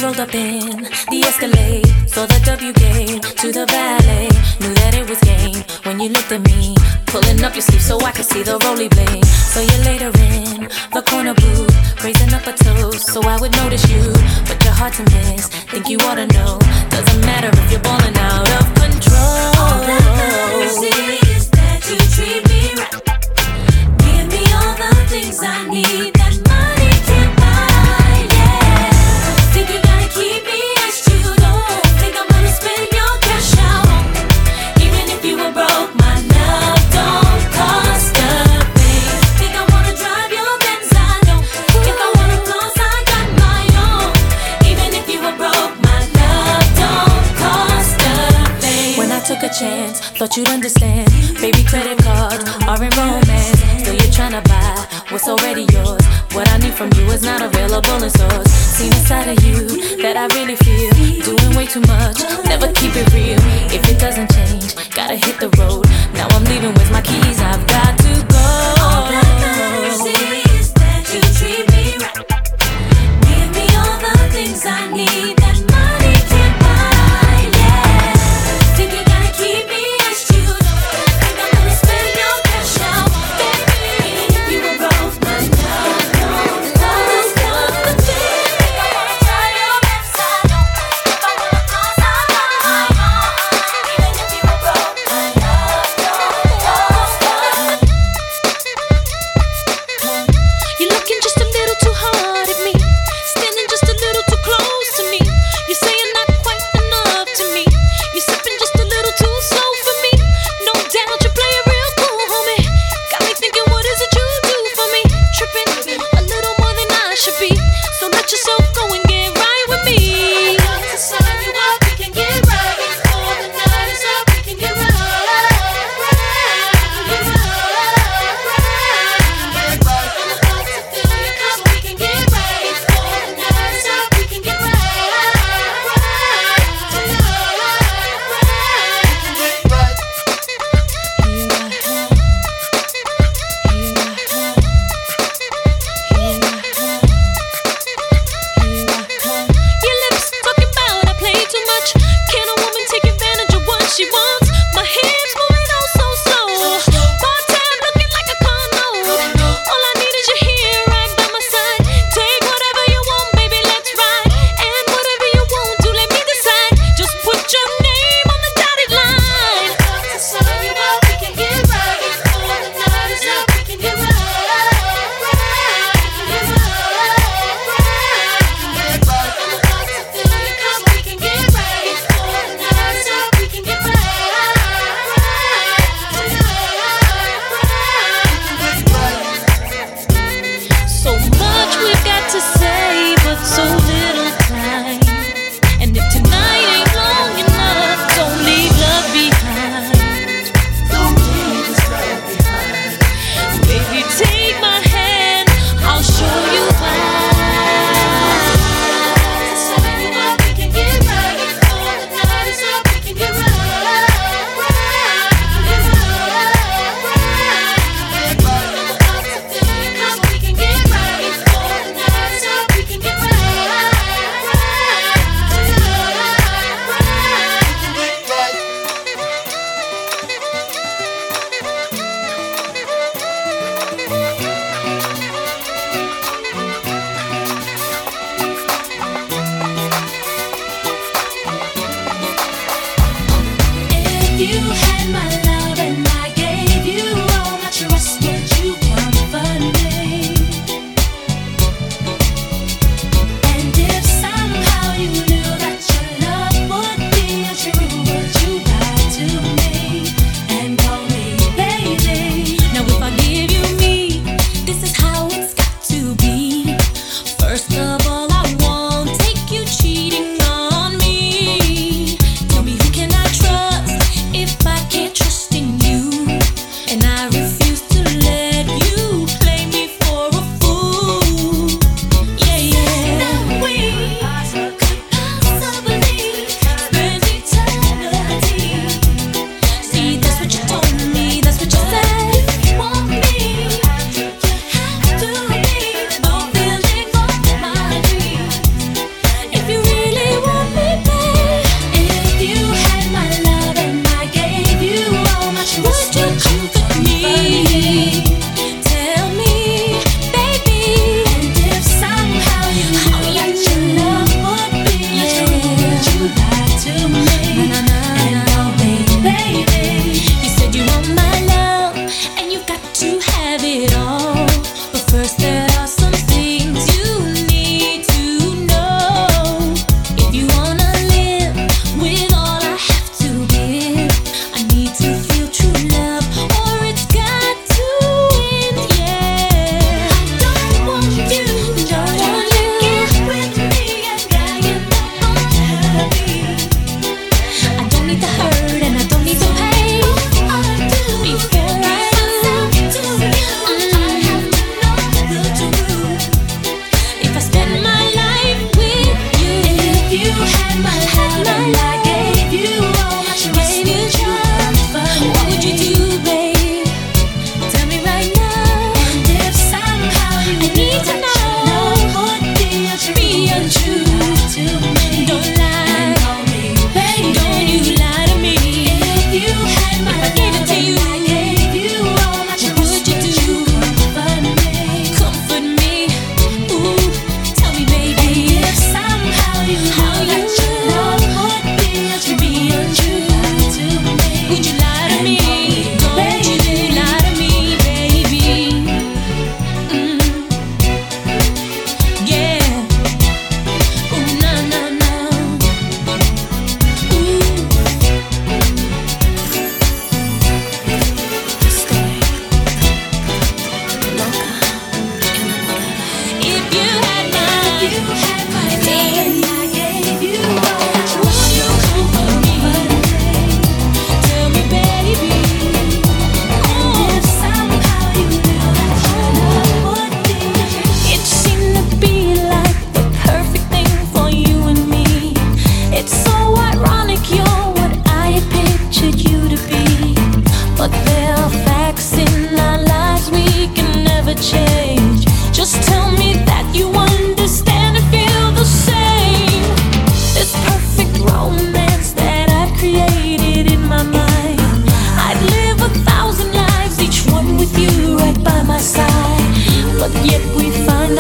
rolled up in the Escalade, saw the W gate to the valet. Knew that it was game when you looked at me, pulling up your sleeve so I could see the rolly blade. So you later in the corner booth, raising up a toast so I would notice you, but you're hard to miss. Think you ought to know, doesn't matter if you're balling out of control. All that matters is that you treat me right. Give me all the things I need that money can't buy. Yeah, think you gotta keep me as you don't think I'm gonna spend your cash out on me. Even if you were broke, my love don't cost a thing. Think I wanna drive your Benz, I don't. If I wanna floss, I got my own. Even if you were broke, my love don't cost a thing. When I took a chance, thought you'd understand. Baby, credit cards are in romance. Still you're trying to buy what's already yours. What I need from you is not available in stores. Seen a side of you that I really feel. Doing way too much, never keep it real. If it doesn't change, gotta hit the road. Now I'm leaving with my keys, I've got to go. All that matters is that you treat me right. Give me all the things I need that money can't buy. Yeah, think you gotta keep me as you don't think I'm gonna spend your cash out, baby. If you were broke, my love don't cost a thing. Think I wanna try your best, I don't. If I wanna floss, I got my own. Even if you were broke, my love don't cost a thing.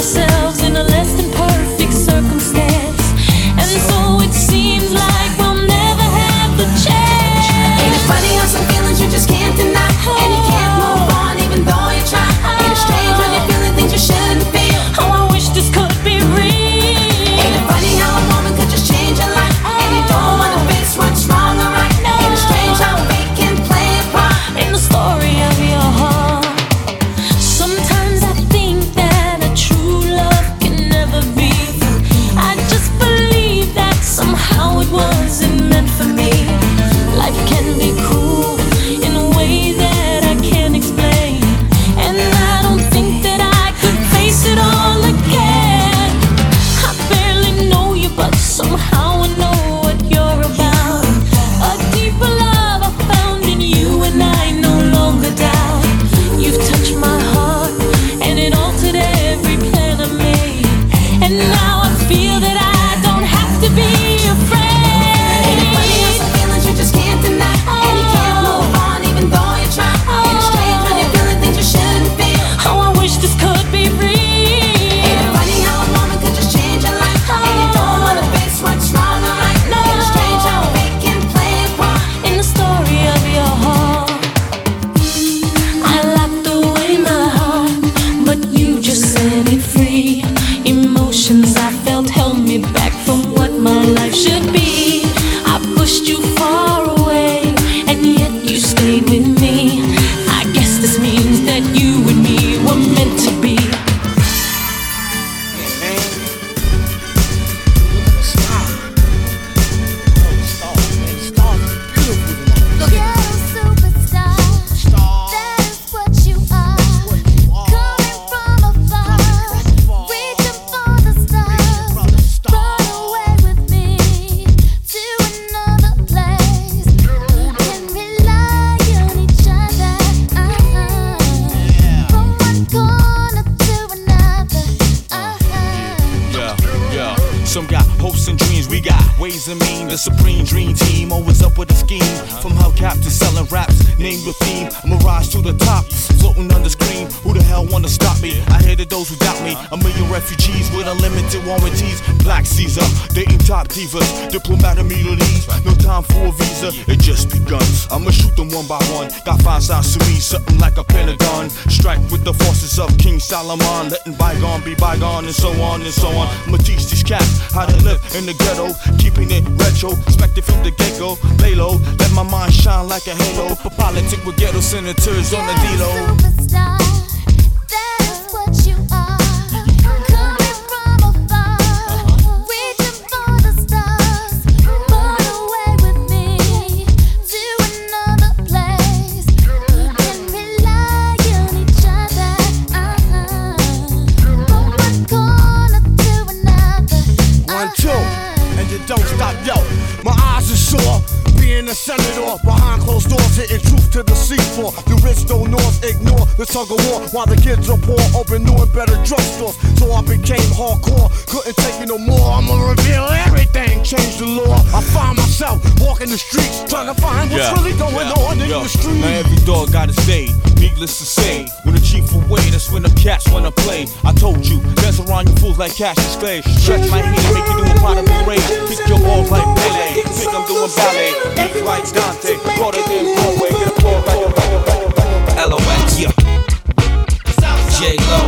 ourselves in a less than perfect circumstance, and so it seems like we'll never have the chance. Ain't it funny how some feelings you just can't deny, and you can't move on even though you try. Ain't it strange when you're feeling things you shouldn't feel? Oh, I wish this could be real. Ain't it funny how a moment could just change your life, and you don't wanna face what's wrong or right? Ain't it strange how fate can play a part In the story of your heart. Sometimes I think that a true love can never be. I just believe that somehow it wasn't meant for me. Life can be cruel in a way that I can't explain, and I don't think that I could face it all again. I barely know you, but somehow I know what you're about. A deeper love I found in you, and I no longer doubt. You've touched my heart, and it altered every plan I made, and now I feel that I don't have to be afraid. Ain't it funny how some feelings you just can't deny, and you can't move on even though you try. Ain't it strange when you're feeling things you shouldn't feel? Oh, I wish this could be real. Ain't it funny how a moment could just change your life, and you don't wanna face what's wrong or right? Ain't it strange how fate can play a part In the story of your heart, I locked away my heart, but you just set it free. Emotions I felt held me back from what my life should be. I pushed you far away, and yet you stayed with me. I guess this means that you and me were meant to be. Ghetto superstar, that is what you are. Coming from afar, reaching for the stars. Run away with me to another place. Can rely on each other. From one corner to another. Yeah. Some got hopes and dreams, we got ways and means. The supreme dream team, always up with a scheme. From hubcap to selling raps, name your theme. I'm a rise to the top, floating on the screen. Who the hell wanna stop me? I hated those who doubt me. A million refugees with unlimited warranties. Black Caesar, dating top divas, diplomatic immunities. No time for a visa, it just begun. I'ma shoot them one by one. Got 5 sides to me, something like a pentagon. Strike with the forces of King Solomon, letting bygone be bygone, and so on and so on. I'ma teach these cats how to live in the ghetto, keeping it retro, expected from the get-go. Lay low, let my mind shine like a halo. For politics with ghetto senators on the D-Lo. Superstar, that is what you are. Coming from afar, reaching for the stars. Run away with me to another place. Can rely on each other. From one corner to another. 1, 2, and you don't stop, yo. My eyes are sore, being a senator behind closed doors, hitting truth to the seafloor. The rich don't north ignore the tug of war, while the kids are poor, open new and better drugstores. So I became hardcore, couldn't take it no more. I'ma reveal everything, change the law. I find myself walking the streets, trying to find what's really going on in the streets. Now every dog got his day, needless to say. When the chief away, that's when the cats wanna play. I told you, dance around you fools like Cassius Clay. Stretch my heat, make you do a part of the raid. Kick your balls like Pele, think I'm doing ballet. Beat like Dante, broader than Broadway. Get a floor right. LOX, yeah. J-Lo,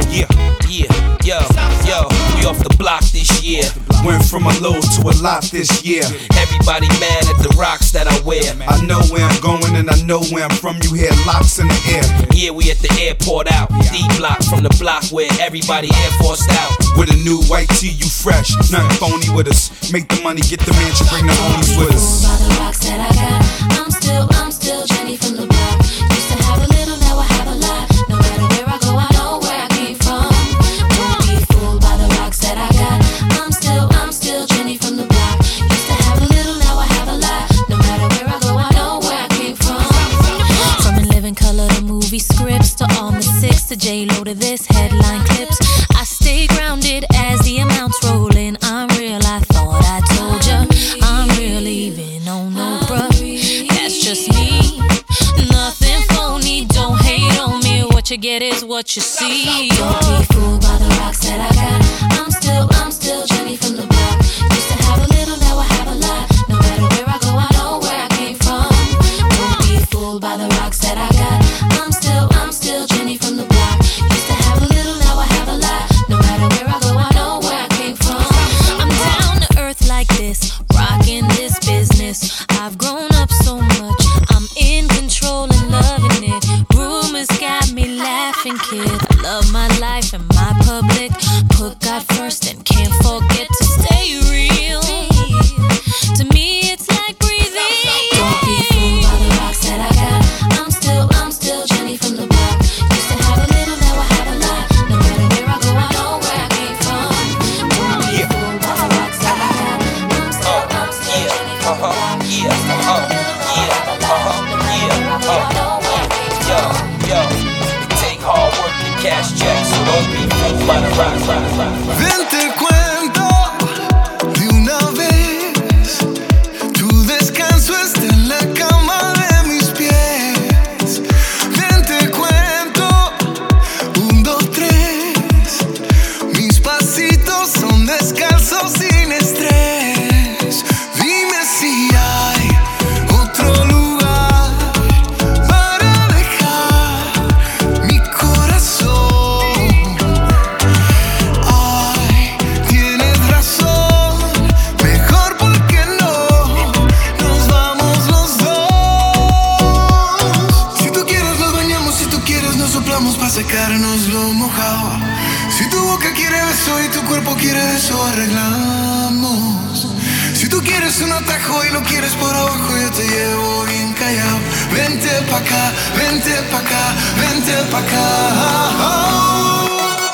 yo, we off the block this year. Went from a low to a lot this year. Everybody mad at the rocks that I wear. I know where I'm going and I know where I'm from. You hear locks in the air. Yeah, we at the airport out. D-block from the block where everybody Air Forced out. With a new white tee, you fresh. Nothing phony with us. Make the money, get the mansion, bring the homies with us. By the rocks that I got, I'm still Jenny from the block. Used to have a little, now I have a lot. No matter where I go, I know where I came from. Don't be fooled by the rocks that I got. I'm still Jenny from the block. Used to have a little, now I have a lot. No matter where I go, I know where I came from. From In Living Color to movie scripts to All the Six to J-Lo to this headline clips. I stay grounded as the amounts roll in. I'm real, I thought I told ya. I'm real, even on no bruh. That's just me. Nothing phony, don't hate on me. What you get is what you see. Don't be fooled by the rocks that I got. can't forget to stay real. To me, it's like breathing. Don't be fooled by the rocks that I got. I'm still Jenny from the block. Used to have a little, now I have a lot. No matter where I go, I know where I came from. Don't be fooled by the rocks that I got. I'm still Jenny from the block. Used to have a little, now I have a lot. No matter where I go, I know where I came from. Yo, it take hard work to cash checks, so don't be fooled by the rocks. Ven te cuento de una vez, tu descanso está en la cama de mis pies. Ven te cuento, 1, 2, 3, mis pasitos son descalzos sin estrés. Dime si hay otro lugar para dejar mi corazón. Ay, tienes razón, mejor porque no nos vamos los dos. Si tú quieres nos bañamos, si tú quieres nos soplamos para secarnos lo mojado. Si tu boca quiere beso y tu cuerpo quiere eso, arreglamos. Si tú quieres un atajo y lo quieres por abajo, yo te llevo bien callado. Vente pa' acá, vente pa' acá, vente pa' acá.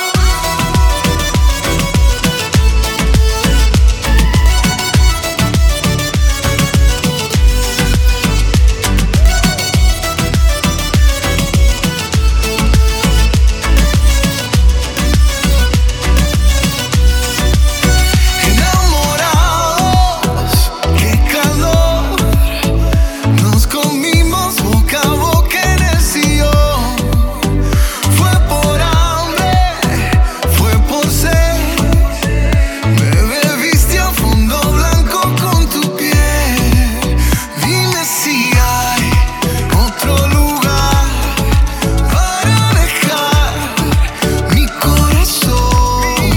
Enamorados, qué calor, nos comimos boca a boca en el sillón. Fue por hambre, fue por sed, me bebiste a fondo blanco con tu piel. Dime si hay otro lugar para dejar mi corazón.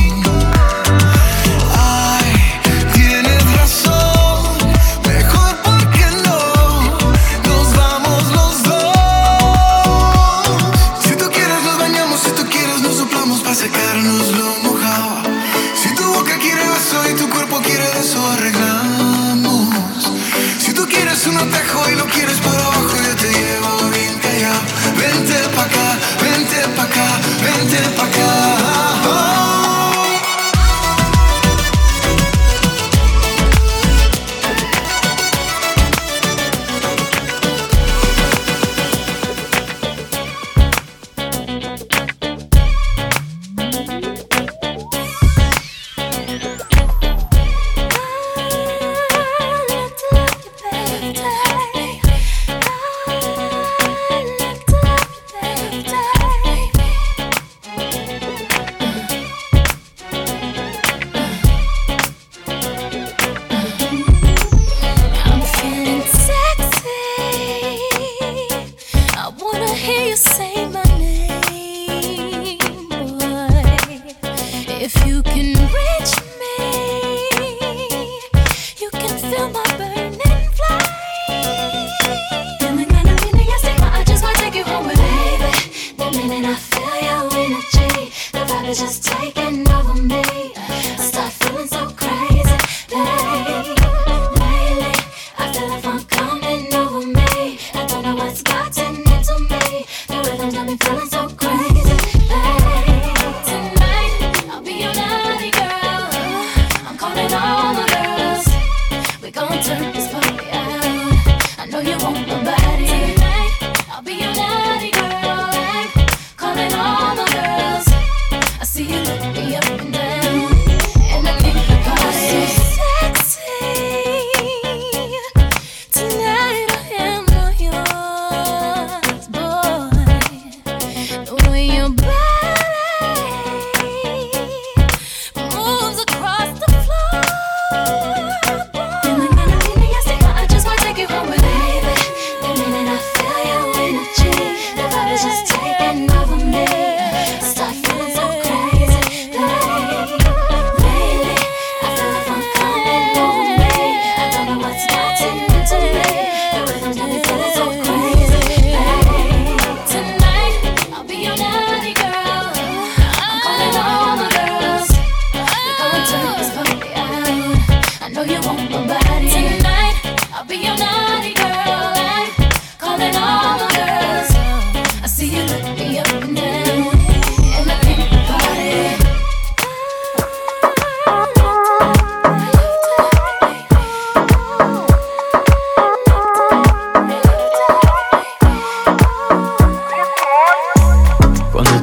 Ay, tienes razón, mejor porque no nos vamos los dos. Si tú quieres nos bañamos, si tú quieres nos soplamos para secarnos lo mojado. Si tu boca quiere beso y tu cuerpo quiere eso, arreglamos. Si tú quieres un atajo y lo quieres por abajo, yo te llevo bien callado. Vente pa' acá, vente pa' acá, vente pa' acá. I'm feeling sexy. I wanna hear you say my name, boy. If you can reach me, you can feel my burning flame. Feeling kinda mean, yes, I just wanna take you home with me, baby. The minute I feel your energy, the vibe is just taking over me. I start feeling so crazy, babe. Lately, I feel like fun coming over me. I don't know what's gotten into me. The rhythm's got me feeling so crazy, babe. Tonight, I'll be your naughty girl. I'm calling all the girls. We gon'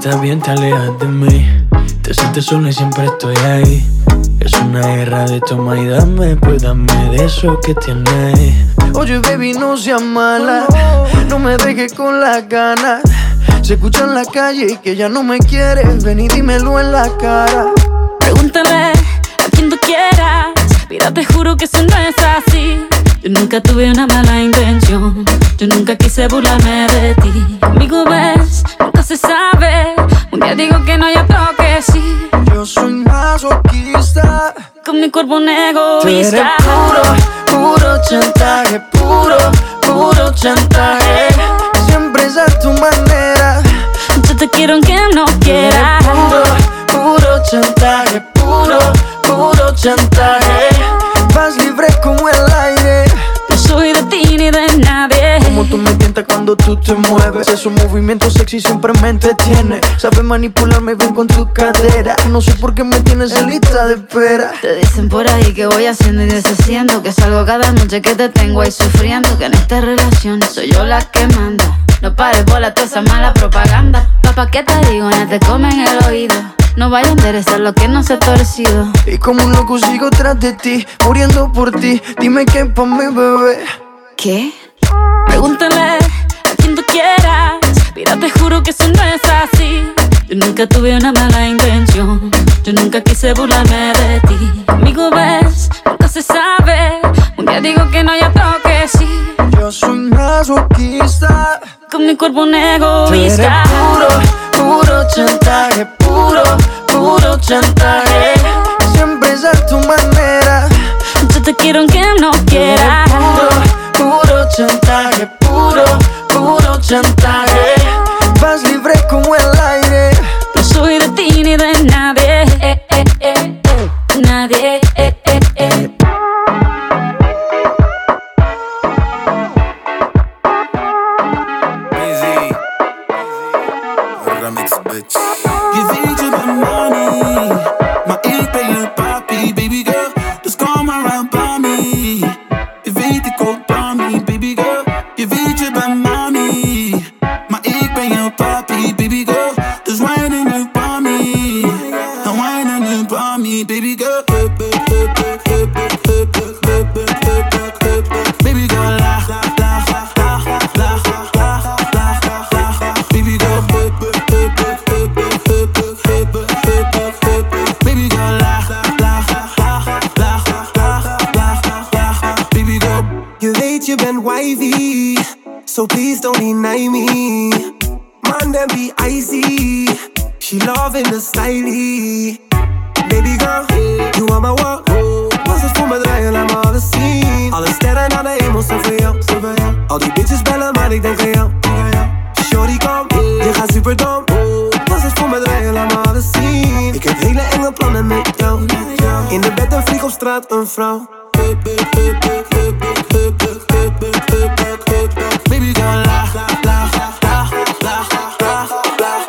estás bien te alejas de mí. Te sientes sola y siempre estoy ahí. Es una guerra de toma y dame, pues dame de eso que tienes. Oye baby, no seas mala, no me dejes con las ganas. Se escucha en la calle y que ya no me quieres. Ven y dímelo en la cara. Pregúntale a quien tú quieras. Mira, te juro que eso no es así. Yo nunca tuve una mala intención. Yo nunca quise burlarme de ti. Conmigo ves, nunca se sabe. Un día digo que no, y otro que sí. Yo soy masoquista. Con mi cuerpo un egoísta. Tú eres puro chantaje. Puro chantaje. Siempre es a tu manera. Yo te quiero aunque no quieras. Puro chantaje. Puro chantaje. Vas libre como el aire. No soy de ti ni de nadie. Como tú me tientas cuando tú te mueves. Esos movimientos sexy siempre me entretiene. Sabes manipularme bien con tu cadera. No sé por qué me tienes en lista de espera. Te dicen por ahí que voy haciendo y deshaciendo, que salgo cada noche que te tengo ahí sufriendo, que en esta relación soy yo la que manda. No pares bola toda esa mala propaganda. Papá, ¿qué te digo? Ya te comen el oído. No vaya a enderezar lo que no se ha torcido. Y como un loco sigo tras de ti, muriendo por ti. Dime qué pa' mi bebé. ¿Qué? Pregúntale a quien tú quieras. Mira, te juro que eso no es así. Yo nunca tuve una mala intención. Yo nunca quise burlarme de ti. Conmigo ves, nunca se sabe. Un día digo que no, y otro que sí. Yo soy masoquista. Con mi cuerpo un egoísta. Puro chantaje. Puro chantaje. Siempre es a tu manera. Yo te quiero aunque no quieras. Puro chantaje. Puro chantaje. Vas libre como el aire. No soy de ti ni de nadie. Nadie. Remix, bitch. Je weet je bent money, maar ik ben je papi, baby girl. Dus kom around by me. Je weet ik ook by me, baby girl. Je weet je bent money, maar ik ben je papi, baby girl. Dus whine nu by me, dan whine nu by me, baby girl. Baby girl, laag, laag, laag, laag, laag, laag, laag, laag, laag. Baby girl, baby girl, laag, laag, laag, laag, laag, laag, laag. Baby girl, je weet je bent wifey, so please don't deny me. Man, them be icy, she loving the stylie. Baby girl, you are my world. Was het voor me draaien, laat me alles zien. Alle sterren aan de hemel zijn voor jou. Al die bitches bellen, maar ik denk aan jou. Shorty kom, je gaat super dom. Was het voor me draaien, laat me alles zien. Ik heb hele enge plannen met jou. In de bed een vlieg op straat, een vrouw. baby girl, laag, laag, laag, laag, laag, laag, laag.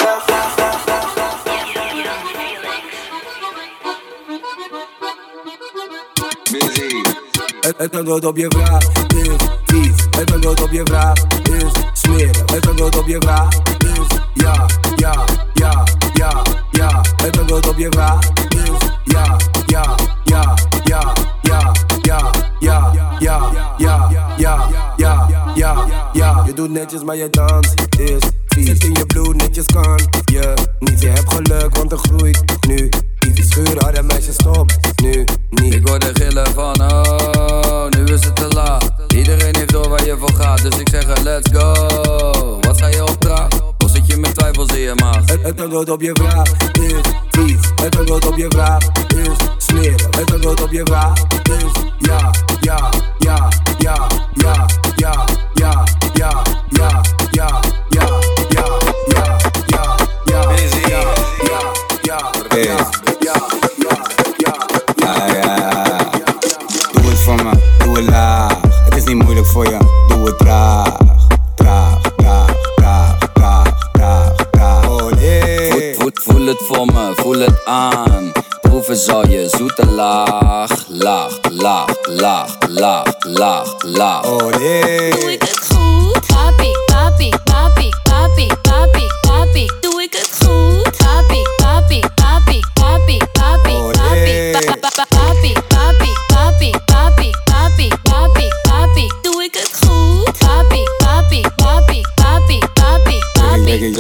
Het antwoord op je vraag is vies. Het antwoord op je vraag is smeren. Het antwoord op je vraag is ja, ja, ja, ja, ja. Het antwoord op je vraag is ja, ja, ja, ja, ja, ja, ja, ja, ja, ja, ja, ja, ja. Je doet netjes maar je dans is vies. Zit in je bloed, netjes kan je niet. Je hebt geluk, want er groeit nu. Die schuren, harde meisjes, stop nu niet. Ik hoor de gillen van oh, nu is het te laat. Iedereen heeft door waar je voor gaat, dus ik zeg er let's go. Wat sta je opdracht? Of zit je met twijfels in je maag? Het antwoord op je vraag is vies. Het antwoord op je vraag is smeren. Het antwoord op je vraag is ja, ja, ja, ja, ja, ja, ja, ja, ja, ja, ja, ja, ja, ja, ja, Busy. ja, ja, ja, Hey. Doe het voor me, doe het laag. Het is niet moeilijk voor je, doe het traag. Traag, traag, traag, traag, traag, traag. Olé. Voel het voor me, voel het aan. Proeven zal je zoete laag. Laag, laag, laag, laag, laag, laag. Olé. Doe ik het goed? Papi, papi, papi, papi, papi, papi. Doe ik het goed?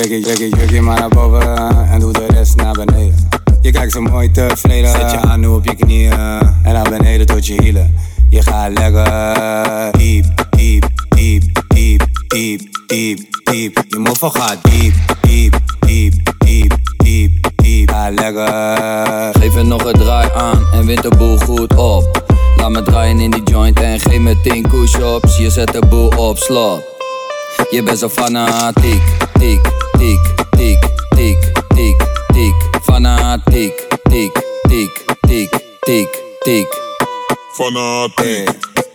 Druk je maar naar boven en doe de rest naar beneden. Je kijkt zo mooi tevreden. Zet je aan nu op je knieën en naar beneden tot je hielen. Je gaat lekker diep, diep, diep, diep, diep, diep, diep. Je moffel gaat diep, diep, diep, diep, diep, diep. Ga lekker. Geef er nog een draai aan en wint de boel goed op. Laat me draaien in die joint en geef me 10 push-ups. Je zet de boel op slot. Je bent zo fanatiek, tiek, tiek, tiek, tiek, tiek, tiek. Fanatiek, tiek, tiek, tiek, tiek, tiek. Fanatiek,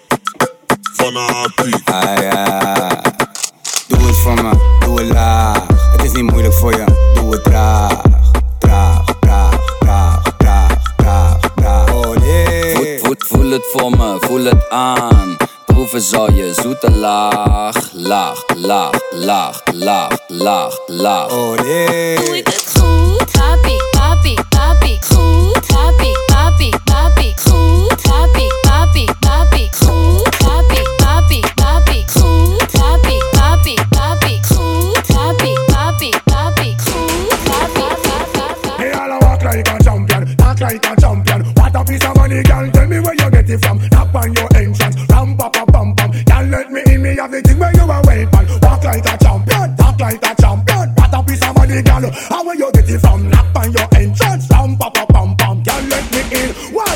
fanatiek. Ah ja. Doe het voor me, doe het laag. Het is niet moeilijk voor je, doe het traag. Traag, traag, traag, traag, traag, traag. Oh nee. Voel het voor me, voel het aan. Proeven zal je zoete laag. Laag, laag, laag, laag, laag, laag. Oh nee. Doe ik het goed? Papi, papi, papi. Goed, papi, papi, papi. Goed, papi, papi, papi. Goed, papi, papi, papi. Goed, papi, papi, papi. Goed, papi, papi, papi. Goed, papi, papi. Hey, all I walk like a champion, talk like a champion. What a piece of money, girl. Tell me where you get it from. Tap on your entrance, ram pa pa pam pam. Can't let me in, me have the thing where you are waiting. Walk like a champion, talk like a champion. What a piece of money, girl. How where you get it from? Tap on your entrance, ram pa pa pam pam. Can't let me in. Why?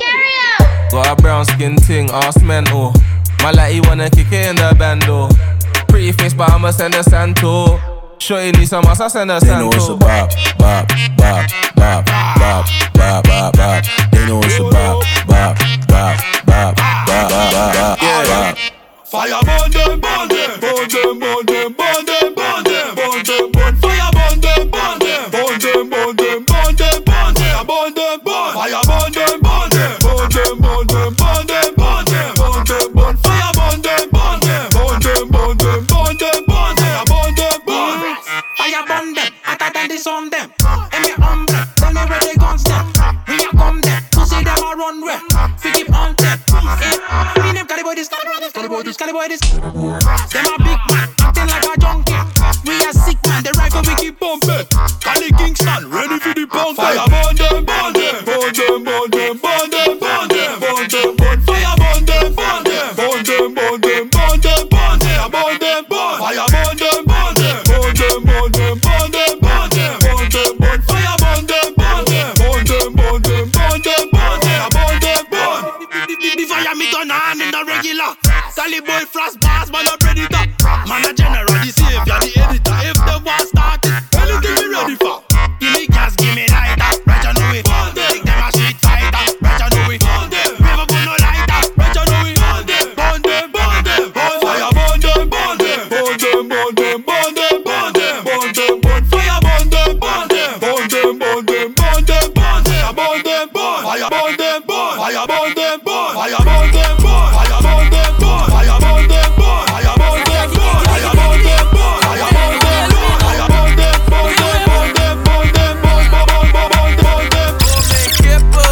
Got a brown skin ting, ass mental. My lady wanna kick it in the bando. Pretty face, but I'ma send a Santo. Shorty need some ass, I send a Santo. They know it's a bop, bop, bop, bop, bop, bop, bop, bop. They know it's a bop, bop, bop, bop, bop, bop, bop, bop. Fire burn them, burn them, burn them, burn them, burn them, burn them, burn them, burn. Fire burn them, burn them, burn them, burn them, burn them, burn them, burn them, burn. Fire burn them, burn them, burn them, burn them, burn them, burn them, burn them, burn. Fire burn them, burn them, burn them, burn them, burn them, burn them, burn them, burn. Fire burn them, hotter than the sun them. And me umbrella, tell me where they guns them. We a come them, to see them a run where. We keep on them. Me name Cali boy this, Cali boy this, Cali boy this. Them a big man, acting like a junkie. We a sick man, the rifle we keep bumping. Cali Kingston, ready for the punk. Fire burn them, burn them, burn them, burn them, burn them, burn them, burn them, burn. Fire burn them, burn them, burn them, burn them, burn them, burn them, burn them, burn. Fire burn them, burn them, burn them, burn them, burn them, burn them, burn them, burn. Fire burn them, burn them, burn them, burn them, burn them, burn them, burn them, burn. The fire me turn on in the regular. Cali boy frost bars, man a predator. Man a general, the savior, the editor. If the war started, anything we ready for. Give me gas, give me lighter, right you know it. Take them a street fighter, right you know it. Never put no lighter, right you know it. Burn them, burn them, burn. Fire burn them, burn them, burn them, burn them, burn them, burn them, burn them, burn. Fire burn them, burn them, burn them, burn them, burn them, burn them, burn them, burn. Fire burn them, burn. Fire burn them, burn. Fire burn them, burn. Fire burn them, burn. Fire burn them, burn. Fire burn them, burn. Fire burn them, burn. Fire burn them, burn. Fire burn them, burn them, burn them, burn them, burn them, burn them, burn them.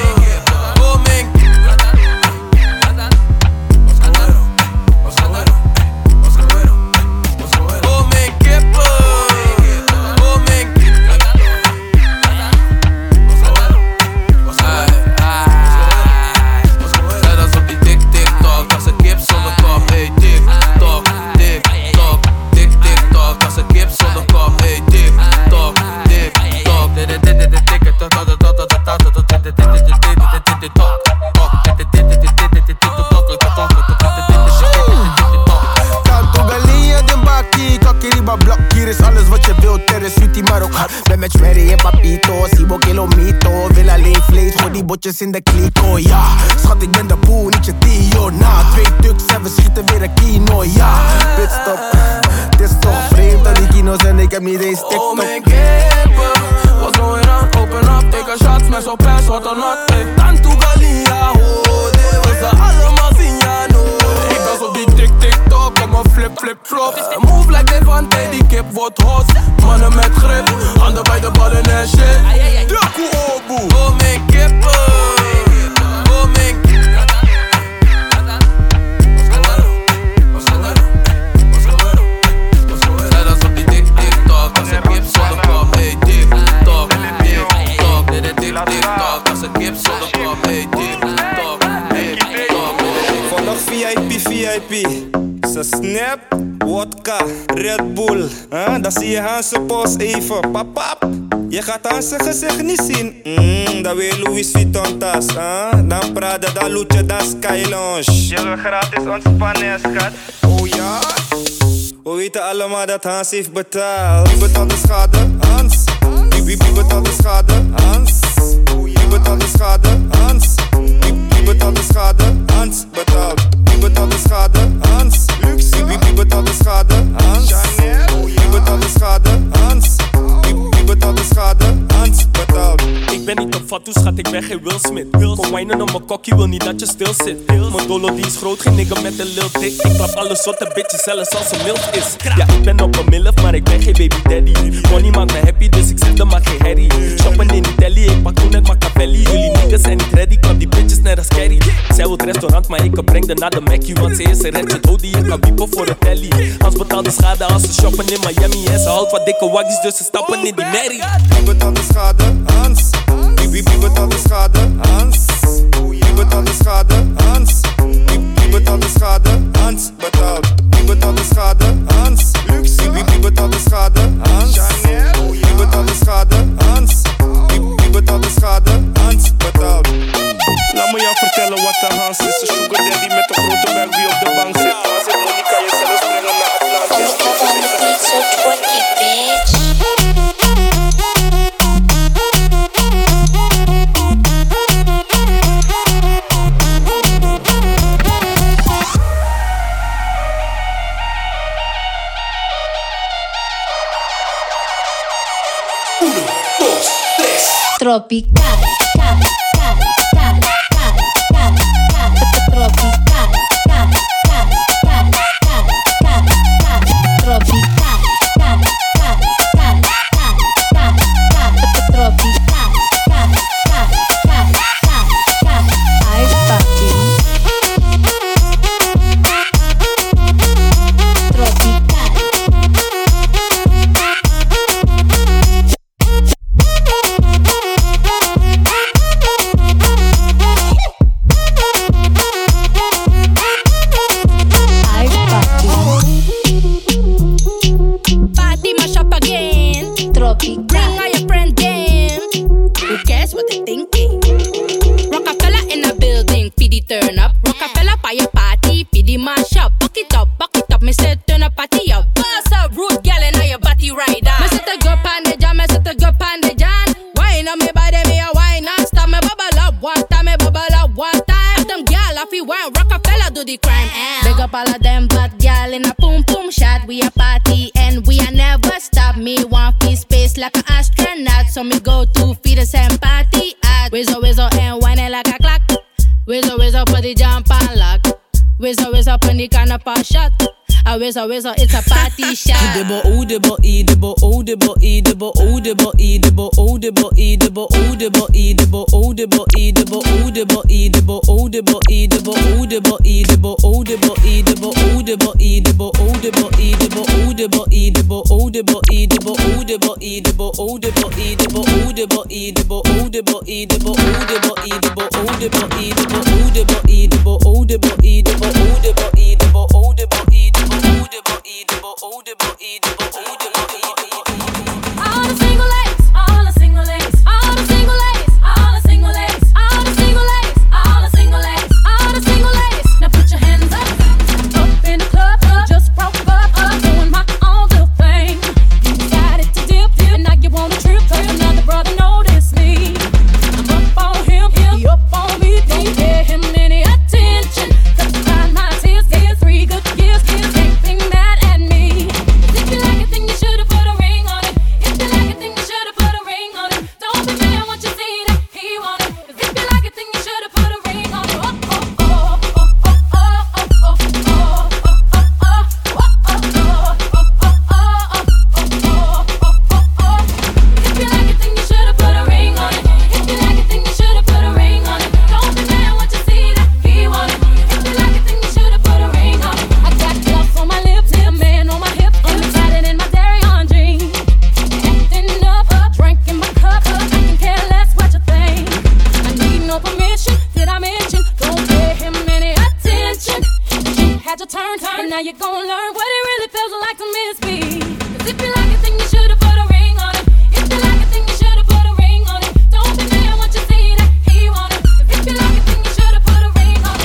Tanto galinha de baki, kakiriba blok, hier is alles wat je wilt, er is sweetie maar ook hard. Ben met Sherry en Papito, Sibo Kilomito. Wil alleen vlees voor die botjes in de kliko, ja. Schat, ik ben de boel, niet je Tio. Na 2 tuks en we schieten weer een kino, ja. Pitstop, het is toch vreemd dat die kino's en ik heb niet eens TikTok. Oh mijn kippen, what's going on? Open up, take a shot, smash op ass, what or not. Tanto galinha, oh, dit was ze allemaal zien, ja, no. Ik was op die tik-tik-tok, kom een flip-flip-flop. Move like Devante, die kip wordt hot. Mannen met grip, handen bij de ballen en shit. Draku Obu, oh mijn kippen. Oh mijn kippen. Zij dat op die tik-tik-tok. Vandaag VIP. Ze snap, wodka, Red Bull. Dan zie je Hanse post even, papap. Je gaat Hanse gezicht niet zien. Dan weer Louis Vuitton tas. Dan Prada, dan Luce, dan Sky Lounge. Je wil gratis ontspannen, schat. Oh ja? We weten allemaal dat Hans heeft betaald. Wie betaalt de schade? Hans. Wie betaalt de schade? Hans. Wie betaalt de schade? Hans. Wie betaalt de schade? Hans betaalt. Wie betaalt de schade? Hans. Wie betaalt de schade? Hans. Wie betaalt de schade? Hans. Wie betaalt de schade? Hans betaalt. Ik ben niet op fatu, schat, ik ben geen Will Smith. Kom wijnen op mijn kokkie, wil niet dat je stil zit. Mijn dolo die is groot, geen nigga met een lil dik. Ik klap alle soorten bitches, zelfs als een milf is. Ja, ik ben op een milf, maar ik ben geen baby daddy. Money maakt me happy, dus ik zet er maar geen herrie. Shoppen in Italy, ik pak toen uit Machiavelli. Jullie niggas zijn niet ready, klap die bitches net als Carrie. Zij wil het restaurant, maar ik breng haar naar de Mackie. Want ze is een ratchet hoodie, ik kan wiepen voor de telly. Hans betaalt de schade als ze shoppen in Miami. En ze houdt wat dikke waggies, dus ze stappen in die merrie. Wie betaalt de schade? Hans. Wie betaalt de schade? Hans. Wie betaalt de schade? Hans. Wie betaalt de schade? Hans betaalt. Wie betaalt de schade? Hans. Wie betaalt de schade? Hans. Wie betaalt de schade? Hans. Wie betaalt de schade? Hans betaalt. Laat me jou vertellen wat de Hans is. Een sugar daddy met een grote buik die op de bank zit. Hans en money kan je zelfs brengen naar Atlantis. So twerky, bitch. Tropical, Wizzo, it's a party shot. He up mission. Did I mention? Don't pay him any attention. You had your turn, and now you're gonna learn what it really feels like to miss me. 'Cause if you like it, then you should've put a ring on it. If you like it, then you should've put a ring on it. Don't be mad when you see that he want it. 'Cause if you like it, then you should've put a ring on it.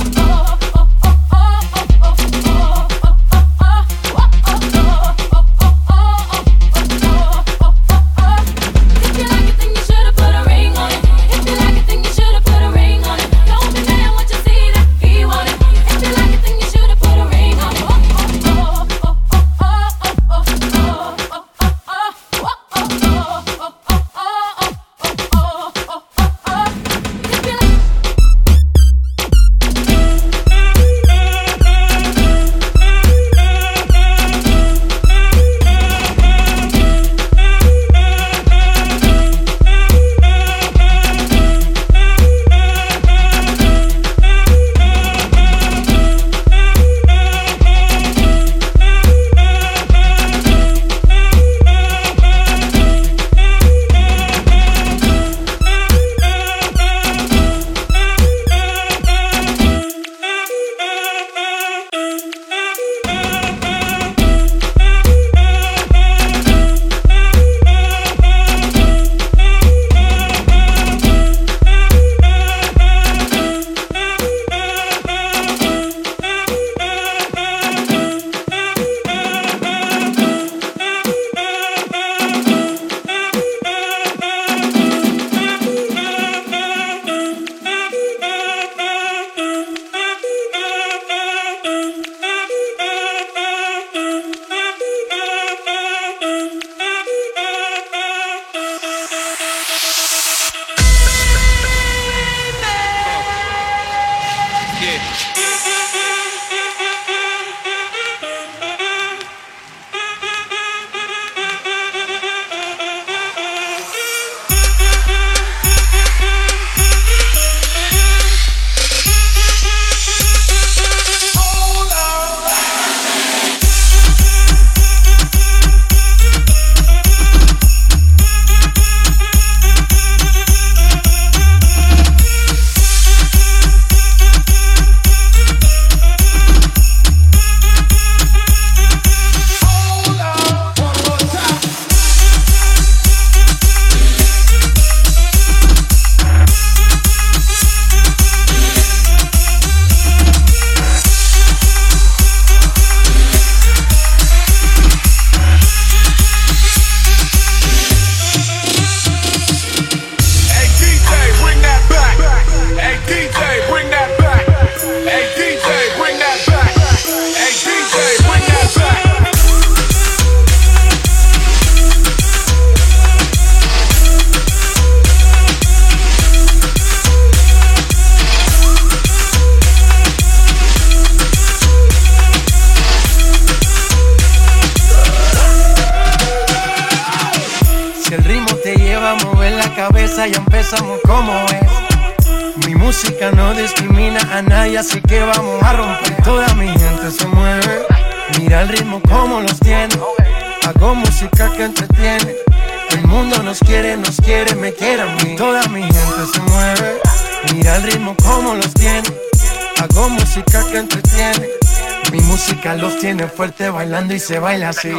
Ya empezamos como es. Mi música no discrimina a nadie, así que vamos a romper. Toda mi gente se mueve. Mira el ritmo como los tiene. Hago música que entretiene. El mundo nos quiere, me quiere a mí. Toda mi gente se mueve. Mira el ritmo como los tiene. Hago música que entretiene. Mi música los tiene fuerte bailando y se baila así.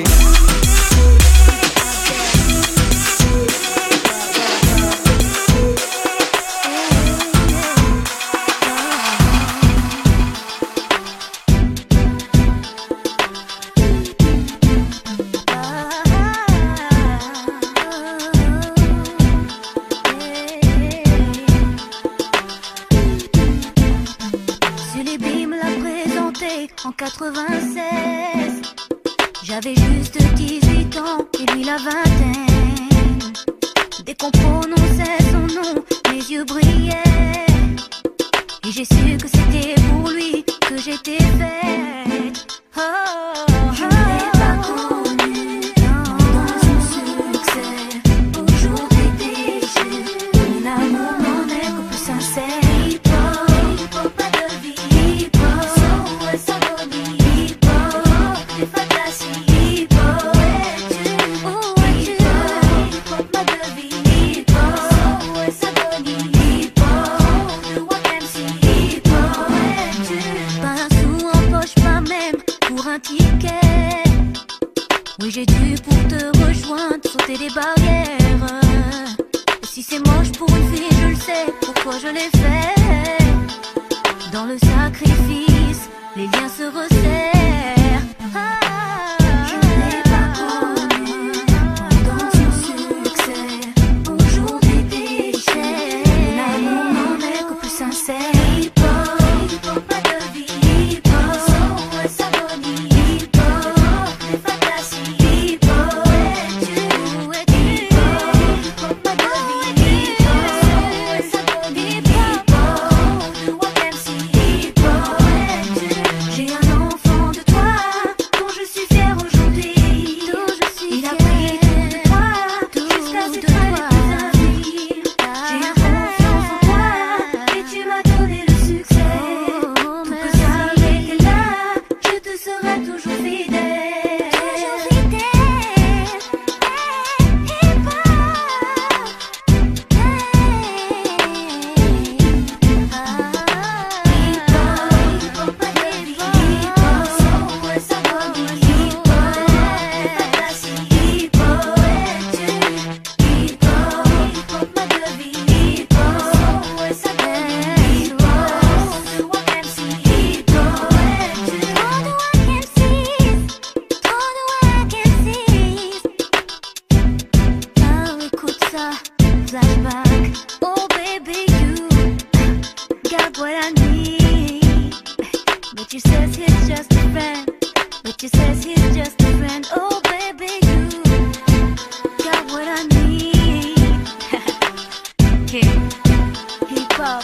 En 96, j'avais juste 18 ans et lui la vingtaine. Dès qu'on prononçait son nom, mes yeux brillaient. Et j'ai su que c'était pour lui que j'étais faite. Oh, je ne l'ai pas connu dans son succès. Aujourd'hui déçu, mon amour n'en est que plus sincère. Hip-hop, pas de vie. j'ai dû pour te rejoindre sauter des barrières. Et si c'est moche pour une fille, je le sais, pourquoi je l'ai fait. Dans le sacrifice, les liens se resserrent. Je n'ai pas connu dans son succès. Aujourd'hui déchets, l'amour n'en est que plus sincère. Hip-hop, pas de vie. Hip-hop, sans s'abonner. Hip-hop, les fantasies. Hip-hop, hip-hop, pas de vie. Hip-hop, sans s'abonner. Hip-hop, Walk MC. Hip-hop, j'ai un enfant de toi dont je suis fière aujourd'hui. Il a pris tout de toi jusqu'à ses traits les plus infimes. J'ai eu confiance en toi et tu m'as donné le succès. Pour que ça m'était là, je te serai toujours fidèle. Toujours fidèle. Flashback, oh baby, you got what I need. But you says he's just a friend. But you says he's just a friend. Oh baby, you got what I need. Hip hop.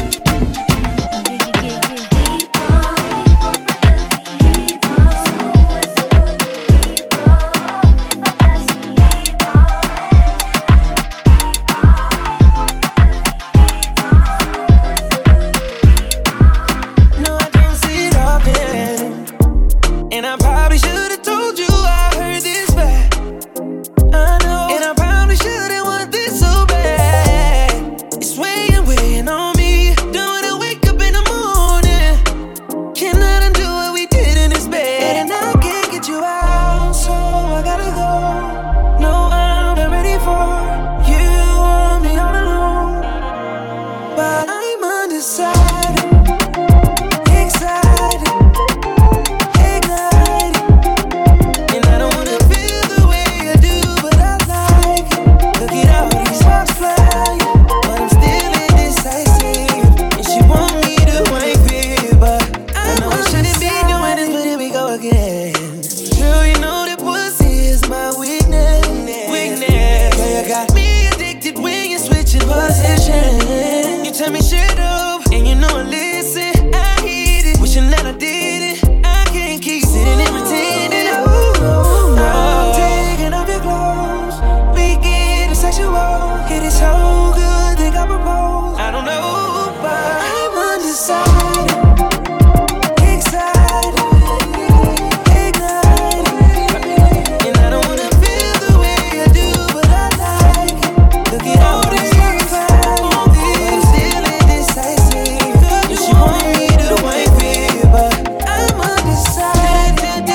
No, I don't see it often, and I probably should've told you I heard this bad. I know, and I probably shouldn't want this so bad. It's weighing on me. Don't wanna wake up in the morning, cannot undo what we did in this bed, and I can't get you out, so I gotta go. No, I'm not ready for you. Want me all alone, but I'm undecided. Excited, ignited, and I don't wanna feel the way I do, but I like it. Look at all these sparks flying, but I'm still indecisive. And she want me to wipe it, but I know I shouldn't be doing this, but here we go again. Girl, you know that pussy is my weakness. Girl, you got me addicted when you're switching position. You tell me shut up, and you know I listen. I hate it, wishing that I did it. I can't keep sitting and pretending. Oh, no. I'm taking off your clothes, we getting sexual. It is so good, think I propose. I don't know, but I'm undecided. Excited, ignited, and I don't wanna feel the way I do, but I like it. Look at all these sparks flying, but I'm still indecisive. And she want me to wipe it, but I'm undecided.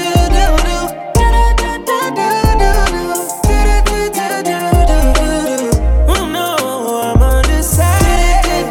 Oh no, I'm undecided.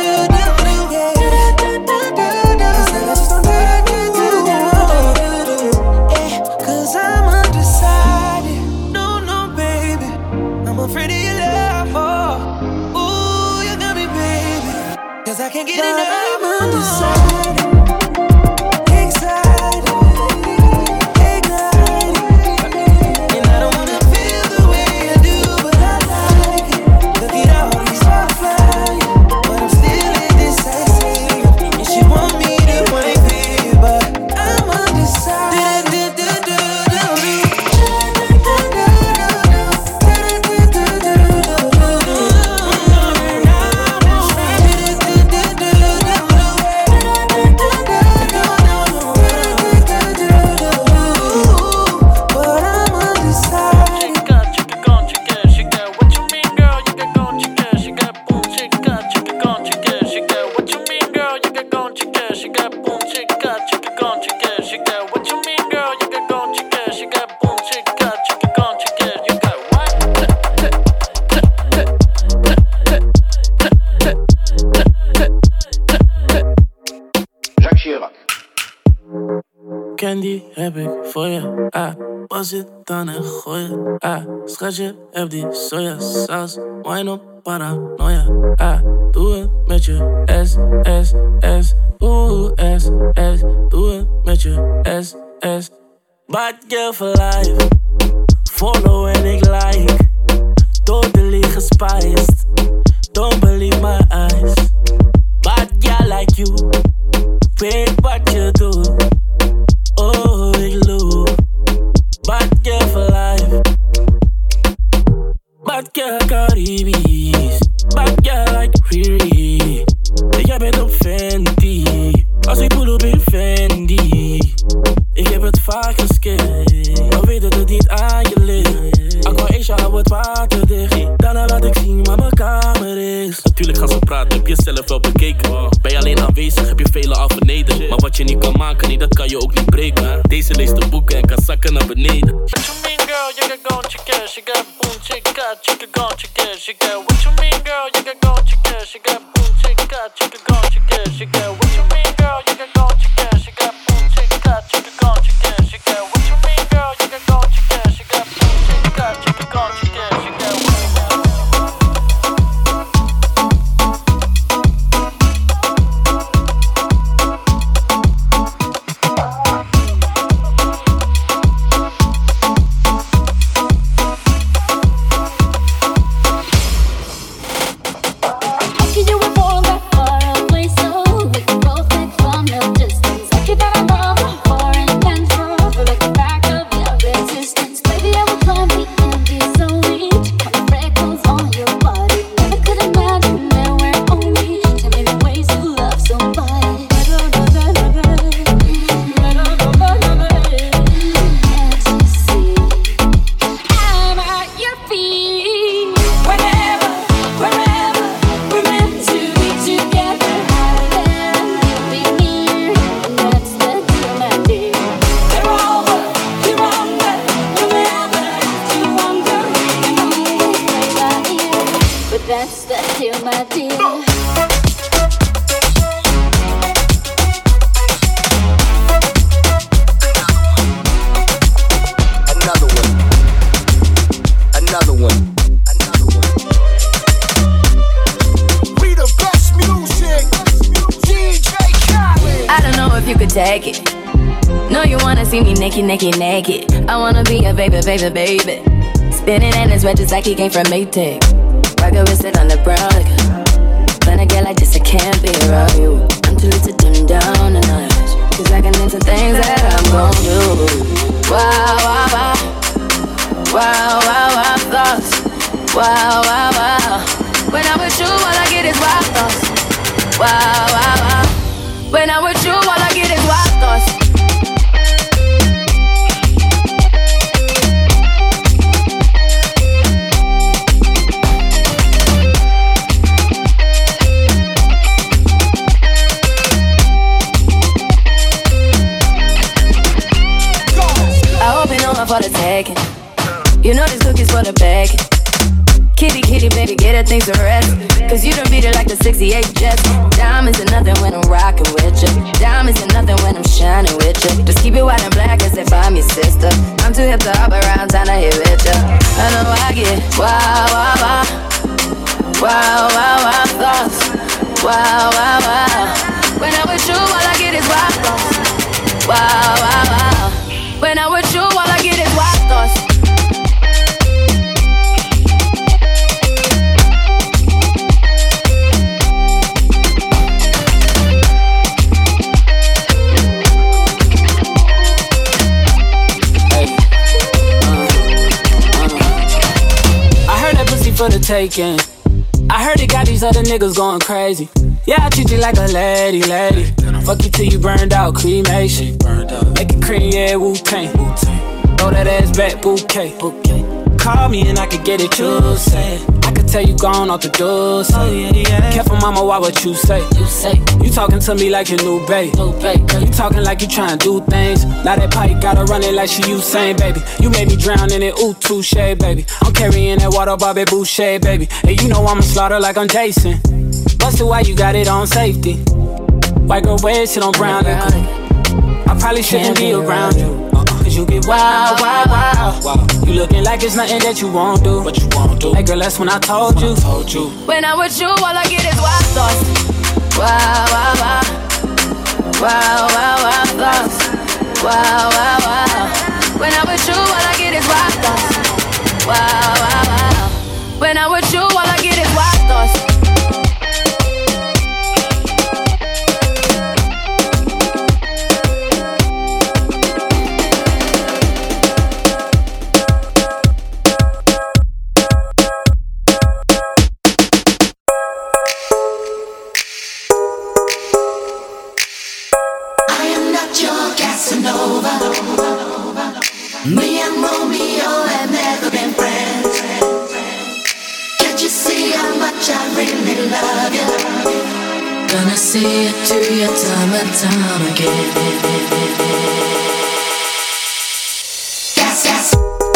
Cause I'm undecided. No, baby, I'm afraid of your love. Oh, ooh, you got me, baby. Cause I can't get enough. I'm undecided. Excited, ignited, and I don't wanna feel the way I do, but I like it. Look at all these sparks flying, but I'm still indecisive. And she want me to wipe it, but I'm undecided. candy heb ik voor je. Pas het dan en gooi je. Schatje, heb die sojasaus. Wine op paranoia. Doe het met je S, S, S. Oeh, S, S. Doe het met je S, S. Bad girl for life. Follow en ik like. Totally gespiced. Don't believe my eyes. Bad girl like you. Weet wat je doet. Oh, ik loop. Bad girl for life. Bad girl Caribisch. Bad girl like Riri. Jij bent op Fenty. Als ik pull op in Fendi. Ik heb het vaak geskate. Maar weet dat het niet aan je ligt. Aquaisha, hou het water dicht. Daarna laat ik zien waar mijn kamer is. Natuurlijk gaan ze praten, heb je zelf wel bekeken. Ben je alleen aanwezig, heb je velen al vernederd. Maar wat je niet kan maken, nee, dat kan je ook niet breken. Deze leest de boeken en kan zakken naar beneden. What you mean, girl? You can go check it. She got boom, check it. You can go check it. She got. What you mean, girl? You can go check it. She got boom, check it. You can go check it. She got. What you mean, girl? You can go check it. She got boom, check it. You can go check it. She got. What you mean, girl? You can go check it. She got boom, check it. You can go check it. She got. That's the deal, my dear. Take it. No, you wanna see me naked, naked, naked. I wanna be a baby, baby, baby. Spinning in his red just like he came from Maytag. Rocket with it on the brown like when I get like this, I can't be around you. I'm too little to dim down the night. Cause I can into things that I'm gon' do. Wow, wow, wow. Wow, wow, wow, thoughts. Wow, wow, wow. When I'm with you, all I get is wild thoughts. Wow, wow, wow. When I'm with you, all I get is wild thoughts. I hope you know I'm for the taking. You know this cookie's for the bag. Kitty, kitty, baby, get her things to rest. Cause you done beat it like the 68 Jets. Diamonds are nothing when I'm rockin' with you. Diamonds are nothing when I'm shining with you. Just keep it white and black as if I'm your sister. I'm too hip to hop around, time to hit with you. I know I get wow, wow, wow. Wow, wow, wow, thoughts. Wow, wow, wow. When I'm with you, all I get is wild thoughts. Wow, wow, wow. When I'm with you, all I get is wild thoughts. For the taking. I heard it got these other niggas going crazy. Yeah, I treat you like a lady, lady. Fuck you till you burned out, cremation. Make it cream, yeah, Wu-Tang. Throw that ass back, bouquet. Call me and I could get it, you say. I could tell you gone off the door, say. Careful, mama, why what you say? You talking to me like your new babe. You talking like you trying to do things. Now that pipe gotta run it like she Usain, baby. You made me drown in it, ooh, touche, baby. I'm carrying that water, Bobby Boucher, baby. And you know I'ma slaughter like I'm Jason. Busted, why you got it on safety? White girl wear shit on brown liquor. I probably shouldn't be around you. Cause you get wild, wild, wild. You looking like it's nothing that you won't do. But you won't do. Hey girl, that's when I told you. When I'm with you, all I get is wild thoughts. Wow, wow, wow. Wow, wow, wow thoughts. Wow, wow, wow. When I'm with you, all I get is wild thoughts. Wow, wow, wow. When I'm with you, all I get is wild thoughts. Me and Romeo have never been friends. Can't you see how much I really love you? Gonna see it through your time and time again. Yes, yes.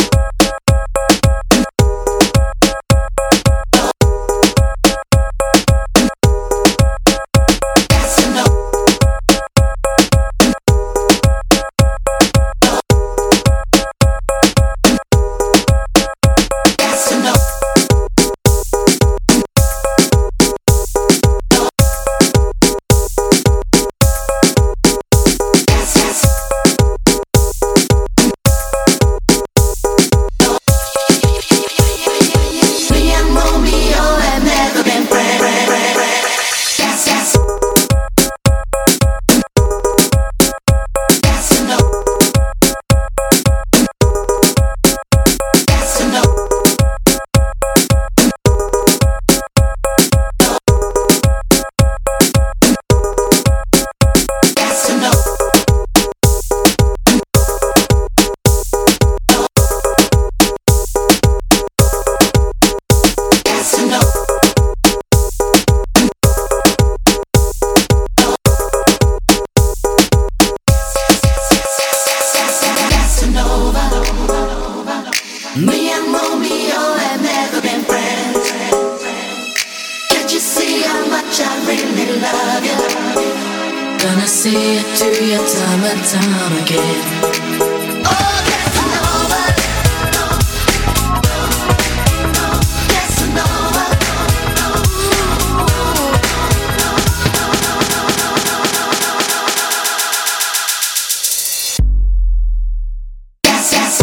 Me and Romeo have never been friends. Can't you see how much I really love you? Gonna see it through your time and time again. Oh, Casanova. Casanova. Yes, yes.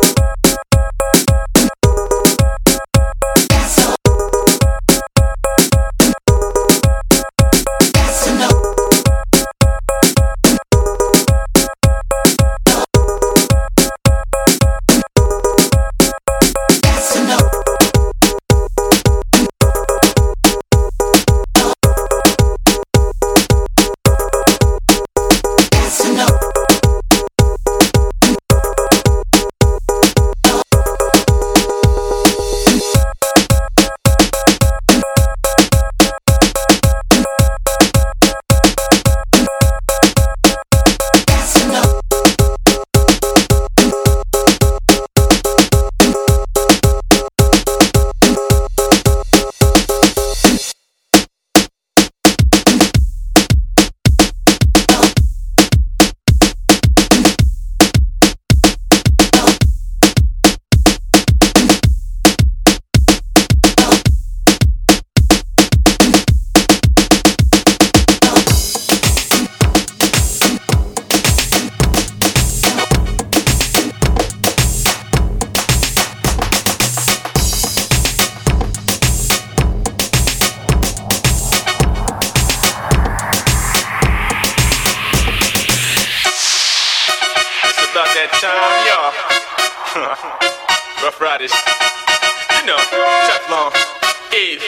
Rough Riders, you know, Teflon, Eve.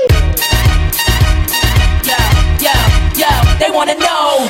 Yo, they wanna know,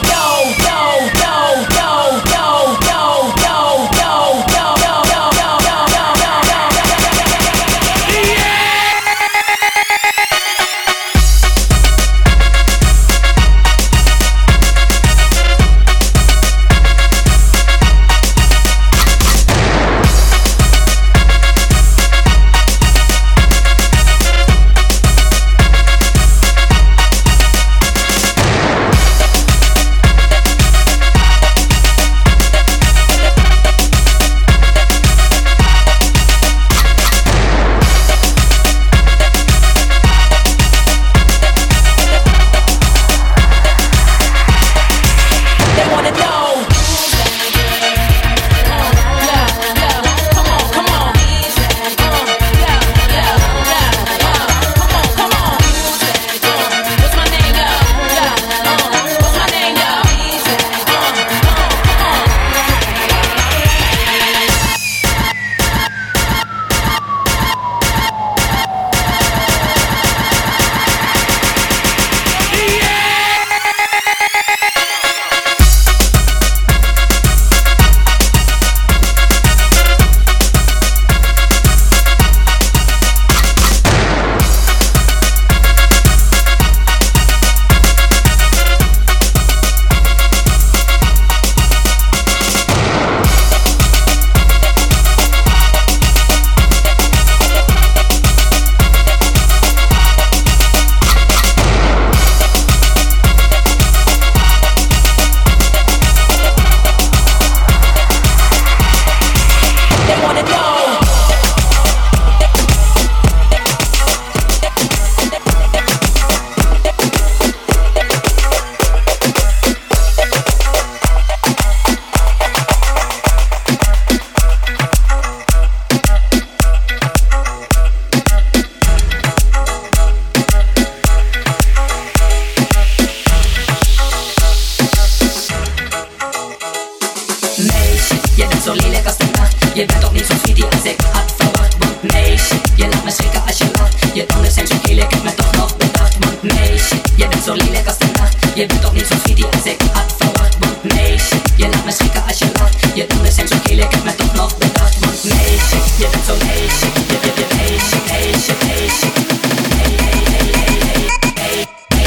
Je bent toch niet zo sweetie als ik had verwacht. Want meisje, je laat me schrikken als je lacht. Je tanden zijn zo geel, ik heb me toch nog bedacht. Want meisje, je bent zo lelijk als de nacht. Je bent toch niet zo sweetie als ik had verwacht. Want meisje, je laat me schrikken als je lacht. Je tanden zijn zo geel, ik heb me toch nog bedacht. Want meisje, je bent zo meisje. Je meisje, meisje, meisje. Hey, hey, hey, hey, hey, hey,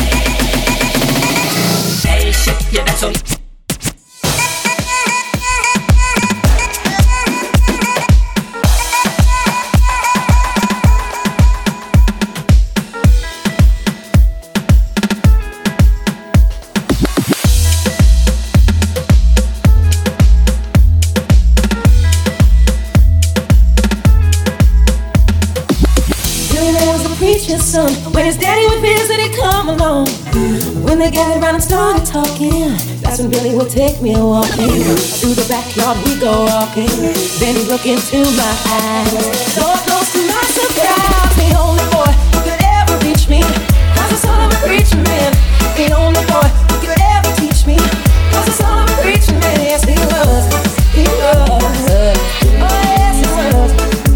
hey. Meisje, je bent zo. Son, when his daddy would visit, he'd come along. When they gathered around and started talking, that's when Billy would take me walking. Through the backyard we go walking. Then he'd look into my eyes. Lord knows to my surprise, the only boy who could ever reach me was the son of a preacher man. The only boy who could ever teach me was the son of a preacher man. Yes, he was. He was. Oh, yes, he was.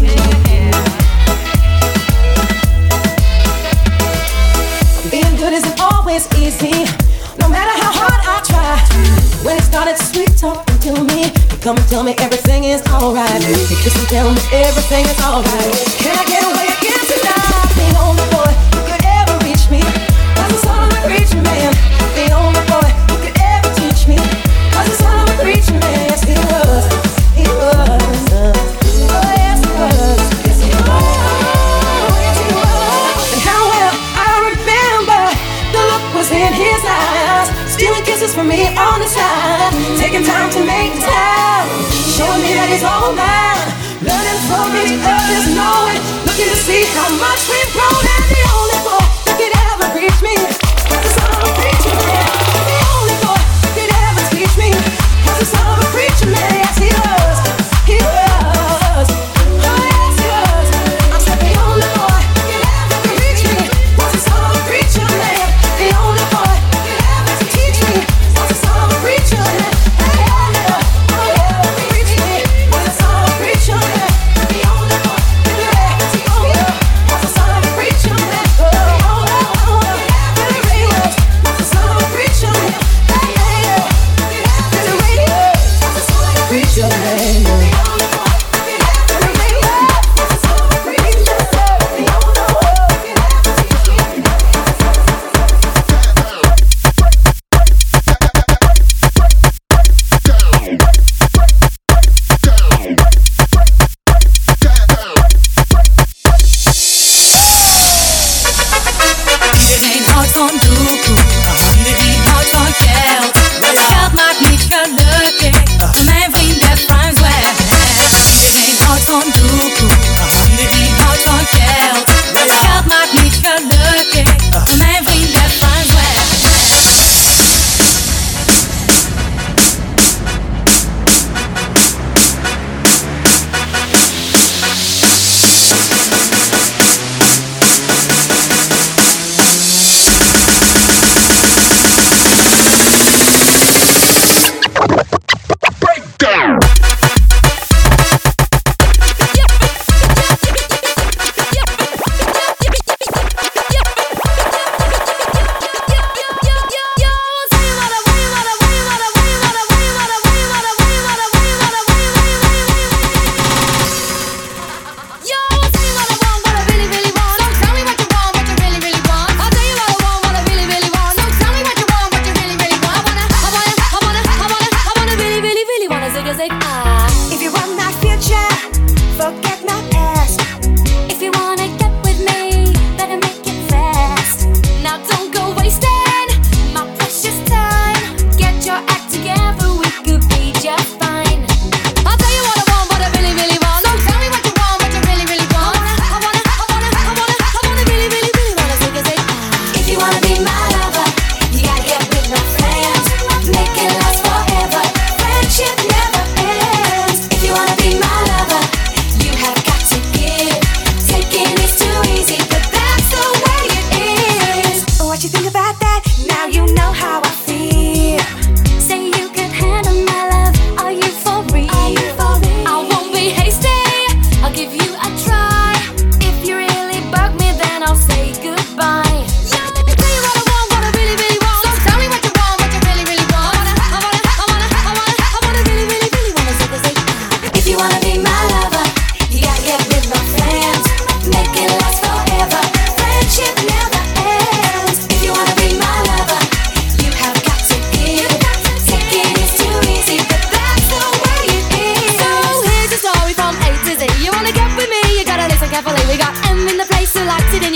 Being good isn't always easy, no matter how hard I try. When he started sweet talking to me, he'd come and tell me everything is alright. He'd kiss and tell me everything is alright. Can I get away again tonight? The only boy who could ever reach me was the son of a preacher man. The only boy who could ever teach me was the son of a preacher man. Yes, he was. He was. Oh, yes, he was. Yes, he was. Yes, he was. And how well I remember the look was in his eyes, stealing kisses from me on the side, taking time to make time, showing me that he's all mine, learning from each other's knowing, looking to see how much we've grown. And the only boy that could ever reach me was the son of a preacher man. The only boy that could ever teach me was the son of a preacher man. Yes, he was. He was. Oh, yes, he was. I said the only boy that could ever reach me was the son of a preacher man. The only boy that could ever teach me was the son of a preacher man. Hey, oh, reach me was the son of a preacher man. The only boy that could ever teach me was the son of a preacher man. Oh,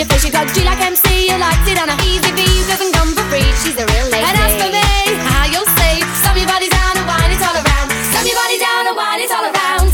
your face, she got G like MC. You liked it on a easy V, doesn't come for free. She's a real lady. And as for me, how you'll say, slam your body down and wine it all around. Slam your body down and wine it all around.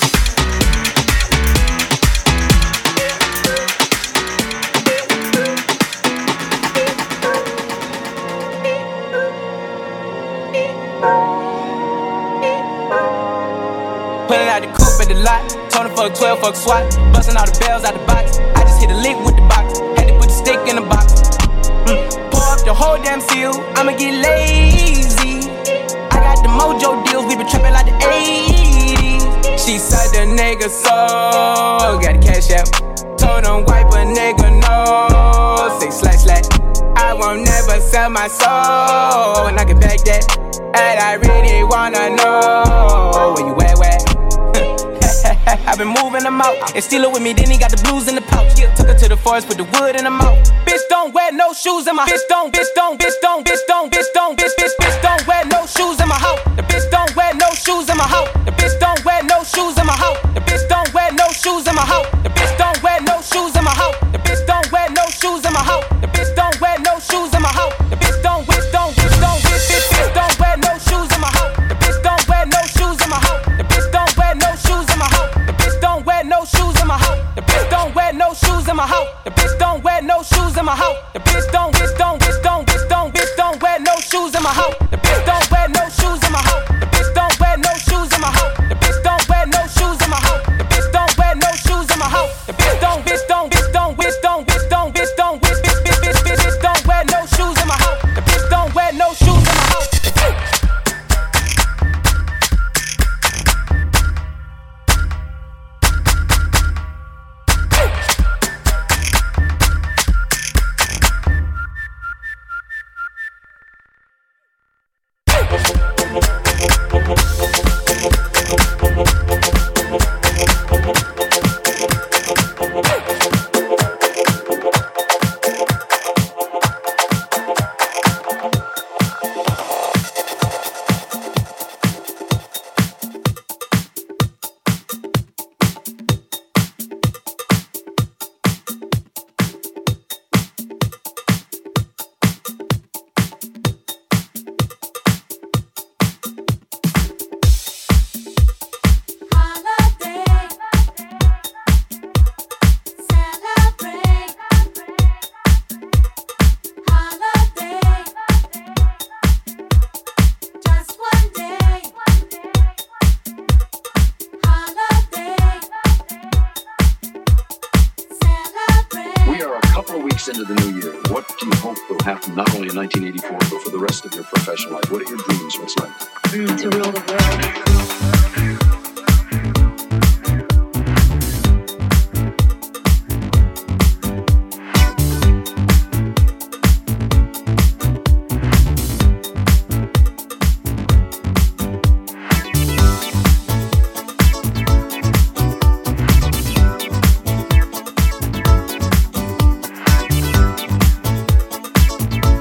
Pulling out the coupe at the lot. Told him fuck 12, fuck SWAT. Busting all the bells out the box. I just hit a lick with the box. Had to put the stick in the box. Pour up the whole damn seal. I'ma get lazy. I got the mojo deals. We been trapping like the 80s. She said the nigga so. Got the cash out. Told him wipe a nigga no. Say slash slash. I won't never sell my soul. And I can back that. And I really wanna know where you at, where? I've been moving them out and steal it with me, then he got the blues in the pouch. Took her to the forest, put the wood in the mouth. Bitch don't wear no shoes in my bitch don't wear no shoes in my house. The bitch don't wear no shoes in my house. The bitch don't wear no shoes in my house. The bitch don't wear no shoes in my house. The bitch don't wear no shoes in my house. The bitch don't wear no shoes in my house. The bitch don't wear no shoes in my house. The bitch don't wear no shoes in my house. The bitch don't wear no shoes in my house. The bitch don't wear no shoes in my house. The bitch don't wear no shoes in my house. The bitch don't wear no shoes in my house. The bitch don't wear no shoes in my house. The bitch don't wear no shoes in my house. The bitch don't wear no shoes in my house. The bitch don't wear no shoes in my house. The bitch don't wear no shoes in my house. The bitch don't wear no shoes in my house. The bitch don't wear no shoes in my house. The bitch don't wear no shoes in my house. Into the new year, what do you hope will happen not only in 1984 but for the rest of your professional life? What are your dreams? What's like? To rule the world.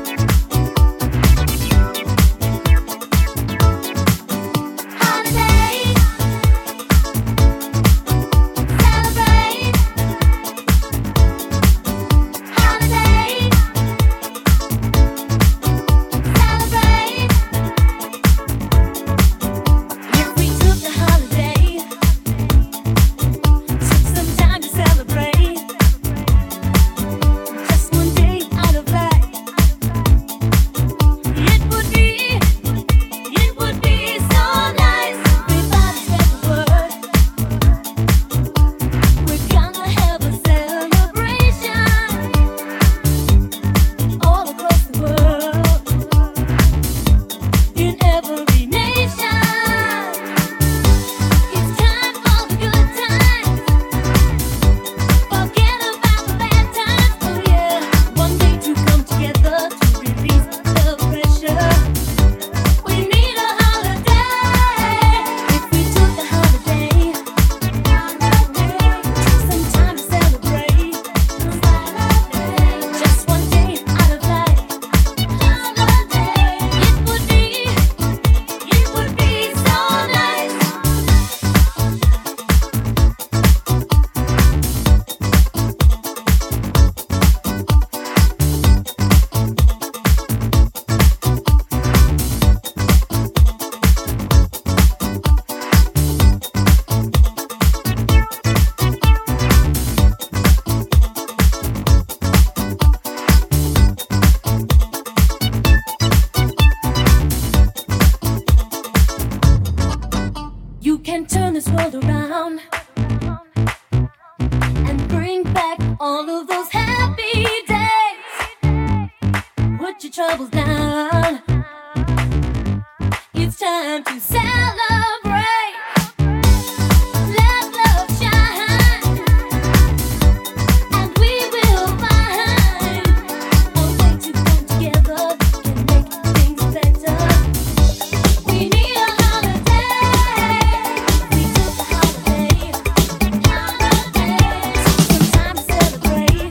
Holiday. this world around and bring back all of those happy days. Put your troubles down. It's time to celebrate. Let love shine, and we will find a way to come together and make things better. We need a holiday. We took a holiday. Some time to celebrate.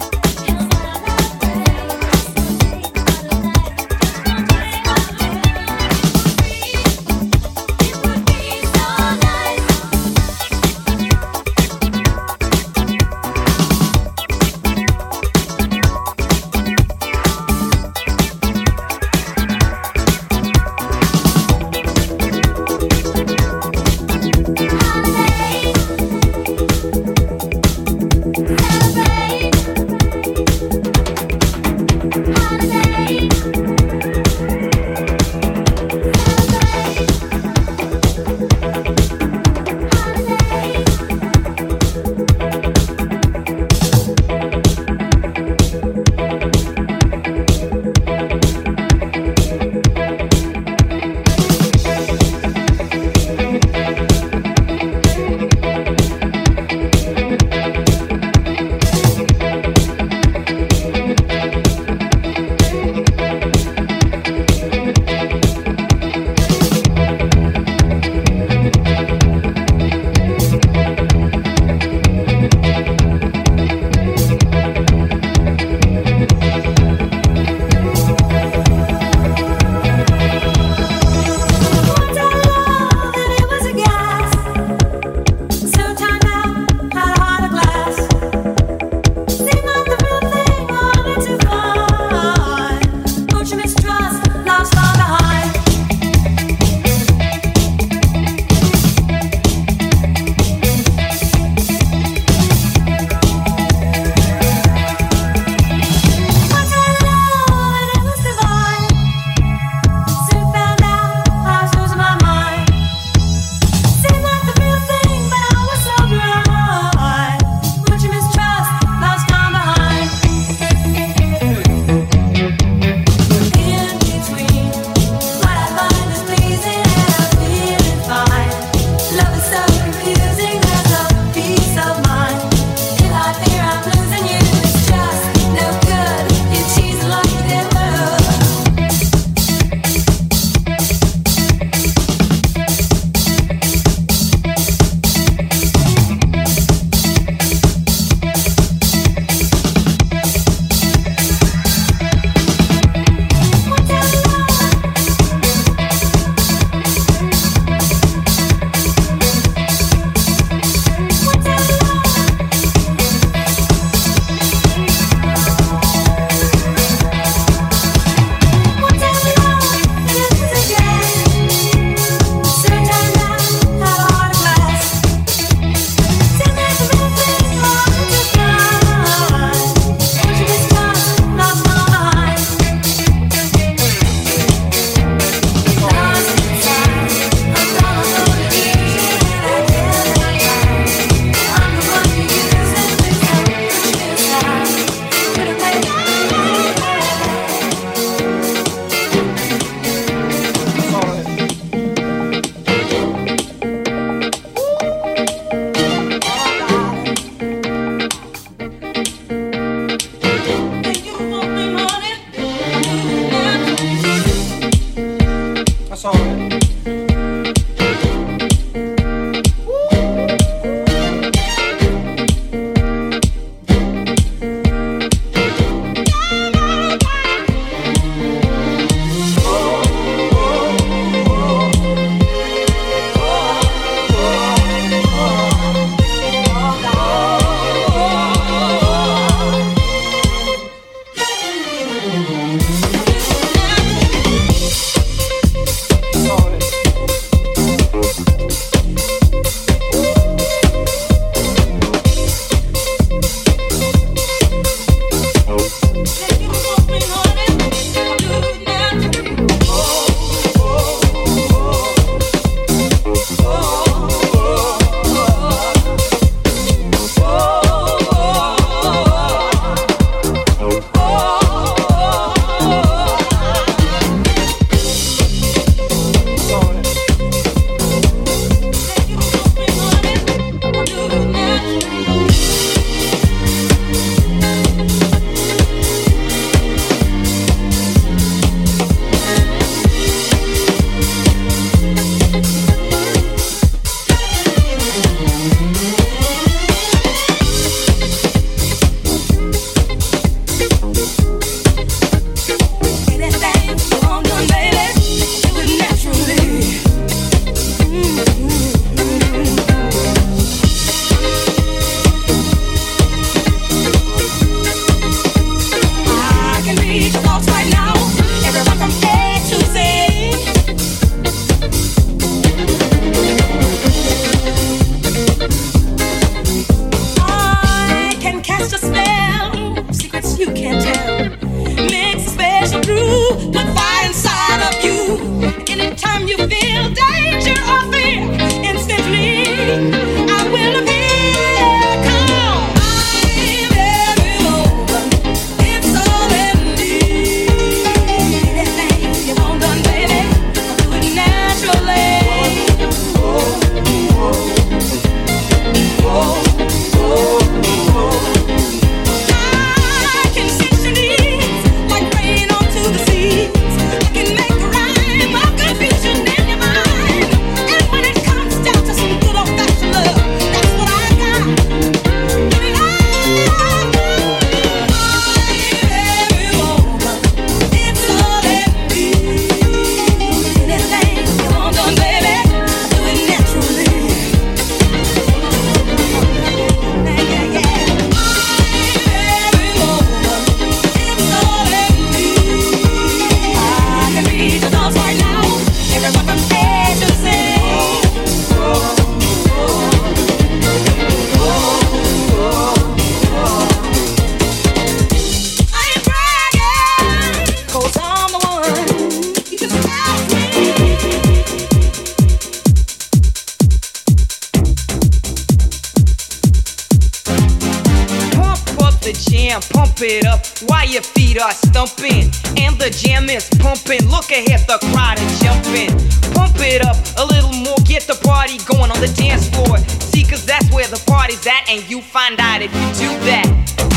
pump it up while your feet are stumping. And the jam is pumping. Look ahead, the crowd is jumping. Pump it up a little more, get the party going on the dance floor. See, cause that's where the party's at, and you find out if you do that.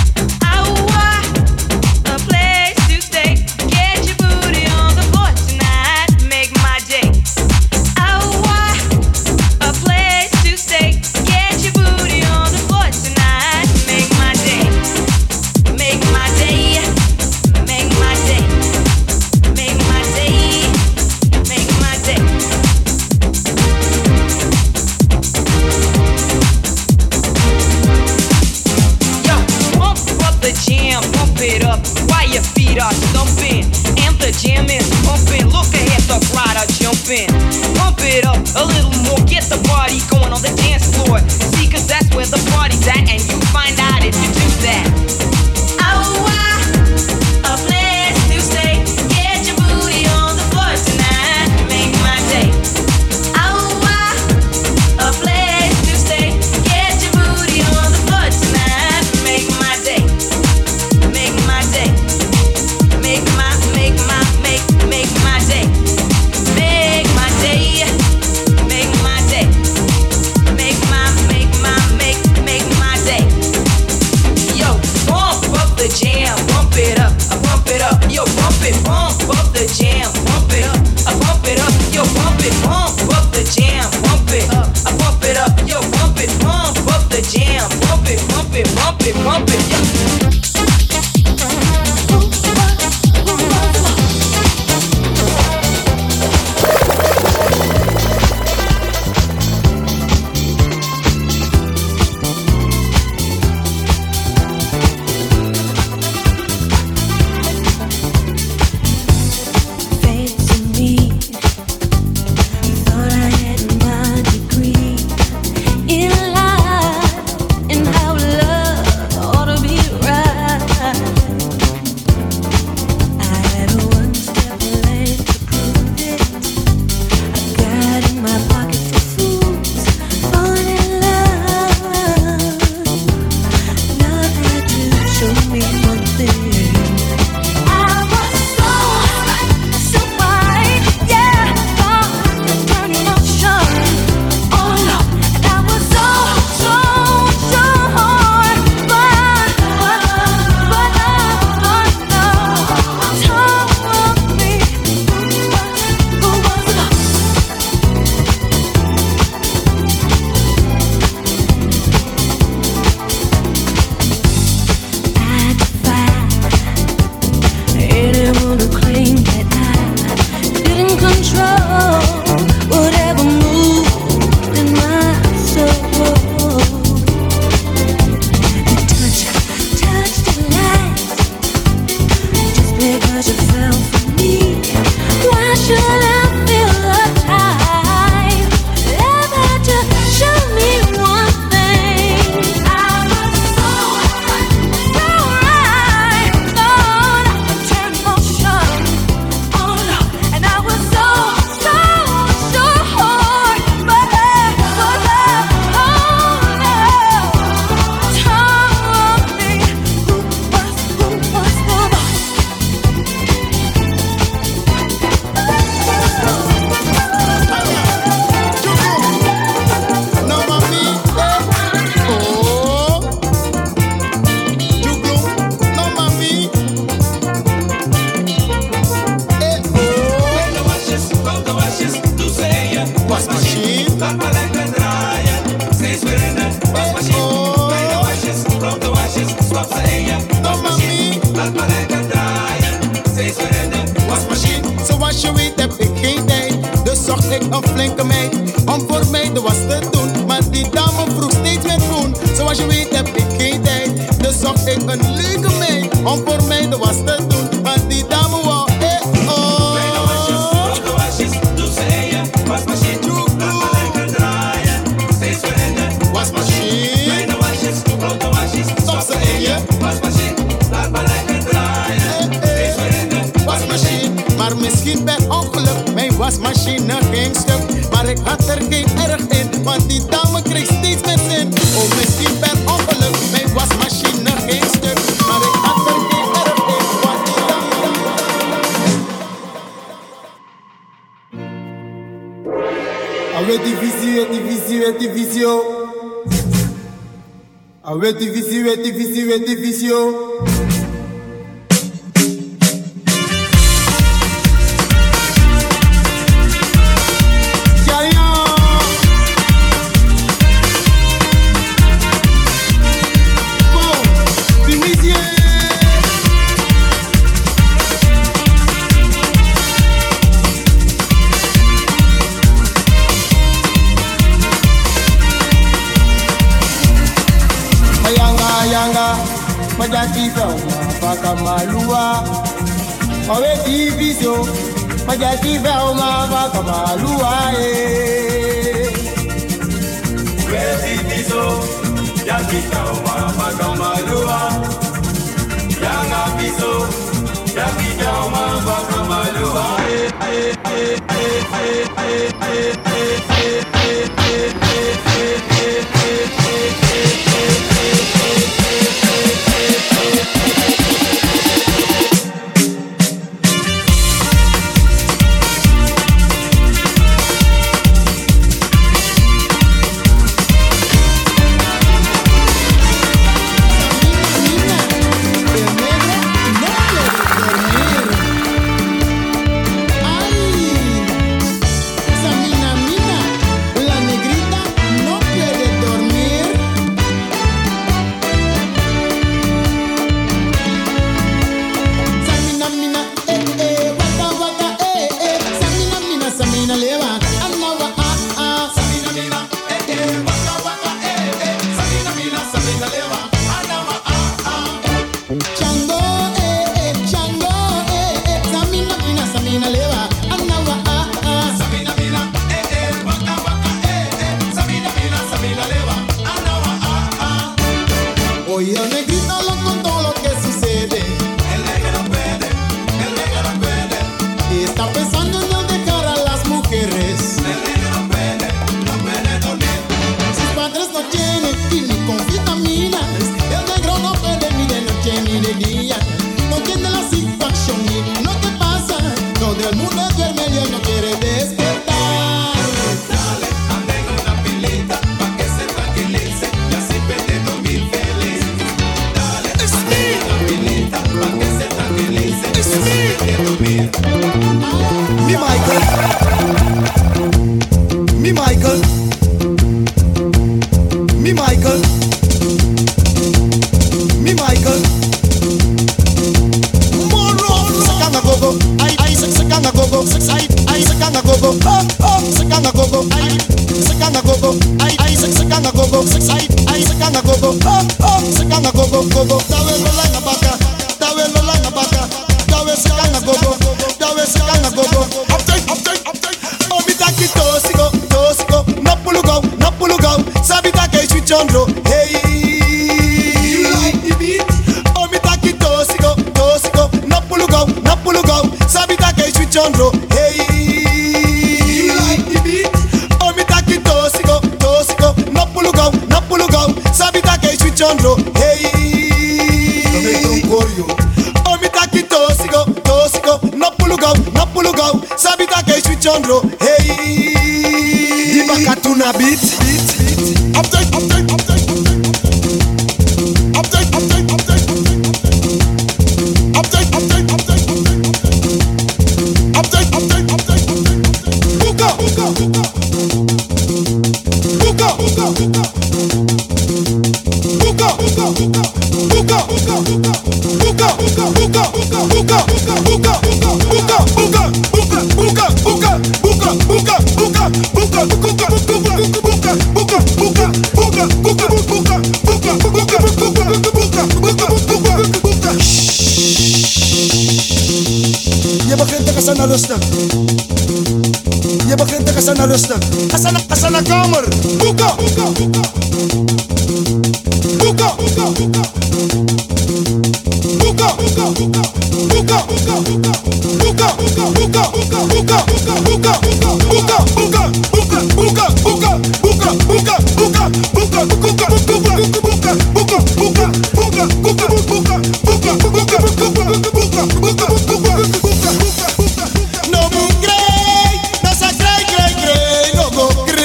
A place to stay. Get your booty on the floor tonight. Make my day. A place to stay. Get your booty on the floor tonight. Make my day. Make my day. Make my day. Make my day. Make my day. Yo, pump up the jam, pump it up while your feet are stumping. And the jam is pumping. Look ahead, the crowd are jumping. Pump it up a little more, get the party going on the dance floor. See, cause that's where the party's at, and you find out if you do that. A place to stay. Get your booty on the floor tonight. Make my day. A place to stay. Get your booty on the floor tonight. Make my day. Make my day. Make my day. Make my day. Make my day. Make my day. Make my day. Yo, pump up the jam, pump it up, pump it up. Yo, pump up the jam, pump it up, pump it up. Yo, pump up the jam, pump it up. Yo, pump up the jam, pump it. Yo. In life, in how love ought to be right. een flinke meid om voor mij de was te doen. Maar die dame vroeg steeds meer groen. Zoals je weet heb ik geen tijd. Dus zocht ik een leuke meid om voor mij de was te doen. Maar die dame wou oh. Kleine wasjes, grote wasjes, doe ze in je wasmachine. Laat maar lekker draaien, steeds veranderen. Wasmachine. Kleine wasjes, grote wasjes, stop ze in je wasmachine. Laat maar lekker draaien, steeds veranderen. Wasmachine. Maar misschien per ongeluk, mijn wasmachine ging stuk. Maar ik had er geen erg in, want die dame kreeg steeds meer zin. Oh, misschien per ongeluk, mijn wasmachine ging stuk. Maar ik had er Je begint te gaan rustig. Je begint te gaan rustig. Asa na kamer. Boeka. Boeka. Boeka. No me cree, no se cree, no go cree.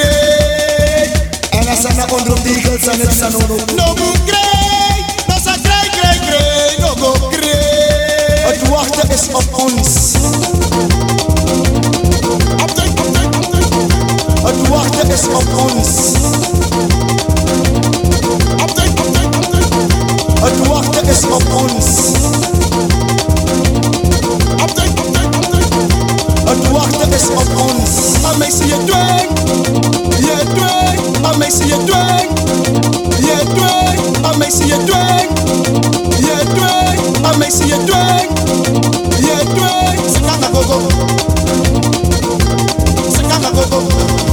Nelson, no go krijg, dat is een krijg, no go krijg. Het wachten is op ons. Het wachten is op ons. Het wachten is op ons. Het wachten is op ons. I may see you doing, yeah doing. I may see you doing, yeah doing. I may see you doing, yeah doing. I may see you doing, yeah doing. Sekana go go, sekana go go.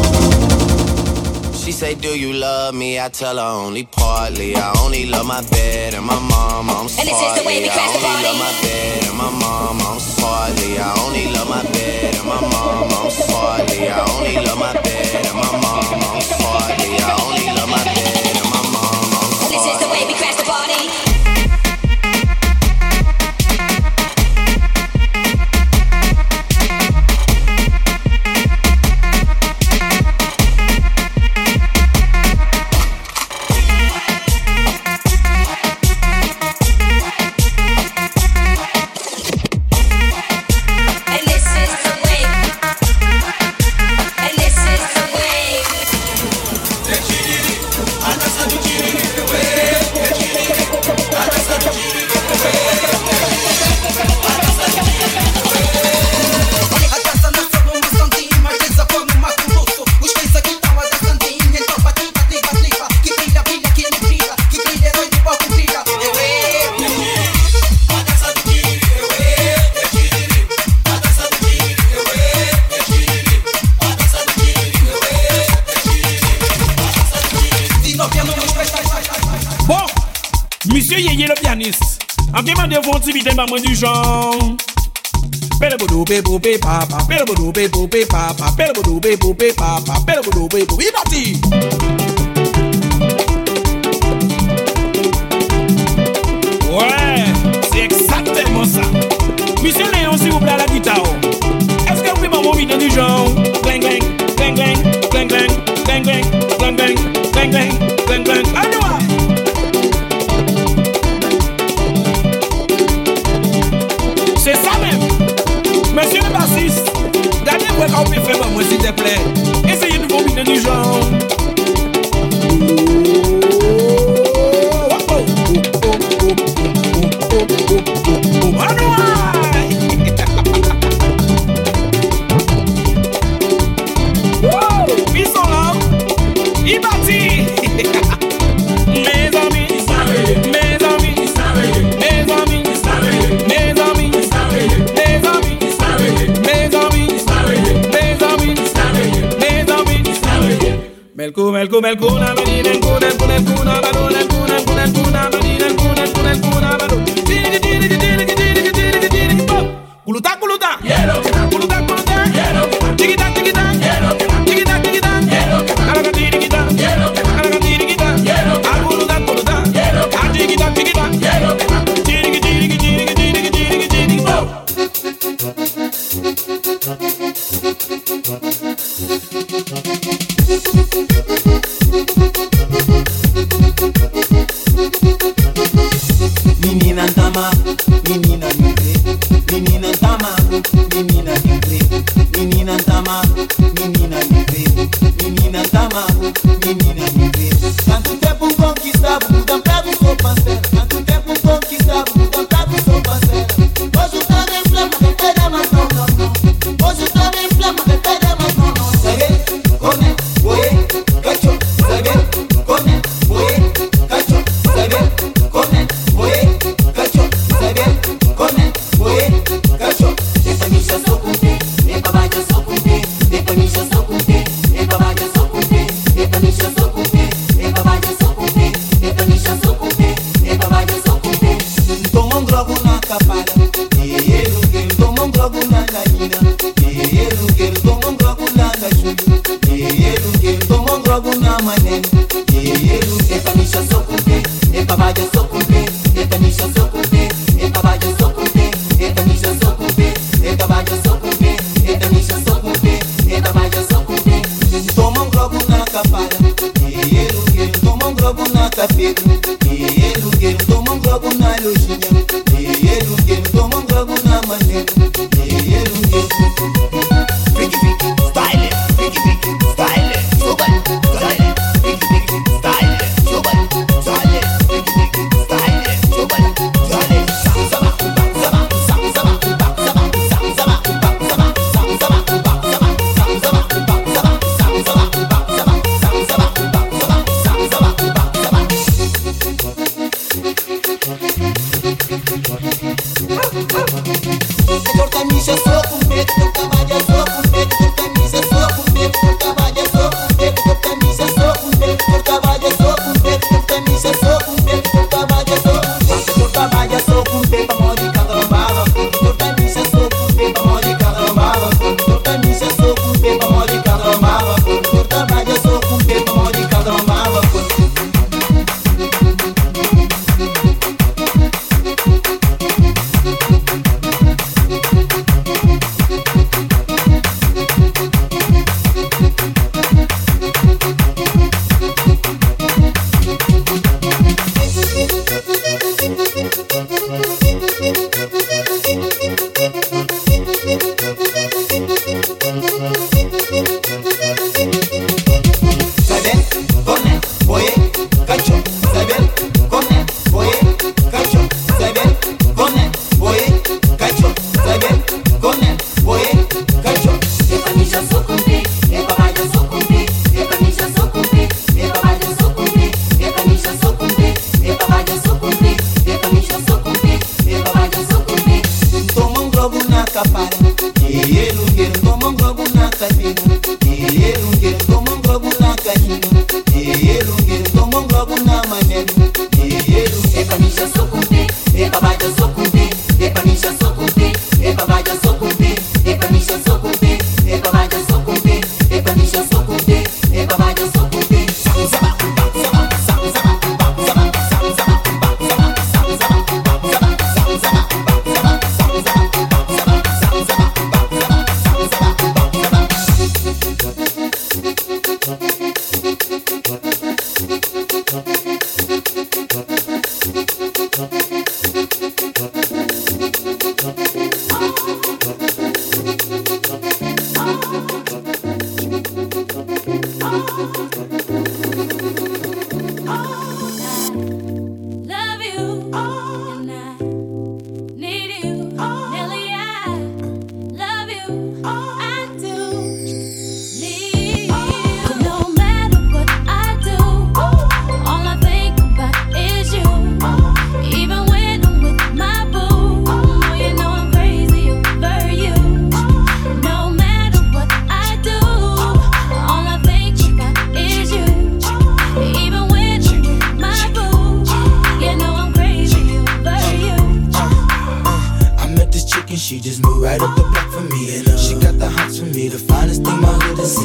She say, do you love me? I tell her only partly. I only love my bed and my mom, I'm And this is the way we crash the I only party. love my bed and my mom, I'm partly. I only love my bed and my mom, I'm partly. I only love my bed and my mom, I'm partly. I only love my bed and my mom, I'm And this is the way we crash the party. Monsieur Yeye le pianiste, en demandez-vous un petit vite maman du genre. Pele boudou pe poupé papa, pele boudou pe poupé papa, pele boudou pe poupé papa, pele boudou pe poupé. Il parti. Ouais, c'est exactement ça. Monsieur Léon, s'il vous plaît, à la guitare. Est-ce que vous pouvez m'envoyer un vidéo du genre? Gling gling, gling gling, gling gling, gling gling, gling gling, gling gling, gling gling. Allez, ouais. C'est ça même. Monsieur le bassiste, regardez-moi quand vous pouvez faire moi s'il te plaît. Essayez de vous vidéo du genre. Ils sont là. Ils partis. Mes amis, mes amis, mes amis, mes amis, mes amis, mes amis, mes amis, mes amis. Melco, melco, melco, na menina, melco, melco, melco, na balona, melco, melco, melco, na menina, melco, melco, melco, na balona. Kuluta, kuluta, kuluta, kuluta, tikita, tikita, tikita, tikita, kalaga tikita, kalaga tikita, kuluta, kuluta, tikita, tikita, tiki, tiki, tiki, tiki, tiki, tiki, Menina tama, menina livre. Menina tama, menina livre. Menina tama, menina livre. Menina tama, menina livre. Tanto tempo conquistar, mudam pra do seu parceiro. Tanto tempo conquistar, mudam pra do seu parceiro. Hoje eu tô bem flama, que pega mais não, não, não. Hoje eu tô bem flama, que pega mais não, não. Sabe, come, oye, cacho. Sabe, come, oye, cacho. Sabe, come, oye, cacho. Sabe, come, oye, cacho. Essa micha só com pé, essa vaga só com pé. Essa micha só com pé, essa vaga só com pé. Essa micha só com pé, essa vaga só com pé. Essa micha só com pé, essa vaga só com pé. Toma um drogo na capada, toma um drogo na narina. Toma um drogo na cachorro, toma um drogo na mané. Essa micha só com pé, essa vaga só com pé. Essa micha só com pé, essa vaga só com pé. Essa micha só com pé, essa vaga só com pé. Essa micha só com pé, essa vaga só com pé. Toma um drogo na capada, toma um drogo na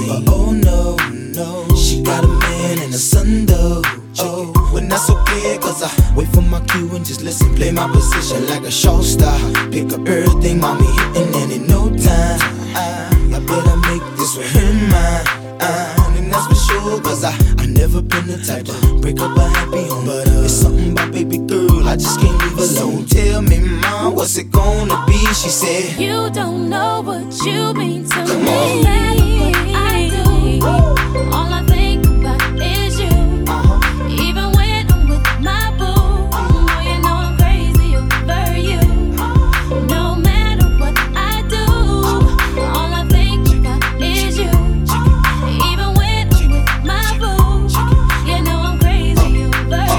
But oh no, no, she got a man and a son though. Oh, when that's okay, cause I wait for my cue and just listen. Play my position like a show star. Pick up everything, mommy hitting, and in no time I better make this with her mine. And that's for sure, cause I never been the type to break up a happy home. But it's something about baby girl, I just can't leave alone. Tell me, mom, what's it gonna be? She said, you don't know what you mean to Come me. on. I do. All I think about is you. Even when I'm with my boo, oh, you know I'm crazy over you. No matter what I do, all I think about is you. Even when I'm with my boo, you know I'm crazy over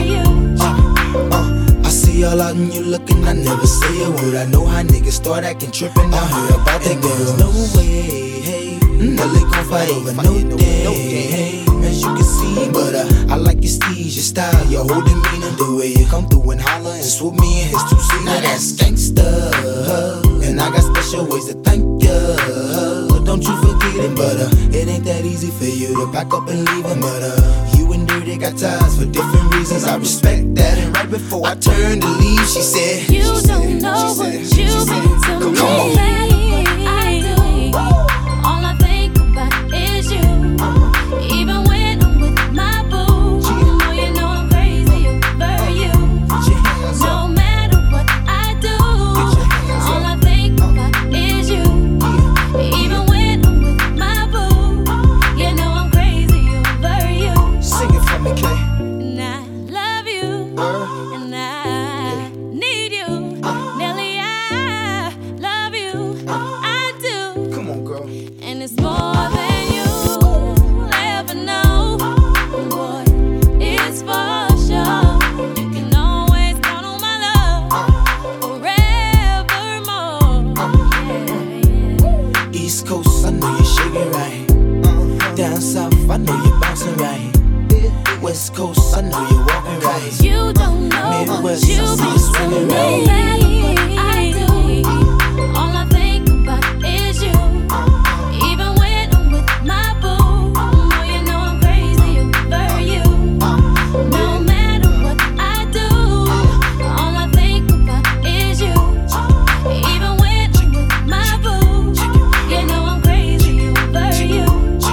you. I see all out and you looking, I never say a word. I know how niggas start acting trippin'. I heard about that girl. There's no way, hey, no they gon' fight over no day, hey, as you can see. But I like your steez, your style, your whole demeanor, the way you come through and holler and swoop me in his two-seater. Now that's gangsta, and I got special ways to thank ya. Don't you forget it, but it ain't that easy for you to back up and leave him. But you and Dirty got ties for different reasons. I respect that. And right before I turned to leave, she said, you don't know what you mean to me. I do. All I think about is you. Even when I'm with my boo, oh, you know I'm crazy over you. No matter what I do, all I think about is you. Even when I'm with my boo, you know I'm crazy over you. Sing it for me, Kay. And I love you, and I need you. Nelly, I love you, I do. Come on, girl. And it's more than you'll ever know. Boy, it's for sure. You can always count on my love forevermore. East Coast, I know you're shaking right. Down south, I know you're bouncing right. West Coast, I know you're walking right. You don't know Midwest, what you I see you mean swinging to right. me. I do. All I think about is you. Even when I'm with my boo, oh, you know I'm crazy over you. No matter what I do, all I think about is you. Even when I'm with my boo, you know I'm crazy over you.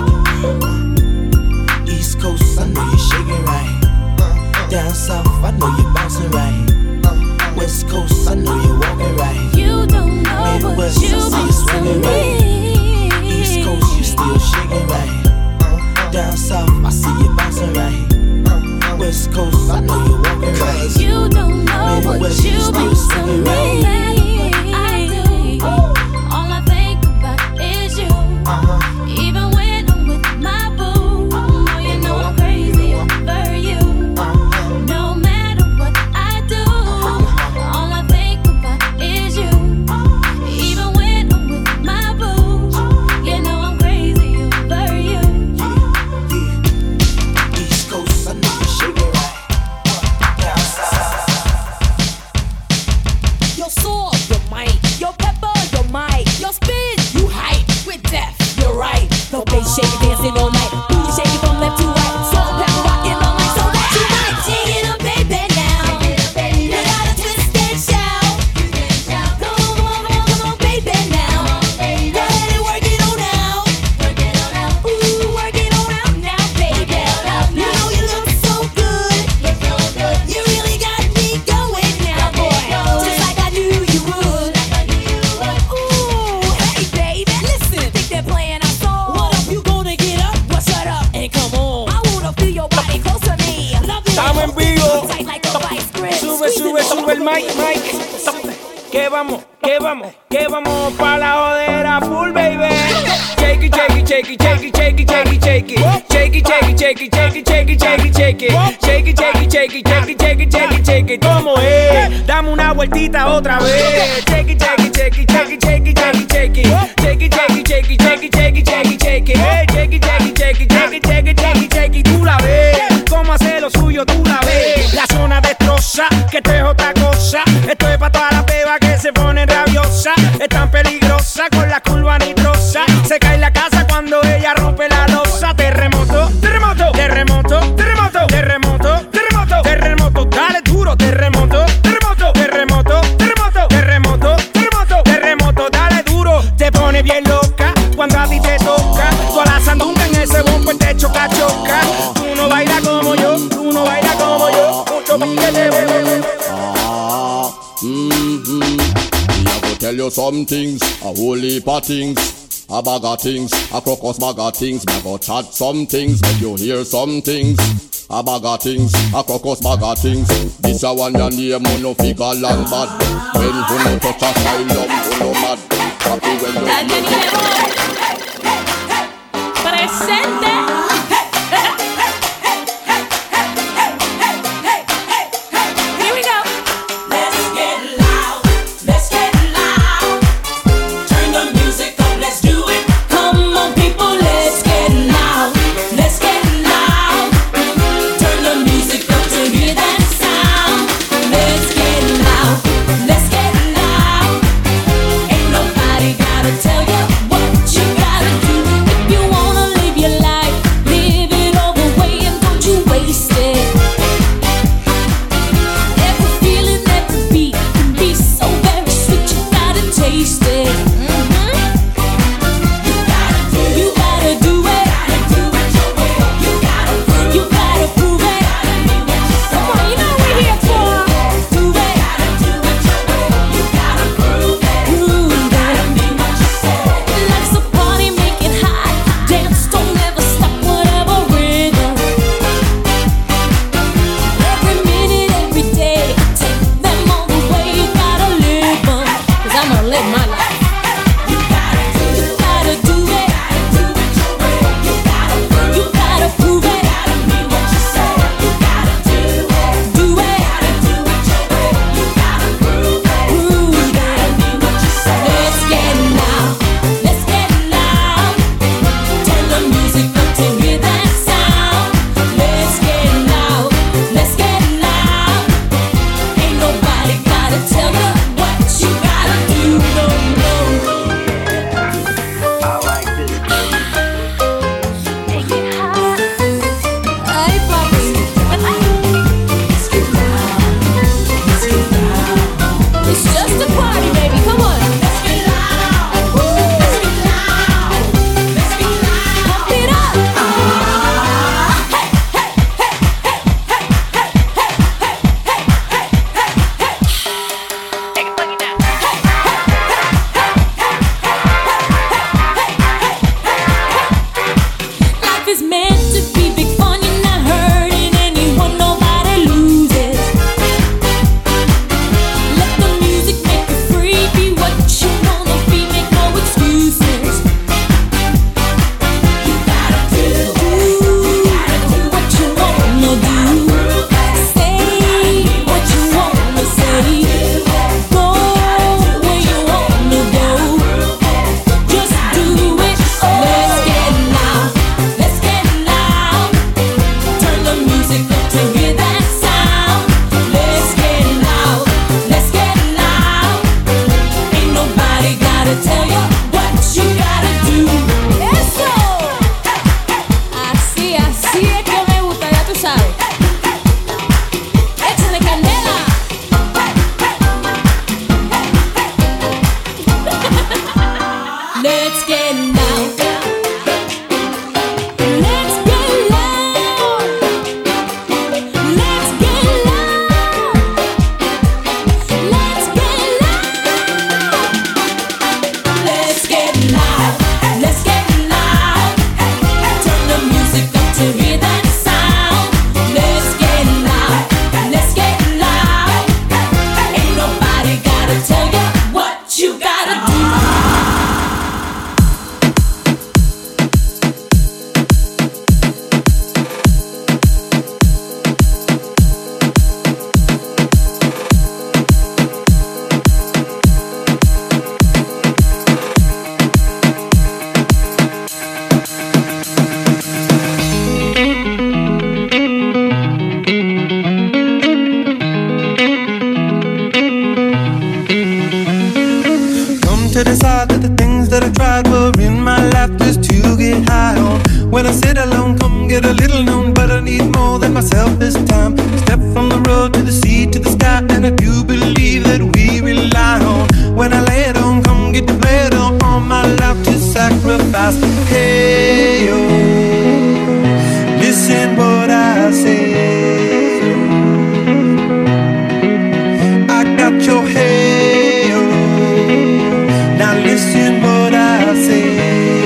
East Coast, I know you're shaking right. Down south, I know you're bouncing right. West Coast, I know you're walking right. You don't know Midwest, what you I see you mean swinging to right. me. East Coast, you still shaking right. Down south, I see you bouncing right. West Coast, I know you're walking right. You don't know what Midwest, you still mean to swinging right. me. I do. All I think about is you. Even when I'm with my boo, oh, you know I'm crazy over you. No matter what I do, all I think about is you. Even when I'm with my boo, you know I'm crazy over you. East Coast, I know you're shaking right. Down south. Your sword, your might, your pepper, your might, your spin, you hype with death. You're right. No bass shake dancing all night. Booty shaking from left to right. Salt and pepper rocking all night. So that's tonight. Shake it up, baby, now. You gotta twist and shout. Come on, baby, now. Go ahead and work it on out. Ooh, work it on out now, baby. You know you look so good. You really got me going now, boy. Just like I knew you would. Ooh, hey, baby, listen. Think they're playing our song. What up, you gonna get up? Well, shut up and come on. I wanna feel your body close to me. Love it. Estamos en vivo. Tight like a vice grip. Sube, sube, sube el mic. Que vamos pa' la jodera full, baby. Shake it, shake it, shake it, shake it, shake it, shake it, shake it. Shake it, shake it, shake it, shake it, shake it, shake it, shake it. Shake it, shake it, shake it, shake it, shake it, shake it, shake it. ¿Cómo es? Dame una vueltita otra vez. Shake it, shake it, shake it, shake it, shake it, shake it, shake it. Shake it, shake it, shake it, shake it, shake it, shake it, shake it. Shake it, shake it, shake it, shake it, shake it, shake it, shake it. Tú la ves. Cómo hace lo suyo, tú la ves. La zona destroza, que esto es otra cosa. Esto es pa' todas las bebas que se ponen rabiosas. Es tan peligrosa con la curva nitrosa. Se cae la casa cuando ella rompe la escandalosa. Terremoto, terremoto, terremoto, terremoto, terremoto, terremoto, terremoto, dale duro, terremoto, terremoto, terremoto, terremoto, terremoto, terremoto, terremoto, dale duro. Te pone bien loca cuando a ti te toca. Tú a la sandunga en ese bombo te choca, choca. Tú no bailas como yo, tú no bailas como yo. Mucho piquete, bebé. I go tell you some things, a whole heap of things, a bag of things, a crocus bag of things. Me go chat some things, make you hear some things. A bag of things, a crocus bag of things. This a one your name, no figure long bad. When you no touch a asylum, you no mad. Happy when you Presente. Tell you what you gotta do if you wanna live your life. Let's get loud. when I sit alone, come get a little known, but I need more than myself this time. Step from the road to the sea to the sky, and I do believe that we rely on. When I lay it on, come get to play it on, all my life to sacrifice. Hey, yo, listen what I say. I got your hey, yo, now listen what I say.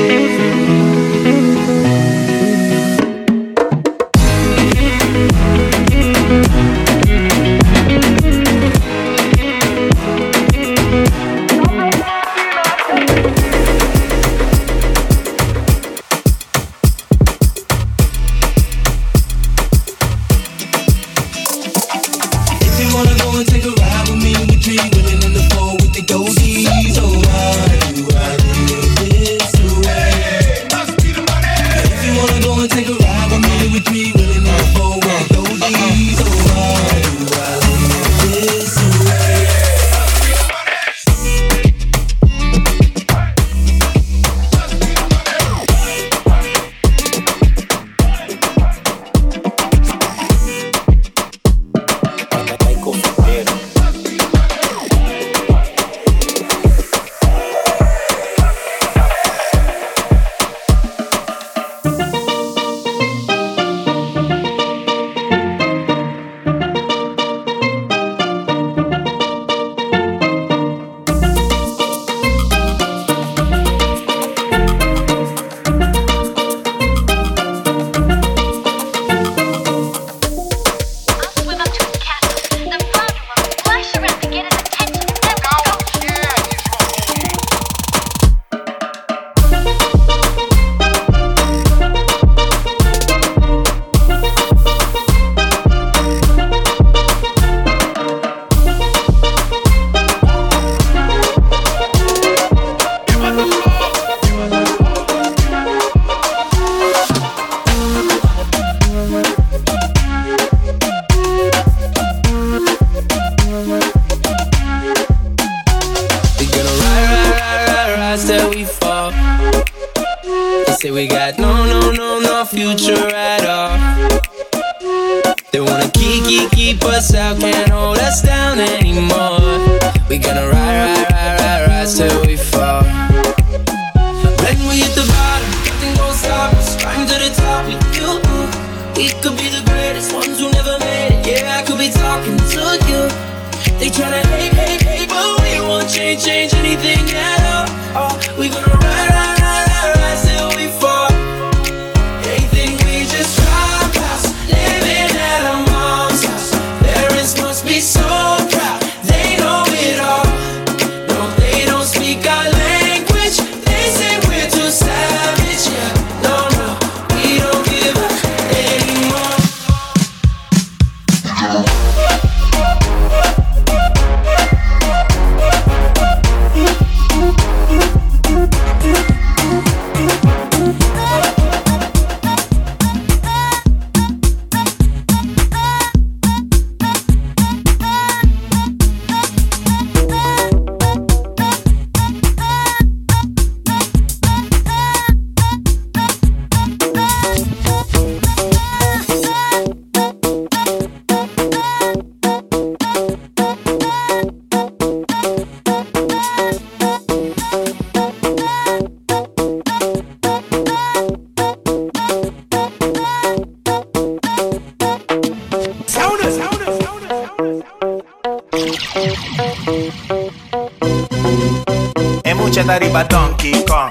Arriba Donkey Kong.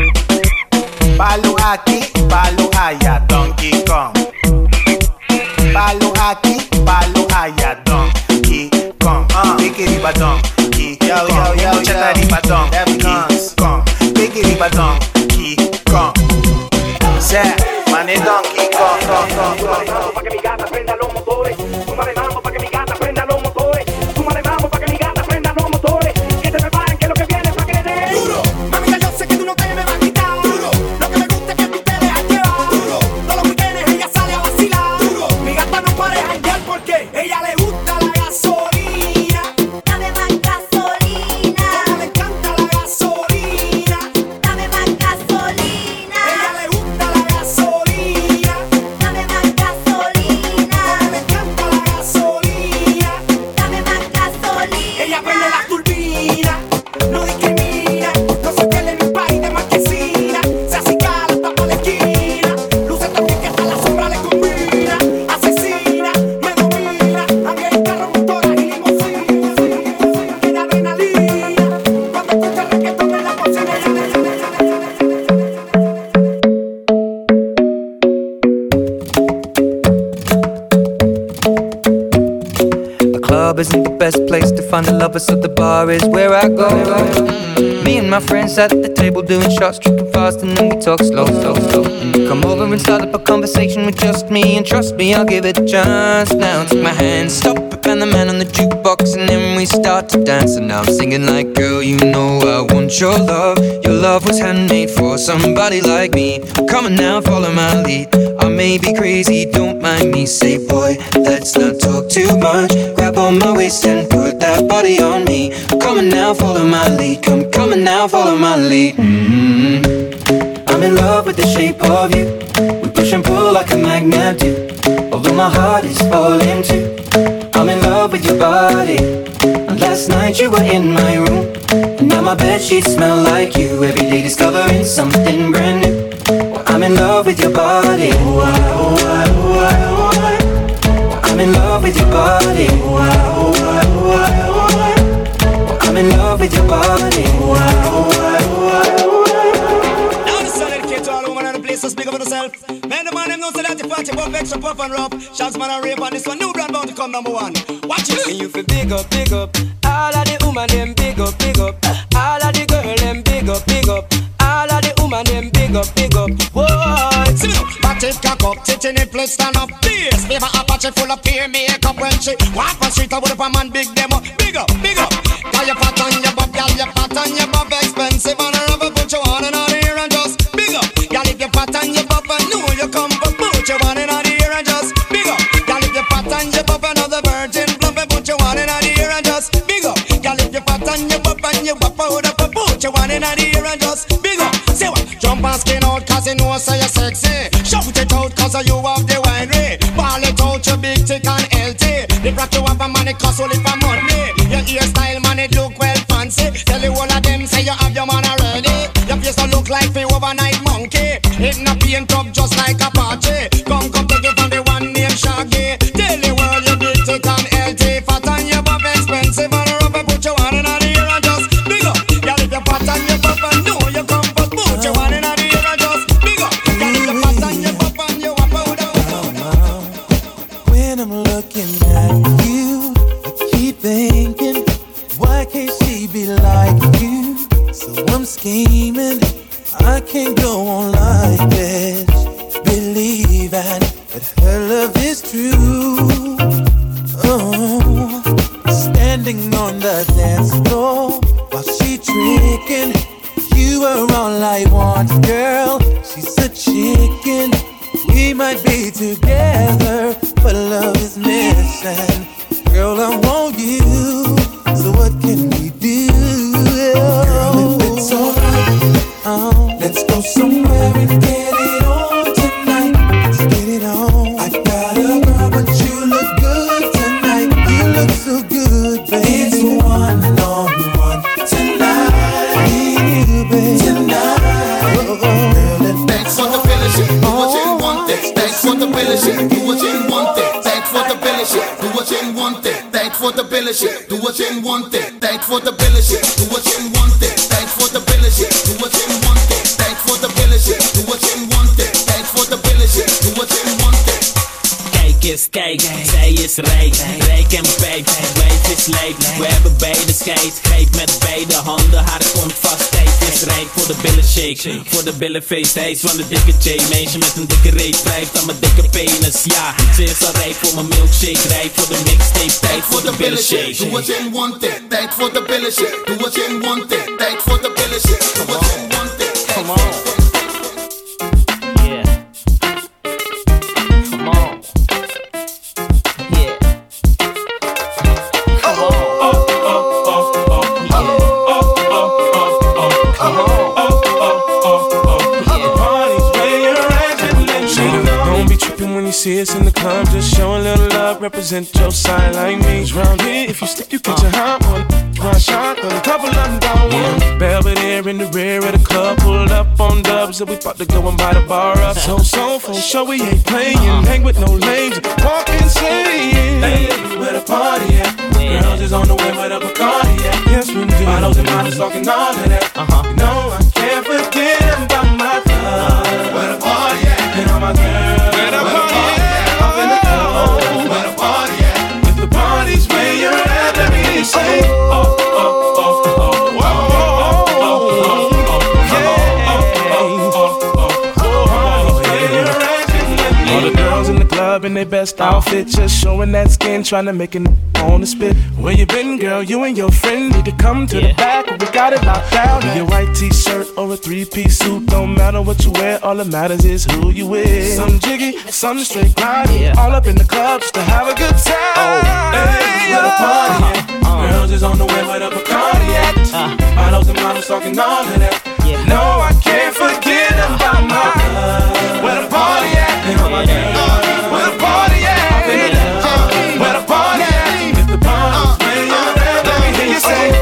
Palo aquí, palo allá, Donkey Kong. Palo aquí, palo allá, Donkey Kong. Big arriba Donkey Kong. Mucha arriba Donkey Kong. Big arriba Donkey Kong. Say, mané Donkey Kong. Pa' que mi gata prenda los motores. Súmale mambo pa' que mi gata prenda los motores. Súmale mambo pa' que mi gata prenda los motores. Que se preparen que lo que viene pa' que le den. Duro, mami, ya yo sé que tú no te me vas a quitar. Duro, lo que me gusta es que tú te dejas llevar. Duro, todos los weekendes ella sale a vacilar. Duro, mi gata no para de janguear porque ella le gusta la gasolina. Dame más gasolina. Como le encanta la gasolina. Dame más gasolina. Ella le gusta la gasolina. isn't the best place to find a lover, so the bar is where I go. Me and my friends sat at the table doing shots, tripping fast, and then we talk slow. And you come over and start up a conversation with just me, and trust me, I'll give it a chance. Now take my hand, stop it, and the man on the jukebox, and then we start to dance. And now I'm singing like, girl, you know I want your love. Your love was handmade for somebody like me. Come on now, follow my lead. I may be crazy, don't mind me. Say, boy, let's not talk too much. Grab on my waist and put that body on me. Come on now, follow my lead. Come on now, follow my lead. I'm in love with the shape of you. We push and pull like a magnet do. Although my heart is falling too. I'm in love with your body. And last night you were in my room, and now my bedsheets smell like you. Every day discovering something brand new. I'm in love with your body. I'm in love with your body. I'm in love with your body. Now the sun dedicated to all women and the place to speak up for yourself. Man, the man them know say that the party buff extra puff and rough. Shots man and rave on this one. New brand bound to come number one. Watch it. And you feel big up. All of the woman them big up. All of the girl them big up. All of the woman them big up. Whoa. See me now. Back it, cock up, tit in it, place stand up. This baby Apache full of peer makeup when she walk on street. I would up a man big them up. Big up. Got your fat on your butt, gal, your fat on your butt expensive and a rubber put you on and out here and just big up. Gal, if your fat on your butt, I know you come but put you on and out here and just big up. Gal, if your fat on your butt, another virgin plump and put you on and out here and just big up. Gal, if your fat on your butt and you wap out up and put you on and out here and just big up. Say what? Jump and skin out cause you know so you're sexy. Shout it out cause you have the winery. Ball it out you big thick and healthy. The rock you have a money cost only for money. Your hairstyle man it look well fancy. Tell you all of them say you have your man already. Your face don't look like the overnight monkey. It not paint up just like a party. Come take it from the one named Shaggy. Tell the world you big thick and healthy. Fat and your buff expensive and rubber put you on in the ear and just big up. Y'all if you're fat and your buff and know you come but put you on in the ear and just big up. Y'all if you're fat and your buff and you wap out. When I'm looking at you, I keep thinking, why can't she be like you? So I'm scheming, I can't go on like this, believing that her love is true. Oh, standing on the dance floor while she tricking, you are all I want, girl. She's a chicken. We might be together, but love is missing. Girl, I want you, so what can we do? Girl, if it's alright, let's go somewhere and get it on tonight. Let's get it on. I got a girl, but you look good tonight. You look so good, baby. It's one-on-one tonight. Need you, baby. Tonight. Girl, and thanks for the fellowship. Do what you want it. Thanks for the fellowship. Do what you want it. Thanks for the fellowship. Do what you want it. Thanks for the fellowship. Do what you want it. Thanks for the fellowship. Do what you want it. Thanks for the fellowship. Do what you want it. Thanks for the fellowship. Do what you want it. Thanks for the fellowship. Do what you want it. Kijk is kijk, zij is reek. Reek en peek, wave is leek. We hebben beide skate. Greep met beide handen, haar kont vast. Steek is reek voor de billen shake. Voor de billen face, hij is van de dikke J. Meisje met een dikke reet, blijft aan mijn dikke penis. Ja, ze is al rijp voor mijn milkshake. Rijp voor de mixtape, tijd voor de billen shake. Do what you want it. Tijd voor de billen shake. Do what you want it. Tijd voor de billen shake. Do what you want it. Come on. See us in the club, just show a little love, represent your side like me. Round here, if you slip, you catch a hot one. One shot, but a couple of them down one. Belvedere in the rear of the club, pulled up on dubs, and we about to go and buy the bar up. So for sure we ain't playing, hang with no lames, walk insane. Hey, where the party at? Girls is on the way with a Bacardi at. Yes, we do. Bottles and models talking all of that. You know I can't forget about my love. Where the party at? And all my girls. Where the party at? Where the party at? If the party's where you're at. in the club in their best outfit, just showing that skin, trying to make it on the spit. Where you been, girl? You and your friend need to come to the back. We got it locked down. Your white t-shirt or a three-piece suit, don't matter what you wear. All that matters is who you with. Some jiggy, some straight grinding, all up in the club just to have a good time. Hey, where the party at? Girls is on the way where the Bacardi at. Models and models talking all of that. No, I can't forget about my love. Where the party at? Where the party at? Where the party at? If the party's playing, let me hear you say,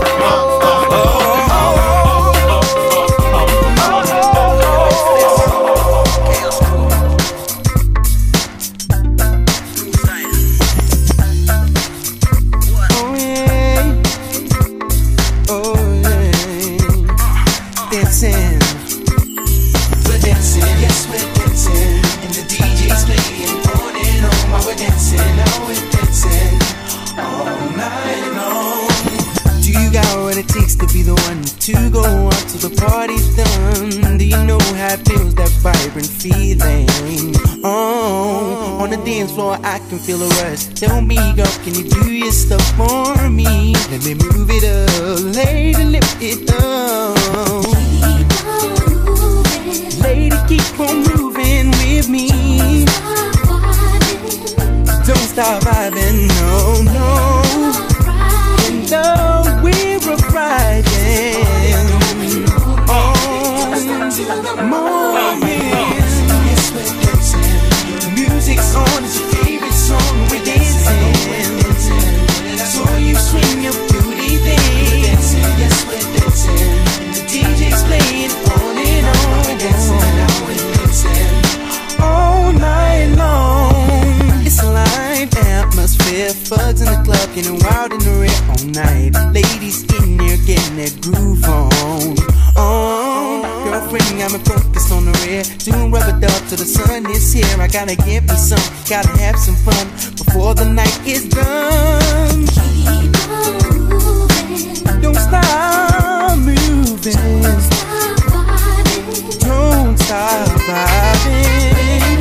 to go out till the party's done. Do you know how it feels, that vibrant feeling? Oh, on the dance floor I can feel a rush. Tell me, girl, can you do your stuff for me? Let me move it up, lady, lift it up. Lady, keep on moving with me. Don't stop vibing, no, no. And though we're riding music's on, it's your favorite song, we're dancing. So you swing your booty thing. Yes, we're dancing. The DJ's playing on and on. We're dancing all night long. It's a live atmosphere, thugs in the club getting wild in the red all night. Ladies in there getting that groove on. Oh, girlfriend, I'm focused on the red, doing rubber dub till the sun is here. I gotta get me some, gotta have some fun before the night is done. Keep on moving. Don't stop moving. Don't stop vibing. Don't stop vibing.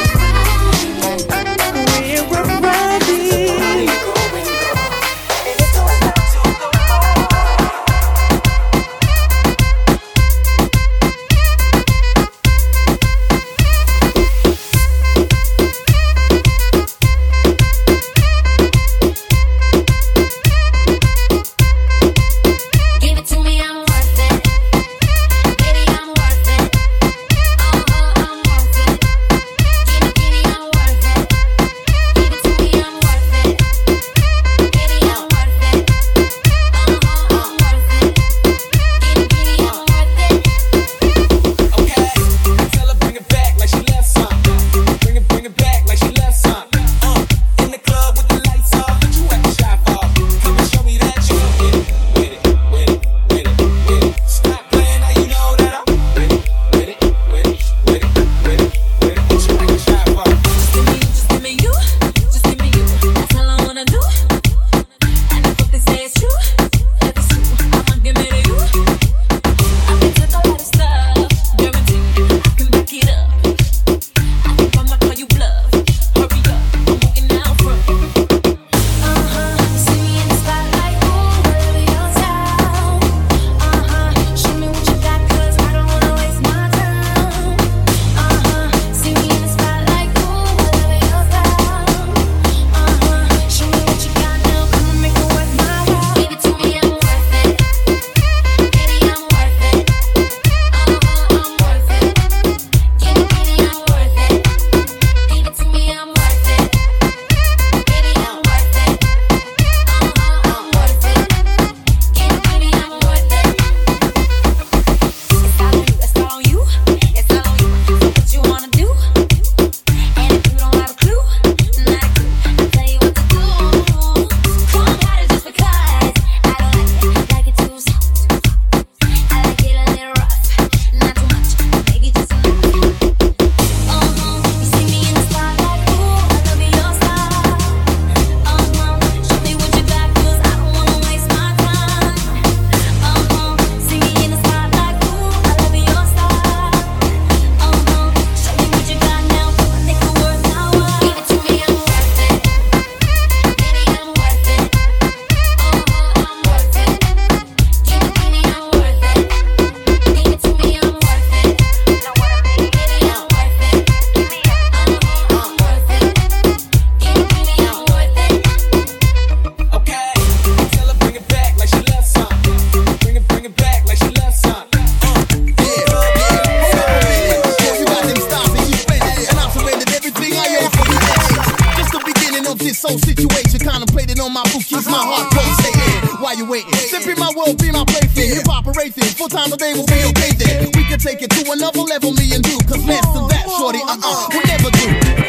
We're riding. I'm worth it. soul situation, contemplating on my bookies, my heart pulsating. Why you waiting? Simply my world, be my plaything. Hip hop rating, 4 times a day will be okay then. We can take it to another level, me and you. Cause less than that, shorty, we'll never do.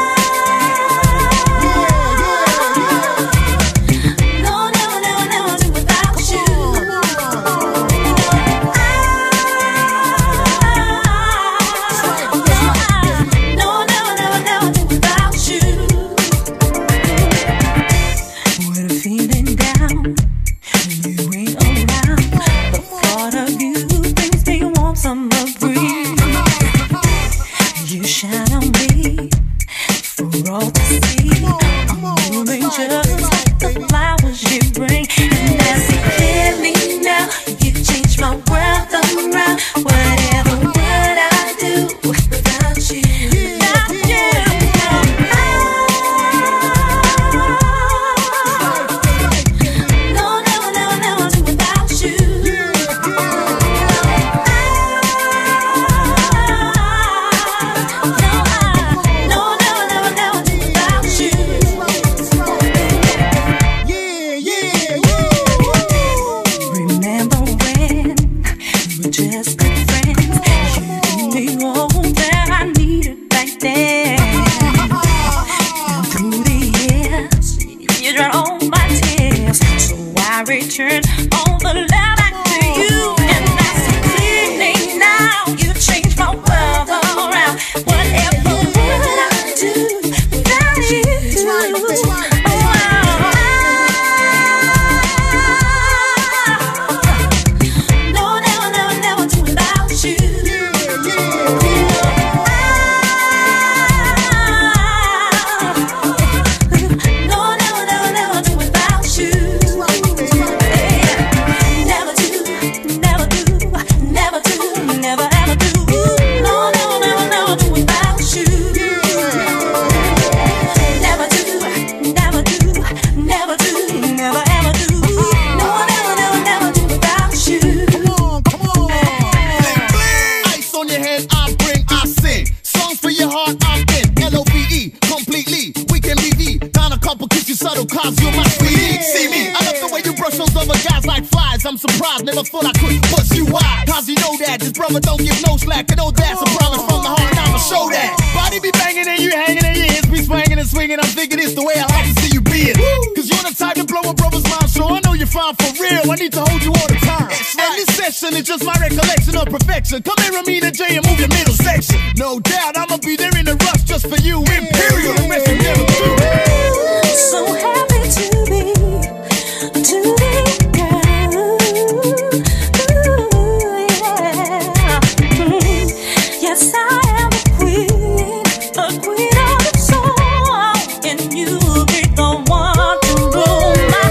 It's just my recollection of perfection. Come here, Amina J, and move your middle section. No doubt, I'ma be there in a rush just for you. Imperial, the rest will never do. So happy to be girl. Ooh, yeah. Yes, I am a queen of the soul, and you'll be the one to rule my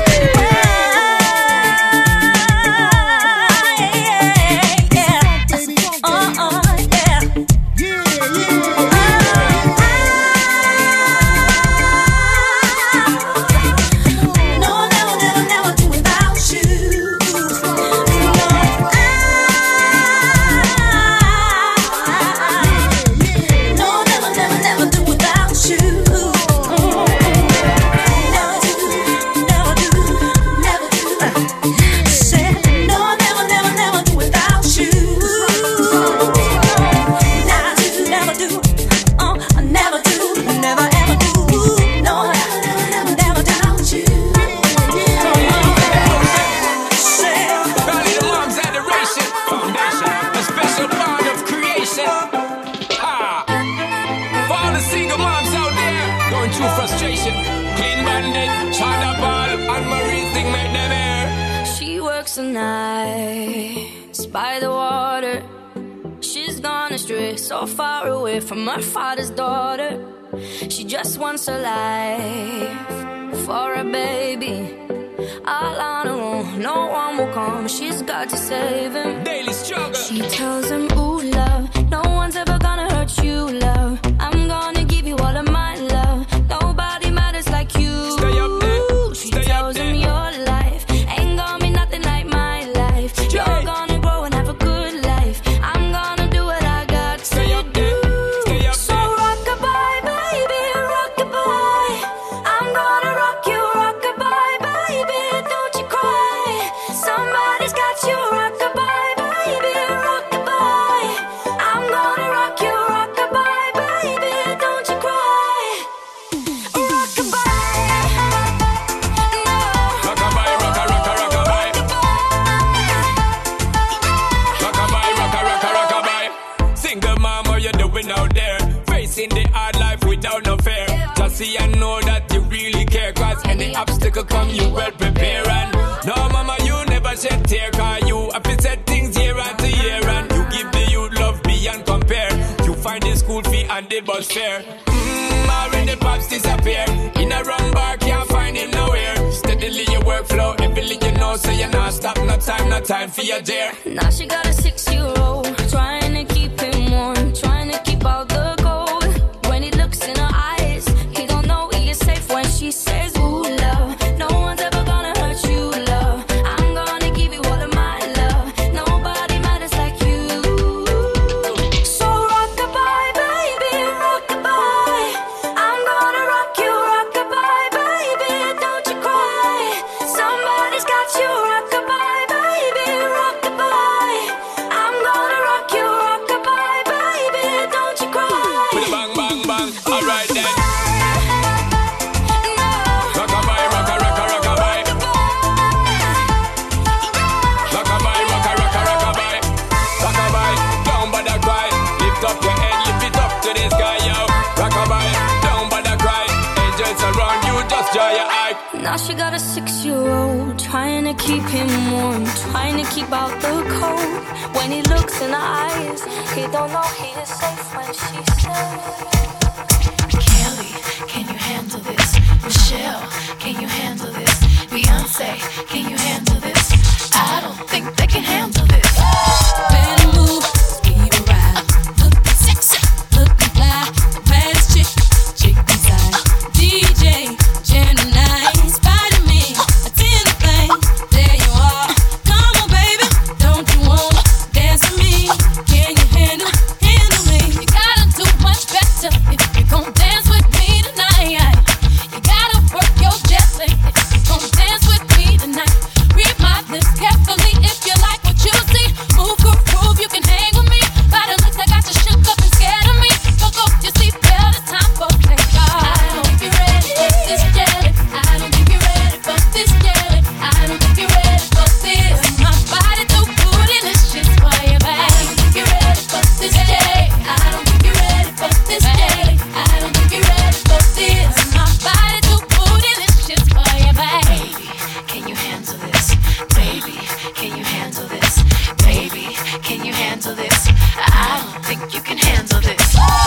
the nights by the water. She's gone astray, so far away from her father's daughter. She just wants a life for a baby. All on her own, no one will come. She's got to save him. Daily struggle. She tells him, ooh, love, no one's ever gonna hurt you, love. I'm gonna give you all of my love. Nobody matters like you. Stay up there. She tells him your life ain't gonna be nothing like my life. You're gonna grow and have a good life. I'm gonna do what I got to do. So rock-a-bye, baby, rock-a-bye. I'm gonna Living the hard life without no fear. Just see and know that you really care. Cause any obstacle come, you well prepare. And no, mama, you never shed tear. Cause you have to set things year after year. And you give the youth love beyond compare. You find the school fee and the bus fare. Already pops disappear. In a wrong bar, can't find him nowhere. Steadily your workflow, everything you know. So you not stop, no time for your dare. Now she got a 6-year-old, trying to keep him warm, trying to keep out the cold. When he looks in her eyes, he don't know he is safe when she says, ooh, love. No one's ever gonna hurt you, love. I'm gonna give you all of my love. Nobody matters like you. So rock-a-bye, baby, rock-a-bye. I'm gonna rock you, rock-a-bye, baby, don't you cry. Somebody's got you, rock-a-bye, baby, rock-a-bye. I'm gonna rock you, rock-a-bye, baby, don't you cry. With a bang, bang, bang, alright then. Rock-a-bye, rock-a-bye. Rock-a-bye, rock-a-bye. Rock-a-bye, don't bother cry. Lift up your head, lift it up to the sky, yo. Rock-a-bye, don't bother cry. Angels around you, just dry your eye. Now she got a 6-year-old, trying to keep him warm, trying to keep out the cold. When he looks in her eyes, he don't know he is safe when she says, Kelly, can you handle this? Michelle, can you handle this? Beyonce, can you handle this? I don't think they can handle this. Better move, speed around. Looking sexy, looking fly. The baddest chick inside. DJ, Gemini, Spider-Man, attend the thing. There you are. Come on, baby, don't you wanna dance with me? Can you handle me? You gotta do much better if you're gon' dance with me tonight. You gotta work your jelly if you're gon' dance with me tonight. Read my lips carefully if you like what you see. Move, groove, you can hang with me. By the looks I got you shook up and scared of me. Fuck off your seatbelt, it's time for takeoff. I don't think you're ready for this jelly. I don't think you're ready for this jelly. I don't think you're ready for this. My body too bootylicious for you, babe. I don't think you're ready for this jelly. I don't think you're ready for this jelly. I don't think you're ready for this. My body too bootylicious for you, babe. Can you handle this? Baby, can you handle this? Baby, can you handle this? I don't think you can handle this.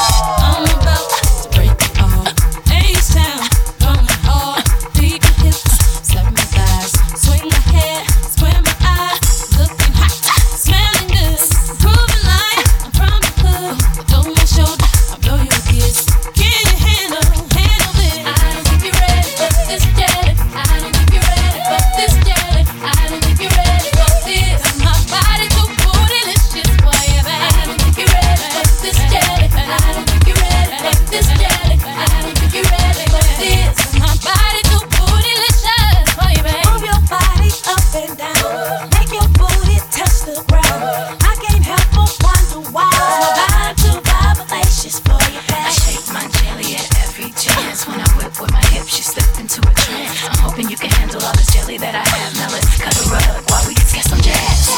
I'm about to break it all. H-Town, going hard. Beat my hips, slap my thighs, swing my hair, square my eyes. Looking hot, smelling good, proving like I'm from the hood. Over my shoulder, I'll blow you a kiss. Can you handle this? I don't think you're ready for this jelly. I don't think you're ready for this jelly. I don't think you're ready for this. My body too bootylicious for you, babe. I don't think you're ready for this jelly. I don't think you're ready for this jelly. I don't think you're ready for this. My body too bootylicious for you, babe. Move your body up and down. Make your booty touch the ground. I can't help but wonder why. My vibe too vibalacious for you, babe. I shake my jelly at every chance. When I whip with my hips, you slip into a trance. I'm hoping you can handle all this jelly that I have. Now let's cut a rug while we get some jazz.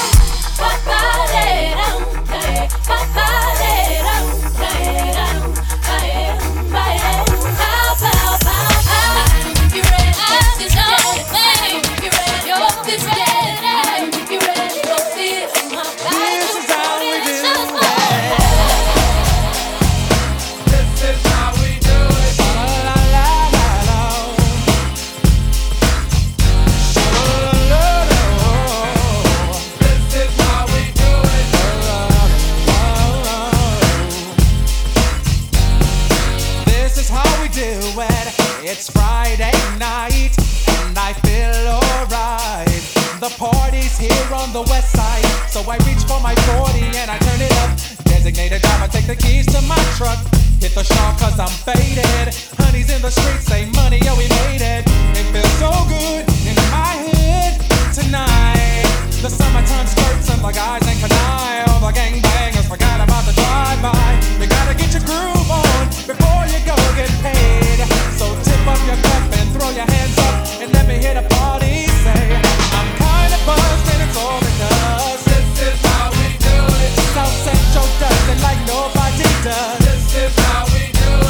It's Friday night and I feel alright. The party's here on the west side, so I reach for my 40 and I turn it up. Designated driver, take the keys to my truck. Hit the shop cause I'm faded. Honey's in the streets, say money, yo, we made it. It feels so good in my hood tonight. The summertime skirts and the guys ain't canine. All the gangbangers forgot about the drive-by. You gotta get your groove on before you go get paid. So tip up your cup and throw your hands up and let me hear the party say, I'm kinda buzzed and it's all because this is how we do it. South Central does it like nobody does. This is how we do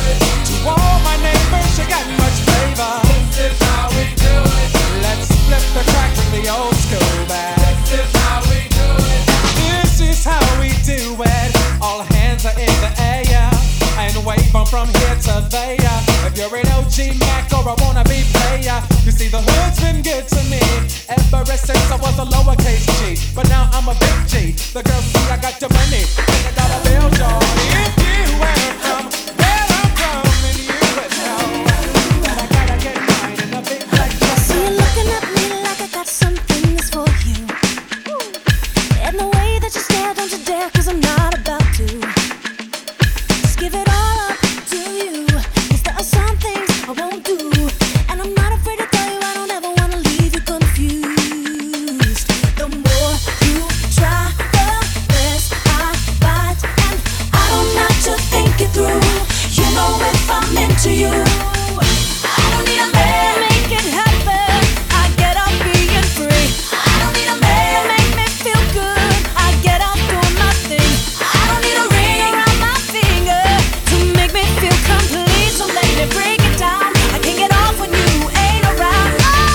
get to there. If you're an OG Mac or a wannabe player, you see the hood's been good to me ever since I was a lowercase G. But now I'm a big G. The girls see I got the money, $100 bills, y'all. If you were from where I'm from, then you would know that I gotta get mine in a big black dress. So you're looking at me like I got some things for you. And the way that you stare, don't you dare, 'cause I'm not about to. Just give it all up to you, 'cause there are some things I won't do. And I'm not afraid to tell you I don't ever wanna leave you confused. The more you try, the less I bite. And I don't have to think it through. You know if I'm into you, I don't need a man to make it happen. I get up being free. I don't need a man to make me feel good. I get up doing my thing. I don't need a ring around my finger to make me feel complete. So let me break it down. I can't get off when you ain't around.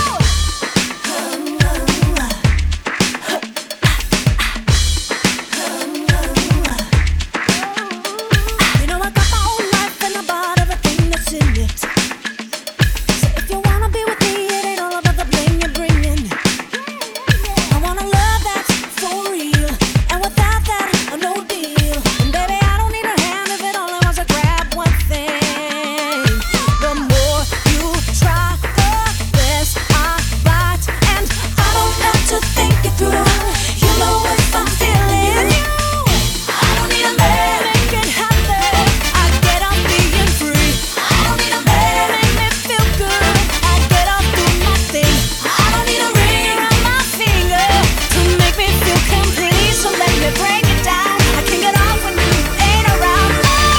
You know I got my own life and I bought everything that's in it. So if you wanna be with me, it ain't all about the bling you're bringing. I want a love that's for real, and without that, no deal. And baby, I don't need a hand if it only wants to grab one thing. The more you try, the less I bite. And I don't have to think it through. You know if I'm feeling you, I don't need a man to make it happen. I get up being free. I don't need a man to make me feel good. I get up doing my thing. I don't need a ring around my finger to make me feel complete. So let me break it down. I can't get off when you ain't around.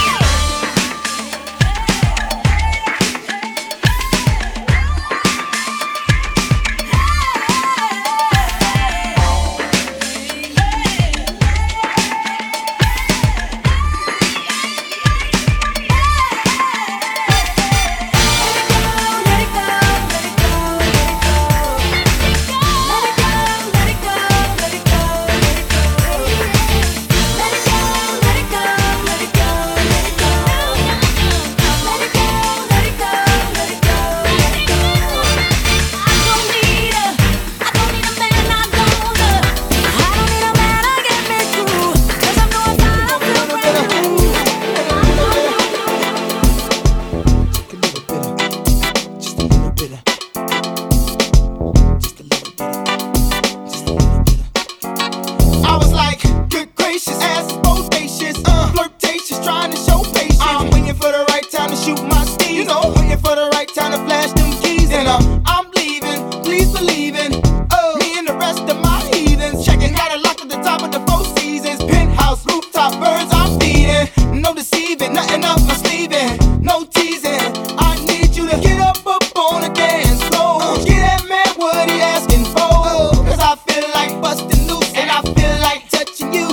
I was like, good gracious, ass is bodacious, flirtatious, trying to show patience. I'm waiting for the right time to shoot my steez, you know, waiting for the right time to flash them keys. And I'm leaving, please believe in me and the rest of my heathens. Checking out a lock at the top of the Four Seasons, penthouse, rooftop, birds I'm feeding. No deceiving, nothing up my sleeving, no teasing. I need you to get up on the dance floor. Get that man what he asking for, 'cause I feel like busting loose and I feel like touching you.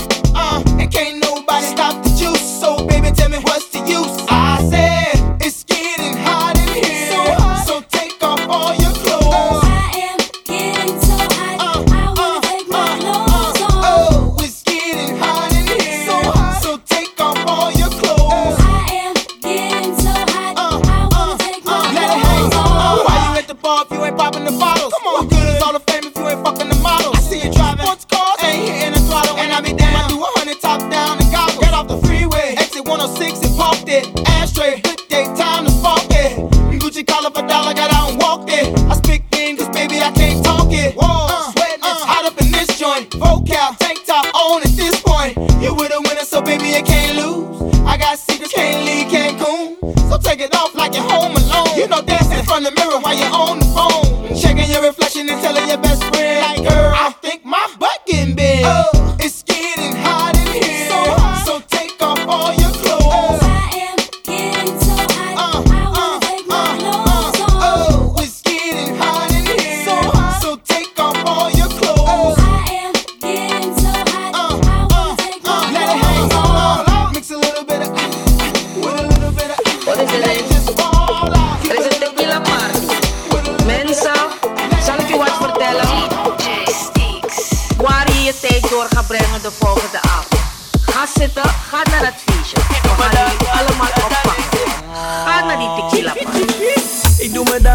And can't nobody stop the juice. So baby, tell me what's the use? I said it's getting hot in here, so take off all your clothes. I am getting so hot. I wanna take my clothes off. Oh, it's getting hot in here, so take off all your clothes. I am getting so hot. I wanna take my Let it hang. clothes off. Why you at the bar if you ain't popping the bottles? Come on, what good is all the fame if you ain't fucking the models? I see you driving sports cars, ain't hitting the throttle, and I be damn. I do 100 top down and gobble. Get off the freeway, exit 106 and parked it. Ashtray, good day, time to spark it. Gucci collar for dollar, got out and walked it. I speak in 'cause baby I can't talk it. Whoa, sweating, it's hot up in this joint. Vocal, tank top on at this point. You with a winner, so baby you can't lose. I got secrets, can't leave Cancun. So take it off like you're home alone. You know dancing in front of the mirror while you're on the phone. Checking your reflection and telling your best friend, like, girl, I think my butt getting big. It's getting hot in here, so take off all your clothes. I am getting so hot. I wanna take my clothes off. Oh, it's getting hot in here, so take off all your clothes. I am getting so hot. I wanna take my Let it hang clothes off. all. Mix a little bit of with a little bit of. Let it just fall out. Er is een tequila party. Mensen, zal ik je wat vertellen? Waar je je tijd door gaat brengen de volgende avond. Ga zitten, ga naar het feestje. We gaan jullie allemaal oppakken.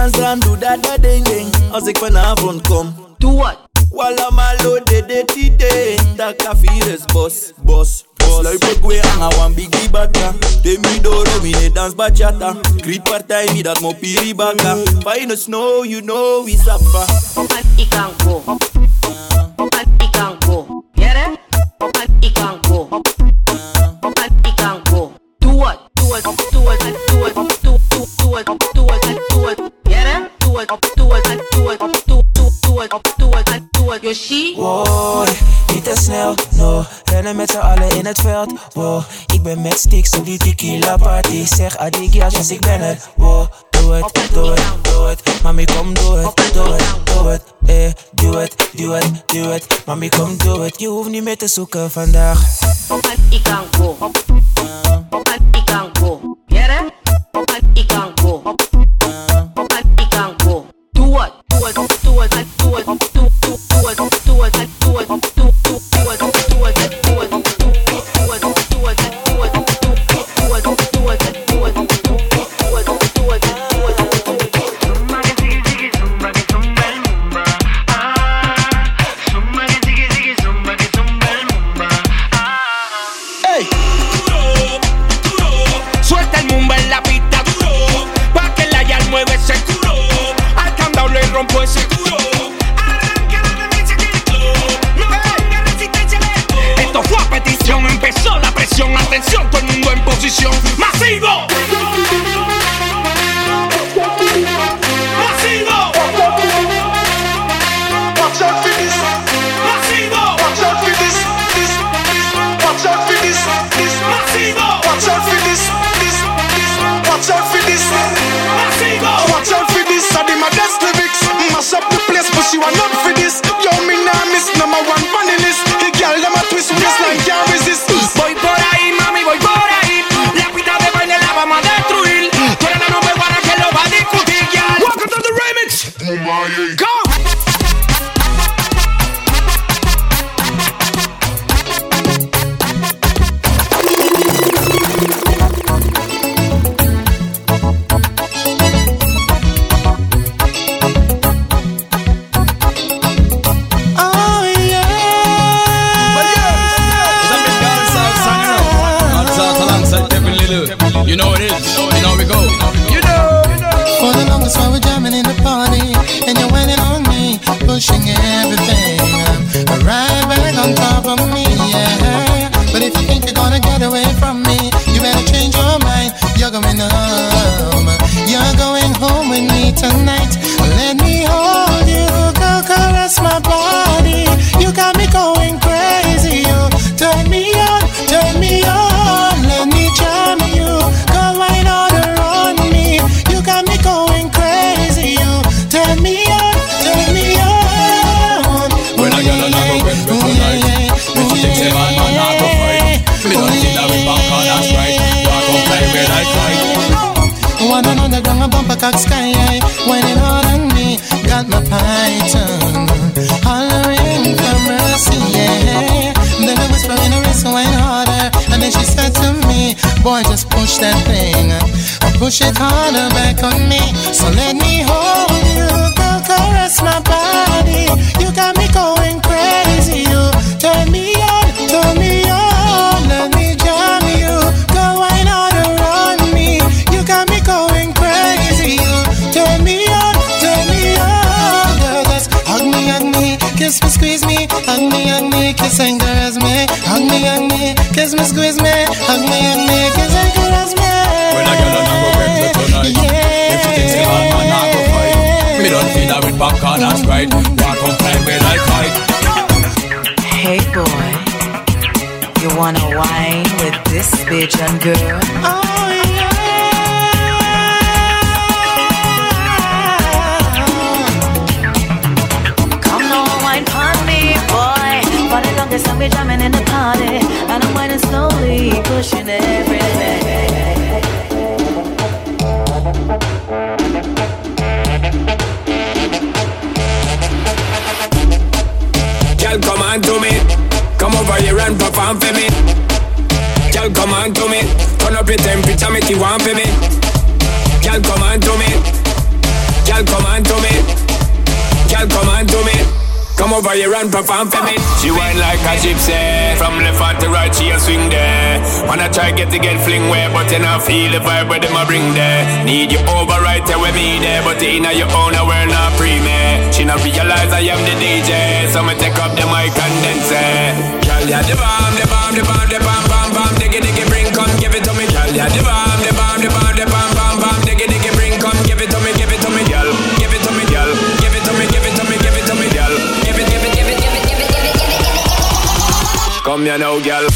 dans dan, doe dat ding ding. Als ik vanavond kom. Doe wat? Walla malo de tide. Taka virus boss. Sluip ik weer aan een biggie baka. Demi doro, mine dans bachata. Griet partij, mi dat mo piri baka. Fine snow, you know we suffer. Ik kan go. Ik kan go. Jere? Ik kan go. Ik kan go. Doe wat? Doe het. Yoshi? Wow, niet te snel, no. Rennen met z'n allen in het veld, wow. Ik ben met sticks op die tequila party. Zeg adigias, dus ik ben er, wow. Doe het, mami kom doe het, doe het, mami kom doe het. Je hoeft niet meer te zoeken vandaag. Ik kan go. Ik kan go. Jere? Ik kan go. Ik kan go. Doe wat? Suelta el mumba en la pista duro, pa' que la yal mueve ese culo. Al candado le rompo ese culo. Arranca la demencia que el club, no tenga resistencia de esto. Esto fue a petición, empezó la presión. Atención, todo el mundo en posición. ¡Masivo! ¡Masivo! Watch out for this. ¡Masivo! Watch out for this. Watch out for this. ¡Masivo! Watch out for this. Watch out for this. Watch out for this. I did my best lyrics. Mash up the place, but she want not for this. Yo, me nah miss number one funny list. The girl them a twist waistline can't resist. Voy por ahí, mami, voy por ahí. La pista de baile la vamos a destruir. Tú eres la number one que lo va a discutir, girl. Welcome to the remix. Go. You know it is, you know we go. You know. For the longest while we're jamming in the party, and you're whining on me, pushing everything right back on top of me, yeah. But if you think you're gonna get away from me, you better change your mind. You're going home. You're going home with me tonight. Let me hold you, go caress my body. You got me going crazy. You turn me on, turn me on. Let me charm you, go wine all around me. You got me going crazy. You turn me on, turn me on. When I get along with me tonight, when she thinks man, not go fight. Me don't see that we back on us right. Walk on play where I fight. One on the ground, a bumper cock sky high, whining hard on me, got my python hollering for mercy, yeah. Then I whisper in her wrist, wine harder, and then she said to me, boy, just push that thing, or push it harder back on me. So let me hold you, go caress my body. You got me going crazy. You turn me on, let me jam you, go wine all around me. You got me going crazy. You turn me on, girl, just hug me, kiss me, squeeze me, hug me, kiss and caress me, hug me, kiss me, squeeze me, hug me, kiss and caress me. When I get along with me tonight, if you think man, not go fight. Me don't feel that with back on us right. Walk on play where I fight. Hey boy, you wanna wine with this bitch and girl? Oh yeah. Come on, wine pon me, boy. For the longest time we jamming in the party, and I'm whining slowly, pushing every day. Girl, come on to me. Come over here and perform for me. Girl, come on to me. Turn up your temperature, Girl, come on to me. Girl, come on to me. Come over here and perform for me. She whine like a gypsy. From left hand to right, she a swing there. Wanna try get fling way, but you not feel the vibe where them a bring there. Need you over right there with me there, but in your own we're not pre-me. She not realize I am the DJ, so me take up the mic and then say, girl, yeah, the bomb, the bomb, the bomb, the bomb, bomb, bomb, diggy, diggy, bring, come give it to me. Girl, yeah, the bomb, the bomb, the bomb, the bomb, bomb, bomb, diggy, diggy, bring, come give it to me, girl. Give it to me, girl. Give it to me, give it to me, give it to me, girl. Give it, give it, give it, give it, give it, give it, give it, give it. Come here now, girl.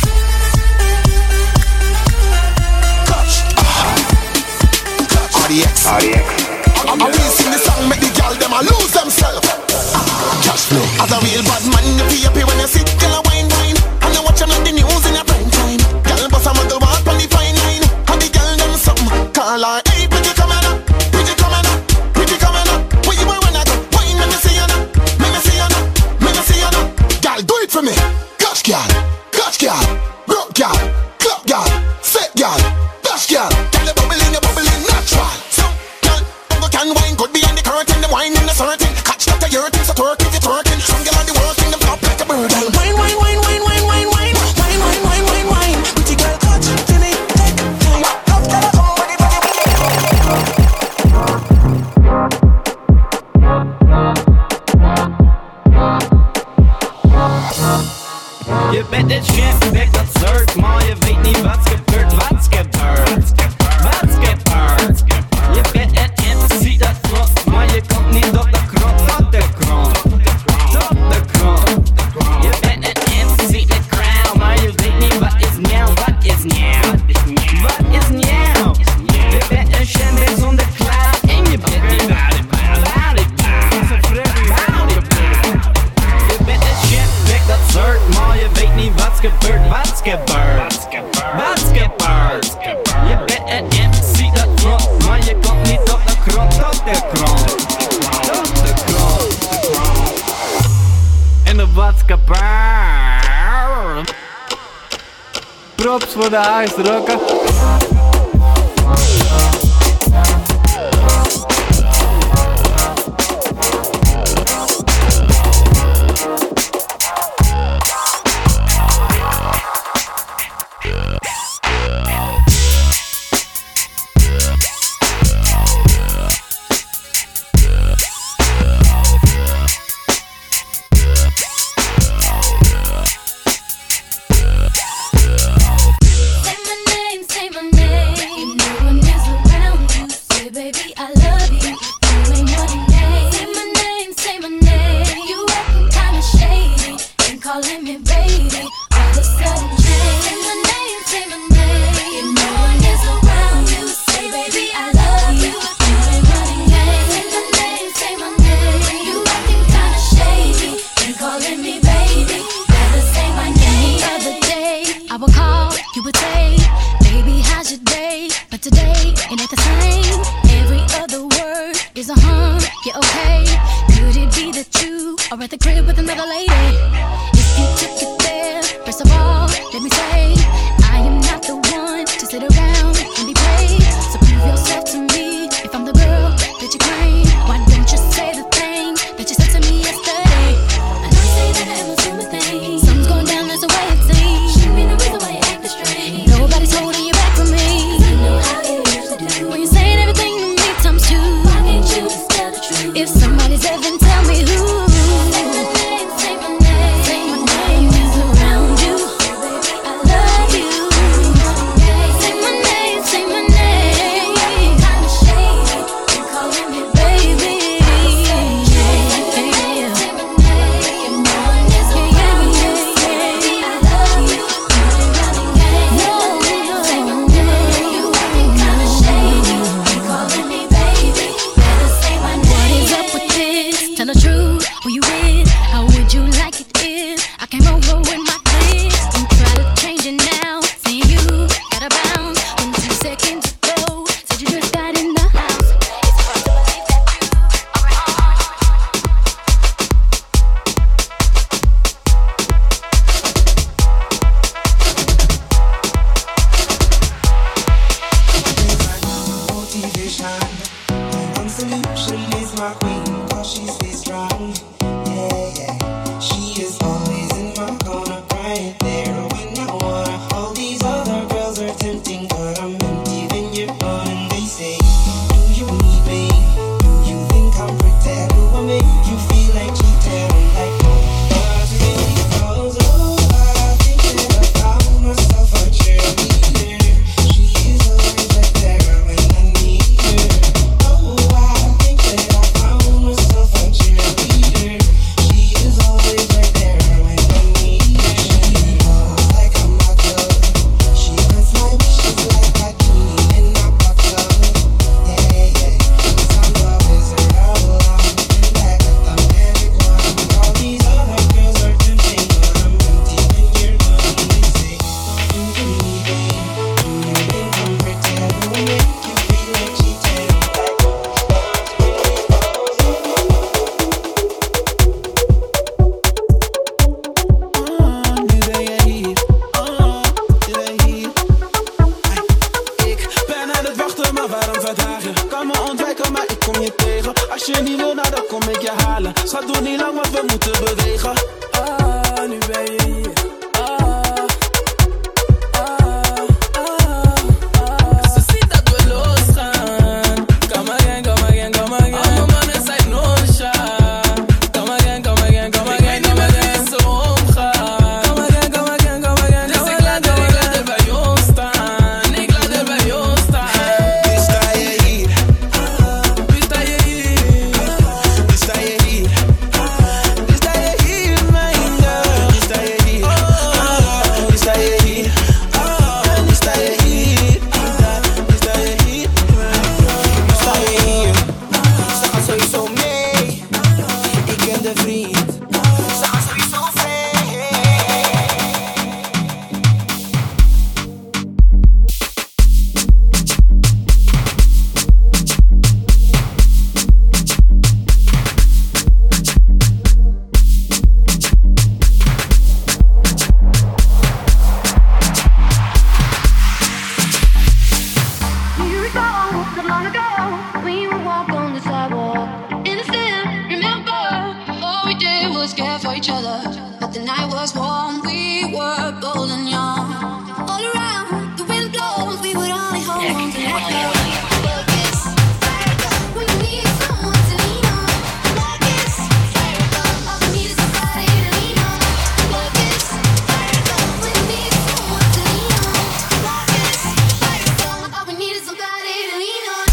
RDX. I will sing the song, make the girl them a lose themselves. Cash flow. As a real bad man, you be happy when you sit, girl a wine, wine. And you watch them on the news in a prime time. Girl bust a muggle walk on the fine line. And the girl them some call her, hey, pretty coming up, pretty coming up, pretty coming up. Where you were when I go, wine, let me see you now, let me see you now, let me see you now. Girl, do it for me. Catch girl, broke girl, club girl, set girl, dash girl. Girl, you bubbling natural. Can wine could be in the curtain, the wine in the certain. Catch that your thing, so twerk if you're twerking. Some girl on the working, them flop like a bird. Wine, wine, wine, wine, wine, wine, wine, wine, wine, wine, wine, wine. Pretty girl, catch to me, take time. Love girl, come with it, Je bent het chef, weg dat soort, maar je weet niet wat's gebeurd, wat's gebeurd, wat's gebeurd. Je bent een MC dat klopt, maar je komt niet op de grond, op de grond, op de grond. Je bent een MC met crown, maar je weet niet wat is nieuw, wat is nieuw, wat is nieuw. Je bent een chef zonder clown en je bent niet boudy, boudy, boudy. Je bent een chef, weg dat soort, maar je weet niet wat's gebeurd, wat's gebeurd, wat's gebeurd. Je bent een MC dat klopt, maar je komt niet op de grond, op de grond, op de grond. En de wat's gebeurd. Props voor de huisrokken. Say my name, say my name is around you. Baby, I love my queen, cause she stays strong. Yeah, yeah. She is always in my corner, right there when I wanna. All these other girls are tempting, but I'm empty when you're gone. And they say, do you need me? Do you think I'm pretend? Do I make you feel like cheating? I'm like, no, that's really cause, oh, I think that I found myself a cheerleader. She is always right there when I need her. Oh, I think that I found myself a cheerleader. She is always right there when I need her. She knows like I'm not good. She grants my wishes like a genie in a bottle. Yeah, yeah. 'Cause I'm the wizard of love, and I got the magic wand. All these other girls are tempting, but I'm empty when you're gone. They say, do you need me? Do you think I'm pretty? Do I make you feel like cheating? Nu ben je hier, nu ben je hier. Ik ben aan het wachten, maar waarom verdragen? Kan me ontwijken, maar ik kom je tegen. Als je niet wil, nou dan kom ik je halen. Schat, doe niet lang, want we moeten bewegen. Nu ben je hier. Ze ziet dat we losgaan. Come again, come again, come again. Alle mannen zijn no-shot. Come again, come again, come again. Ik weet niet met wie ze omgaan. Come again, come again, come again. Dus ik laat er bij ons staan. Ik laat er bij ons staan. Nu sta je hier. Nu sta je hier. Nu sta je hier. Nu sta je hier, mijn girl. Nu sta je hier. Nu sta je hier. Nu sta je hier. Nu sta je hier. Nu sta je hier. Ze gaan sowieso mee. Ik ken de vriend. Ze gaan sowieso mee. You recall so long ago we would walk on the sidewalk and I still remember all we did was care for each other. But the night was warm, we were bold and young. All around the wind blows, we would only hold on to let go. When you need someone to lean on, like this, all we need is somebody to lean on. Like this, when you need someone to lean on, like this, all we need is somebody to lean on.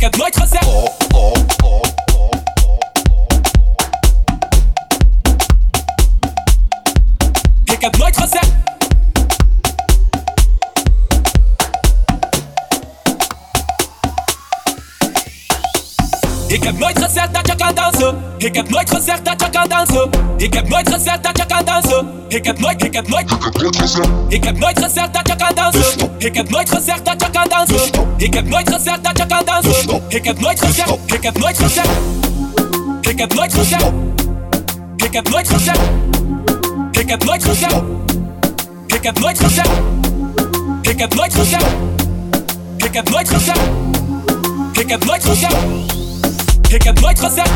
heb nooit gezegd. Ik heb nooit gezegd. Ik heb nooit gezegd dat je kan dansen. Ik heb nooit gezegd dat je kan dansen. Ik heb nooit gezegd dat je kan dansen. Ik heb nooit gezegd. Ik heb nooit gezegd dat je kan dansen. Ik heb nooit gezegd dat je kan dansen. Ik heb nooit gezegd dat je kan dansen. Ik heb nooit gezegd. Ik heb nooit gezegd. Ik heb nooit gezegd. Ik heb nooit gezegd. Ik heb nooit gezegd. Ik heb nooit gezegd. Ik heb nooit gezegd. Ik heb nooit gezegd. Ik heb nooit gezegd. Ik heb nooit gezegd.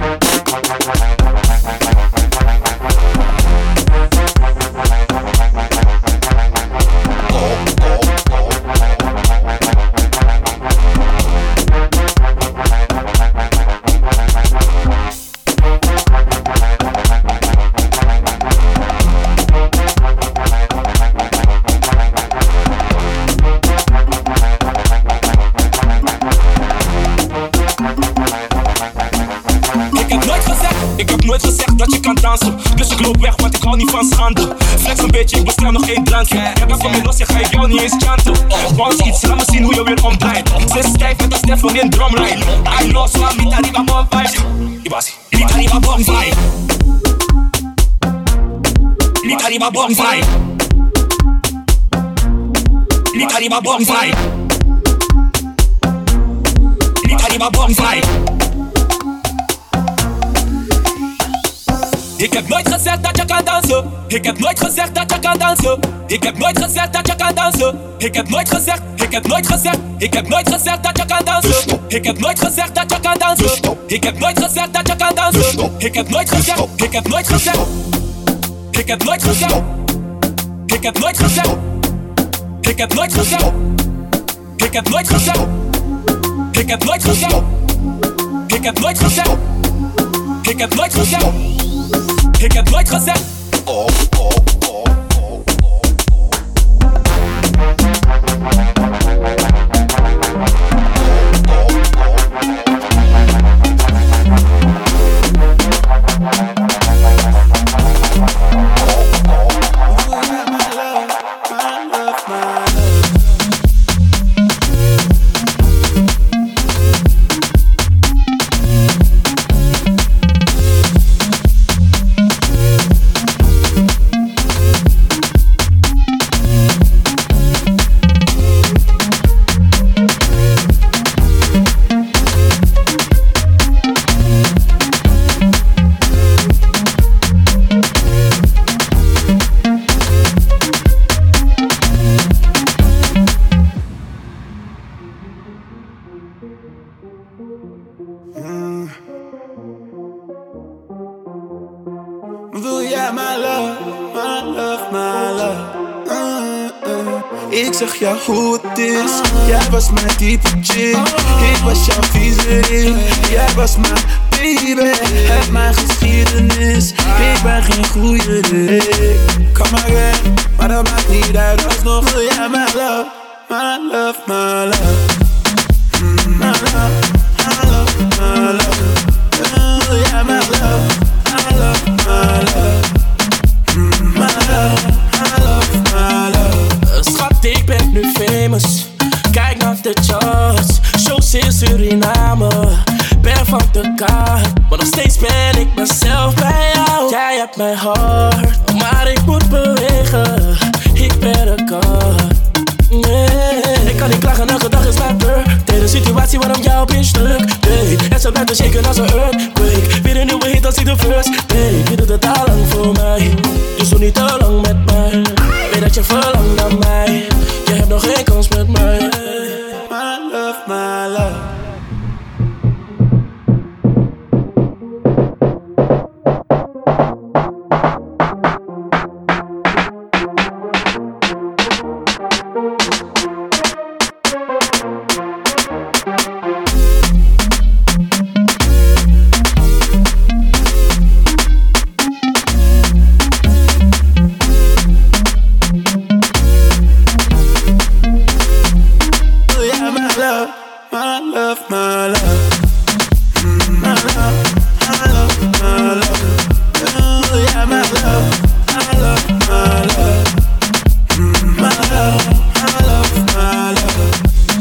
Ik heb nooit gezegd dat je kan dansen. Dus ik loop weg, want ik hou niet van schande. Flex een beetje, ik bestel nog één drankje. Ja, dan kom je los, ik ga jou niet eens chanten. Bounce iets, laat me zien hoe je weer omdraait. Ze is stijf met een stef van in drumline. I lost one, niet arriba bon vibe. Ibasi, niet arriba bon vibe. Niet arriba bon vibe. Niet arriba bon vibe. Niet arriba bon vibe. Ik heb nooit gezegd dat je kan dansen. Ik heb nooit gezegd dat je kan dansen. Ik heb nooit gezegd dat je kan dansen. Ik heb nooit gezegd. Ik heb nooit gezegd. Ik heb nooit gezegd dat je kan dansen. Ik heb nooit gezegd dat je kan dansen. Ik heb nooit gezegd dat je kan dansen. Ik heb nooit gezegd. Ik heb nooit gezegd. Ik heb nooit gezegd. Ik heb nooit gezegd. Ik heb nooit gezegd. Ik heb nooit gezegd. Ik heb nooit gezegd. Ik heb nooit gezegd. Ik heb nooit gezegd. Ik heb nooit gezegd. Wil jij mijn love, mijn love, mijn love. Ik zeg jou hoe het is. Jij was mijn type chick. Ik was jouw viezerik. Jij was mijn baby. Heb mijn geschiedenis. Ik ben geen goeie dik. Kom maar weg, maar dat maakt niet uit. Alsnog wil jij mijn love, mijn love, mijn love. Mijn love, mijn love, mijn love. Wil jij mijn love, my love, my love. My love, my love, my love. Schat, ik ben nu famous. Kijk naar de charts. Shows in Suriname. Ben van de kaart. Maar nog steeds ben ik mezelf bij jou. Jij hebt mijn hart, maar ik moet bewegen. Ik ben een kaart. Nee, ik kan niet klagen, elke dag is mijn birthday. De situatie waarom jouw bitch druk deed. En ze blijft shaken als een earthquake. Weer een nieuwe hit als ik de first day. Je doet het al lang voor mij, dus doe niet te lang met mij. Weet dat je verlangt naar mij. Je hebt nog geen kans met mij. My love, my love. My love, my love. My love, my love, my love. Oh yeah, my love, my love, my love. My love, my love, my love.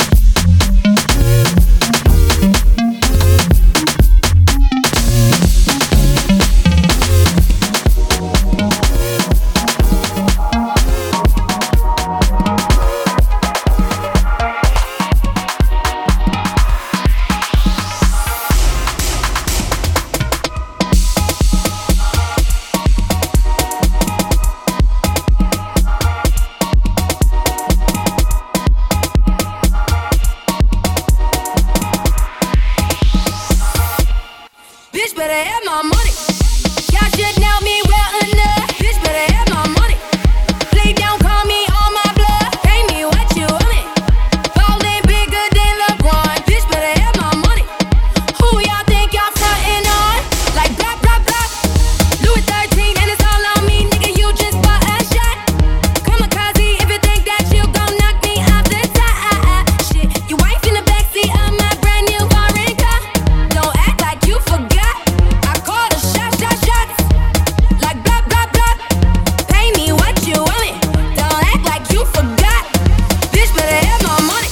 Bitch better have my money. Y'all should know me well enough. Bitch better have my money. Play down, call me on my bluff. Pay me what you want it. Ballin' bigger than LeBron. Bitch better have my money. Who y'all think y'all frontin' on? Like blah blah blah. Louis 13 and it's all on me, nigga. You just bought a shot. Kamikaze if you think that you gon' knock me off the top. Shit, your wife in the backseat of my brand new foreign car. Don't act like you forgot. I called a shots. Like blah, blah, blah. Pay me what you want it. Don't act like you forgot. Bitch better have my money.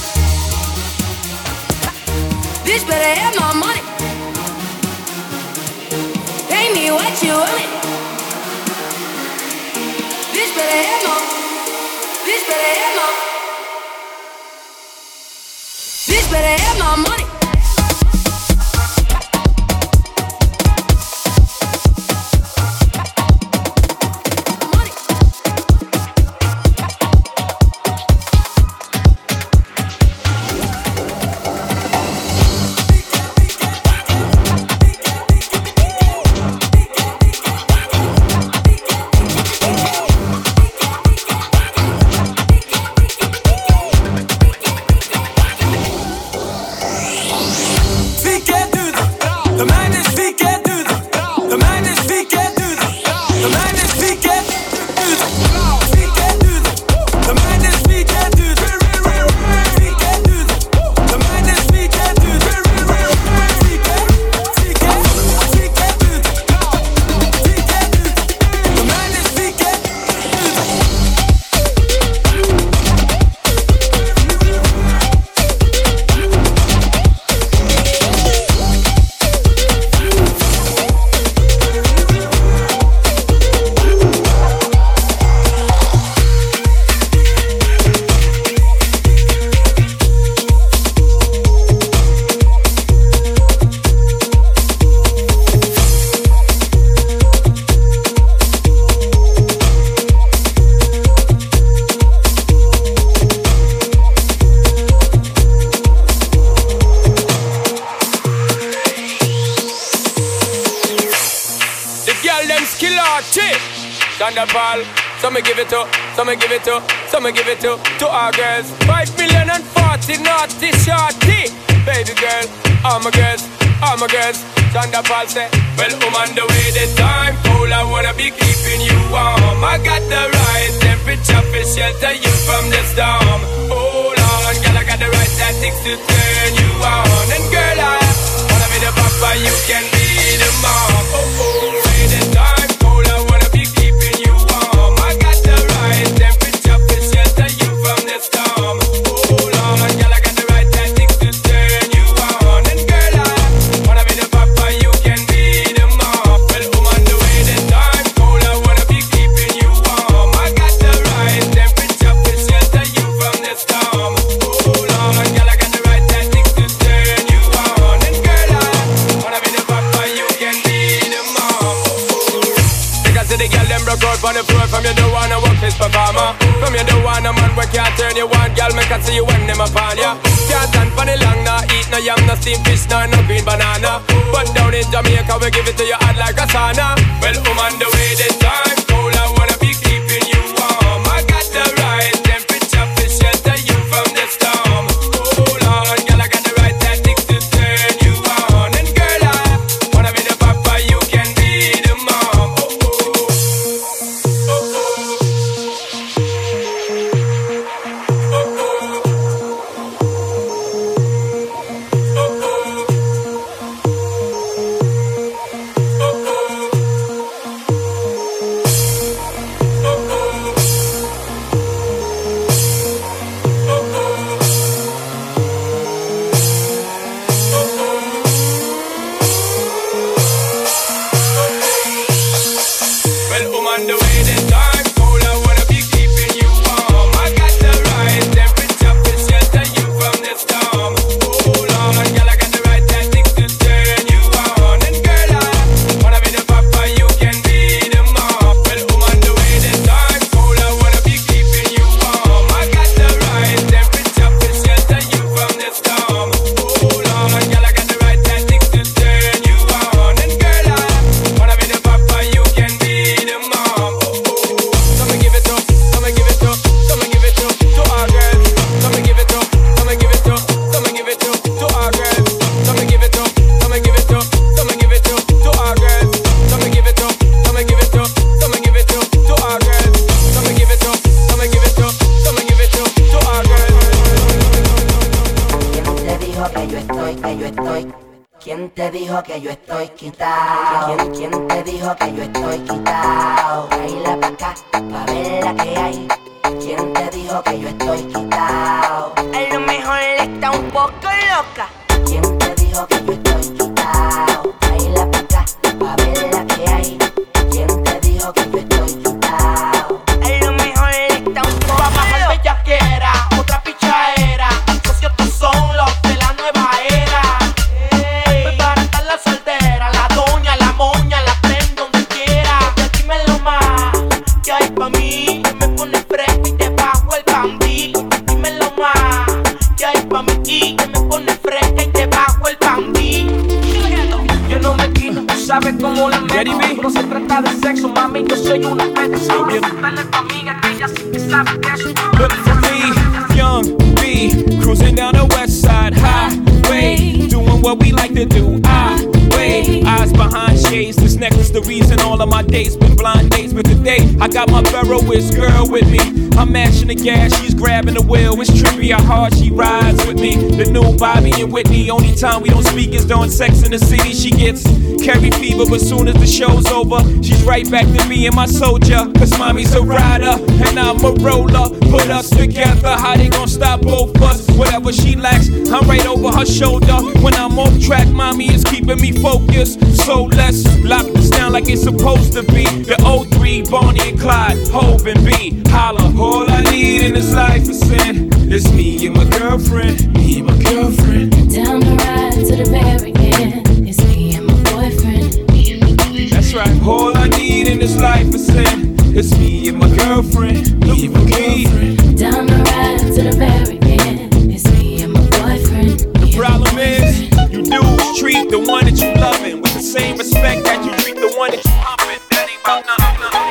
Bitch better have my money. Pay me what you want it. Bitch better have my. Bitch better have my. Bitch better have my money. Thunderball, some give it to, some give it to, some give it to our girls. 5,040,000 naughty shorty. Baby girl, all my girls, all my girls. Thunderball say, well, I'm on the way, the time cold, I wanna be keeping you warm. I got the right temperature for shelter you from the storm. Hold on, girl, I got the right tactics to turn you on. And girl, I wanna be the papa, you can be the mom. Oh, oh, way the time cold, I wanna be keeping you warm. I got the right temperature for shelter you from the storm. Hold on, girl, I got the right tactics to turn you on. And girl, I wanna be the papa, you can be the mom. Well, I'm on the way, the time cold, I wanna be keeping you warm. I got the right temperature for shelter you from the storm. Hold on, girl, I got the right tactics to turn you on. And girl, I wanna be the papa, you can be the mom. Because the girl them broke out on the floor. From you don't wanna work this performer. From you don't wanna man where can't turn you on. Girl, make I see you when them upon ya. Can't stand for the long, nah eat no yam, no steamed fish, no green banana. But down in Jamaica we give it to you hot like a sauna. Well, I'm on the way, the time cold, I wanna be keeping you warm. I got the right temperature for shelter you from the storm. Hold on, girl, I got the right tactics to turn you on. And girl, I wanna be the papa, you can be the mom. estoy? ¿Quién te dijo que yo estoy quitado? ¿Quién te dijo que yo estoy quitado? Baila pa' acá, pa' ver la que hay. ¿Quién te dijo que yo estoy quitado? A lo mejor está un poco loca. ¿Quién te dijo que yo estoy quitado? Baila pa' acá, pa' ver la que hay. ¿Quién te dijo que yo estoy quitado? A lo mejor está un poco loca. Bellaquera, otra pichaera. Socios estos son los de la nueva era. Pues para estar la soltera, la doña, la moña, la tren donde quiera. Ya dímelo más, que hay pa' mí. Me pone fresco y te bajo el bandí. Dímelo más, que hay pa' mí. Que me pone fresca y te bajo el bandí. Yo no me quito, tú sabes cómo la meto. No se trata de sexo, mami, yo soy una peta. Solo dale pa' amiga que ella sí que sabe de eso. Look for me, young B, cruising down the west side highway, doing what we like to do. Eyes behind shades, this necklace the reason all of my dates been blind dates. But today, I got my Ferroist girl with me. I'm mashing the gas, she's grabbing the wheel. It's trippy how hard she rides with me. The new Bobby and Whitney, only time we don't speak is during Sex in the City. She gets carry fever, but soon as the show's over, she's right back to being my soldier. Cause mommy's a rider, and I'm a roller. Put us together, how they gon' stop both us? Whatever she lacks, I'm right over her shoulder. When I'm off track, mommy is keeping me focused. So let's lock this down like it's supposed to be. The 03, Bonnie and Clyde, Hov and B. Holla, all I need in this life is sin. It's me and my girlfriend, me and my girlfriend. Down the ride to the very end. It's me and my boyfriend, me and my boyfriend. That's right, all I need in this life is sin. It's me and my girlfriend, me and my girlfriend. Down the ride to the very end. It's me and my boyfriend. The problem is, you dudes treat the one that you loving with the same respect that you treat the one that you humping. That ain't about nothing.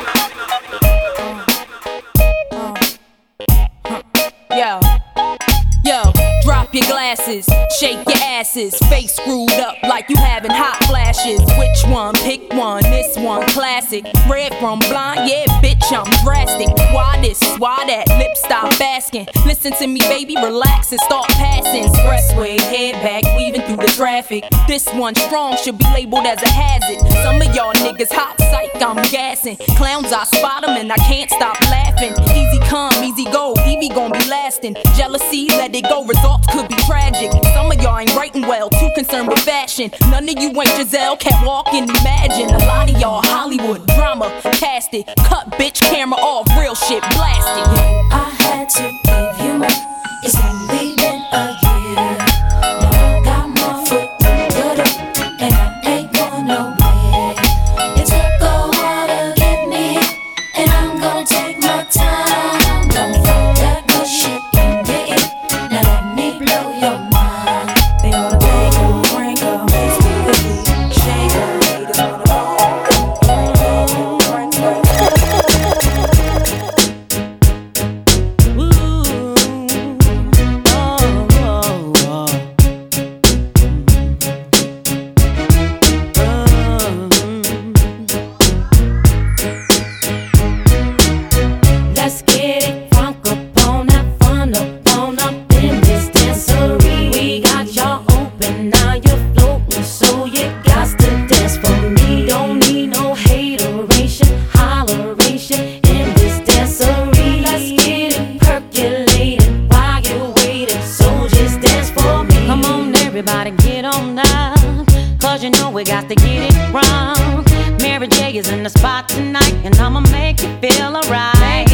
Yo, drop your glasses, shake your asses, face screwed up like you having hot flashes. Which one? Pick one, this one classic. Red from blind, yeah, bitch, I'm drastic. Why this, why that, lip stop asking. Listen to me, baby, relax and start passing. Expressway, head back, weaving through the traffic. This one strong, should be labeled as a hazard. Some of y'all niggas hot psych, I'm gassing. Clowns, I spot them and I can't stop laughing. Easy come, easy go, Evie gon' be lasting. Jealousy, let it go, results could be tragic. Some of y'all ain't writing well, too concerned with fashion. None of you ain't Giselle, can't walk and imagine. A lot of y'all Hollywood drama, cast it. Cut bitch, camera off, real shit, blast it. I had to give you up. It's only been a year. Now I got my foot good up, and I ain't going nowhere. It took a while to get me, and I'm gonna take my time. Don't throw that good shit in the air. Now let me blow your mind. They ought to beg her, bring her, makes me good, shake her, need it on the Let's get it crunk up on that fun up in this dancery. We got y'all open, now you're floating, so you got to dance for me. Don't need no hateration, holleration in this dancery. Let's get it percolated while you're waiting, so just dance for me. Come on, everybody, get on down, cause you know we got to get it wrong. Mary J is in the spot tonight, and I'ma make you feel alright.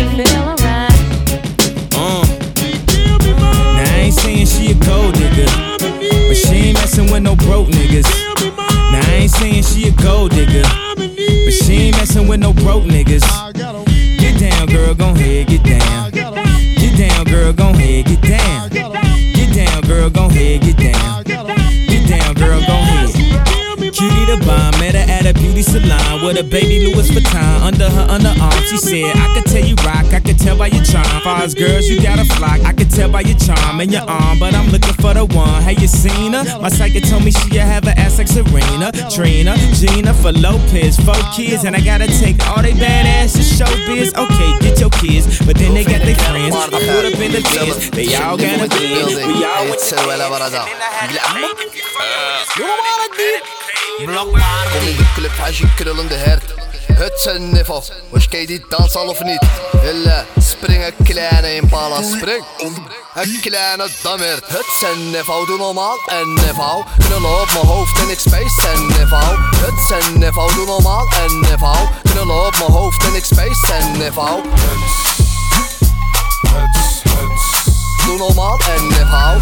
Now I ain't saying she a gold digger, but she ain't messing with no broke niggas. Now I ain't saying she a gold digger, but she ain't messing with no broke niggas. Get down, girl, gon' head, get down. Get down, girl, gon' head, get down. Get down, girl, gon' head, get down. Get down, girl, gon' head. Cutie the bomb, met her at a beauty salon. with a baby Louis Vuitton under her underarm. She said, I could tell you rock, I could tell by your charm. Far as girls, you got a flock, I could tell by your charm and your arm. But I'm looking for the one, have you seen her? My psychic told me she'll have an ass like Serena, Trina, Gina for Lopez, 4 kids. And I gotta take all they badass to showbiz. Okay, get your kids, but then they got their friends. I put up in the biz, they all got a biz. We all went to Kom in de club, hij ziet krullende hert. Het zijn niveau, was jij die dans al of niet? Hille, spring een kleine impala, spring. Een kleine dammert. Het zijn niveau, doe normaal en niveau. Knullen op mijn hoofd en ik space en niveau. Het zijn niveau, doe normaal en niveau. Knullen op mijn hoofd en ik space en niveau. Doe normaal en niveau.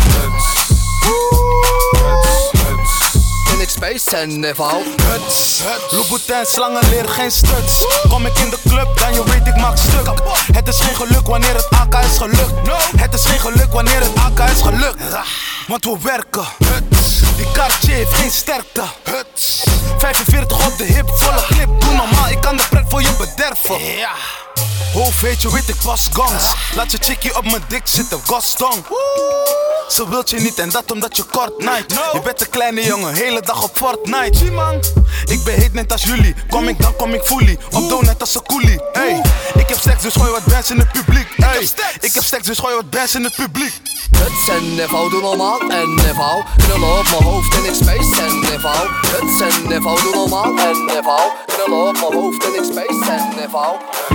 En ik space en niveau. Louboutin, slangen leren geen struts. Kom ik in de club, dan je weet ik maak stuk. Het is geen geluk wanneer het AK is gelukt. Het is geen geluk wanneer het AK is gelukt. Want we werken. Die Cartier heeft geen sterkte. 45 op de hip, volle clip. Doe normaal, ik kan de pret voor je bederven. Hoofd weet je, weet ik pas gongs. Laat je chickie op mijn dik zitten, Gaston. Ze wilt je niet en dat omdat je kort night. Je bent een kleine jongen, hele dag op Fortnite. Ik ben heet net als jullie, kom ik dan kom ik fully. Op dood net als een coolie. Hey, ik heb seks dus gooi wat bands in het publiek. Hey, ik heb seks dus gooi wat bands in het publiek. Het zijn niveau, doe normaal en niveau. Knullen op mijn hoofd en ik space en niveau. Het zijn niveau, doe normaal en niveau. Knullen op mijn hoofd en ik space en niveau.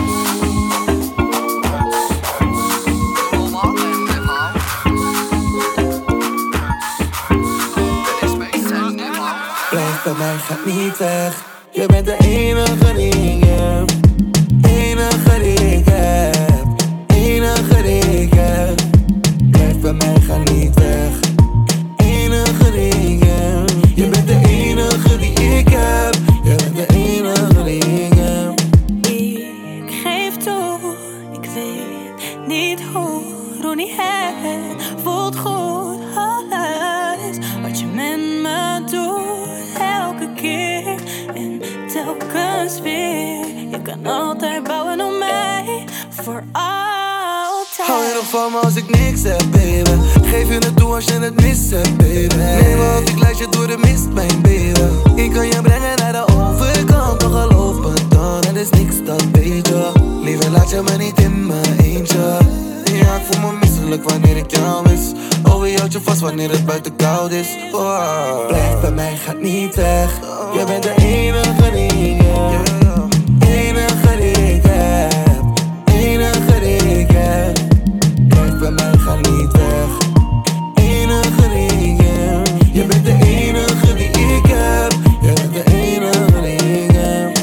Blijf bij mij, gaat niet weg. Je bent de enige die ik heb. Enige die ik heb. Enige die ik heb. Blijf bij mij, ga niet weg. Enige die ik heb. Je bent de enige die ik heb. Je bent de enige die ik heb. Ik geef toe, ik weet niet hoe. Ronnie, het voelt goed. Alles wat je met me doet, elke keer en telkens weer. Je kan altijd bouwen op mij, voor altijd. Hou je nog van me als ik niks heb, baby? Geef je het toe als je het mist hebt, baby. Neem me op, ik leid je door de mist, mijn baby. Ik kan je brengen naar de overkant, toch geloof me dan. Het is niks, dat weet je. Liever laat je me niet in mijn eentje. Ja, ik voel me misselijk wanneer ik jou mis. Oh, je houdt je vast wanneer het buiten koud is. Oh. Blijf bij mij, gaat niet weg. Je bent de enige die ik heb. Enige die ik heb. Enige die ik heb. Blijf bij mij, ga niet weg. Enige die ik heb. Je bent de enige die ik heb. Je bent de enige die ik heb.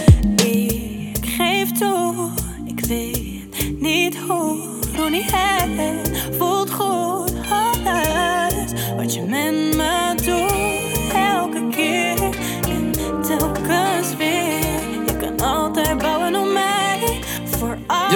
Ik geef toe, ik weet niet hoe. Ronnie, het voelt goed. Alles wat je met me doet, elke keer en telkens weer. Je kan altijd bouwen op mij, voor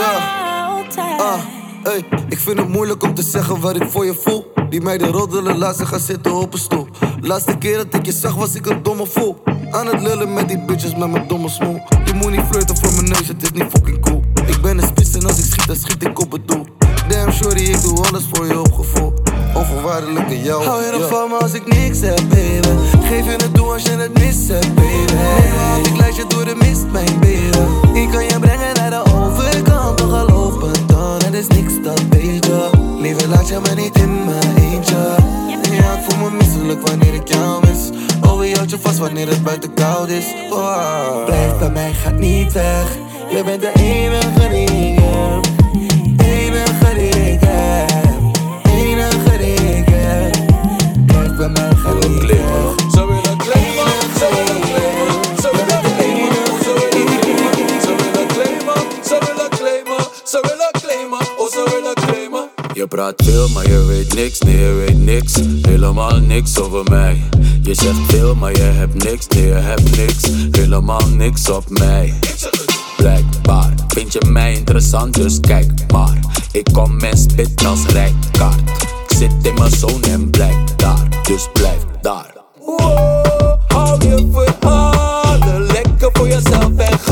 altijd. Hey, ik vind het moeilijk om te zeggen wat ik voor je voel. Die meiden roddelen, laat ze gaan zitten op een stoel. Laatste keer dat ik je zag was ik een domme fool. Aan het lullen met die bitches met mijn domme smoel. Je moet niet flirten voor mijn neus, het is niet fucking cool. Ik ben een spits en als ik schiet, dan schiet ik op het doel. Damn shorty, ik doe alles voor je op gevoel. Onvoorwaardelijk in jou. Hou je nog van me als ik niks heb, baby? Geef je het toe als je het mis hebt, baby. Want ik leid je door de mist, mijn baby. Ik kan je brengen naar de overkant, toch geloof me dan. Het is niks, dat weet je. Liever laat je me niet in mijn eentje. Ja, ik voel me misselijk wanneer ik jou mis. Oh, je houdt je vast wanneer het buiten koud is. Oh. Blijf bij mij, gaat niet weg. Je bent de enige die ik heb. Enige die ik heb. Enige die ik heb. Blijf bij mij, ga niet weg. Zo wil ik claimen, zo wil ik claimen. Zo wil ik claimen, zo wil ik claimen. Zo wil ik claimen, zo wil ik claimen. Zo wil ik claimen, oh zo wil ik claimen. Je praat veel, maar je weet niks, nee je weet niks. Helemaal niks over mij. Je zegt veel, maar je hebt niks, nee je hebt niks. Helemaal niks op mij. Blijkbaar vind je mij interessant, dus kijk maar. Ik kom en spit als rijkaart. Ik zit in mijn zone en blijf daar, dus blijf daar. Wow, hou je verhalen lekker voor jezelf en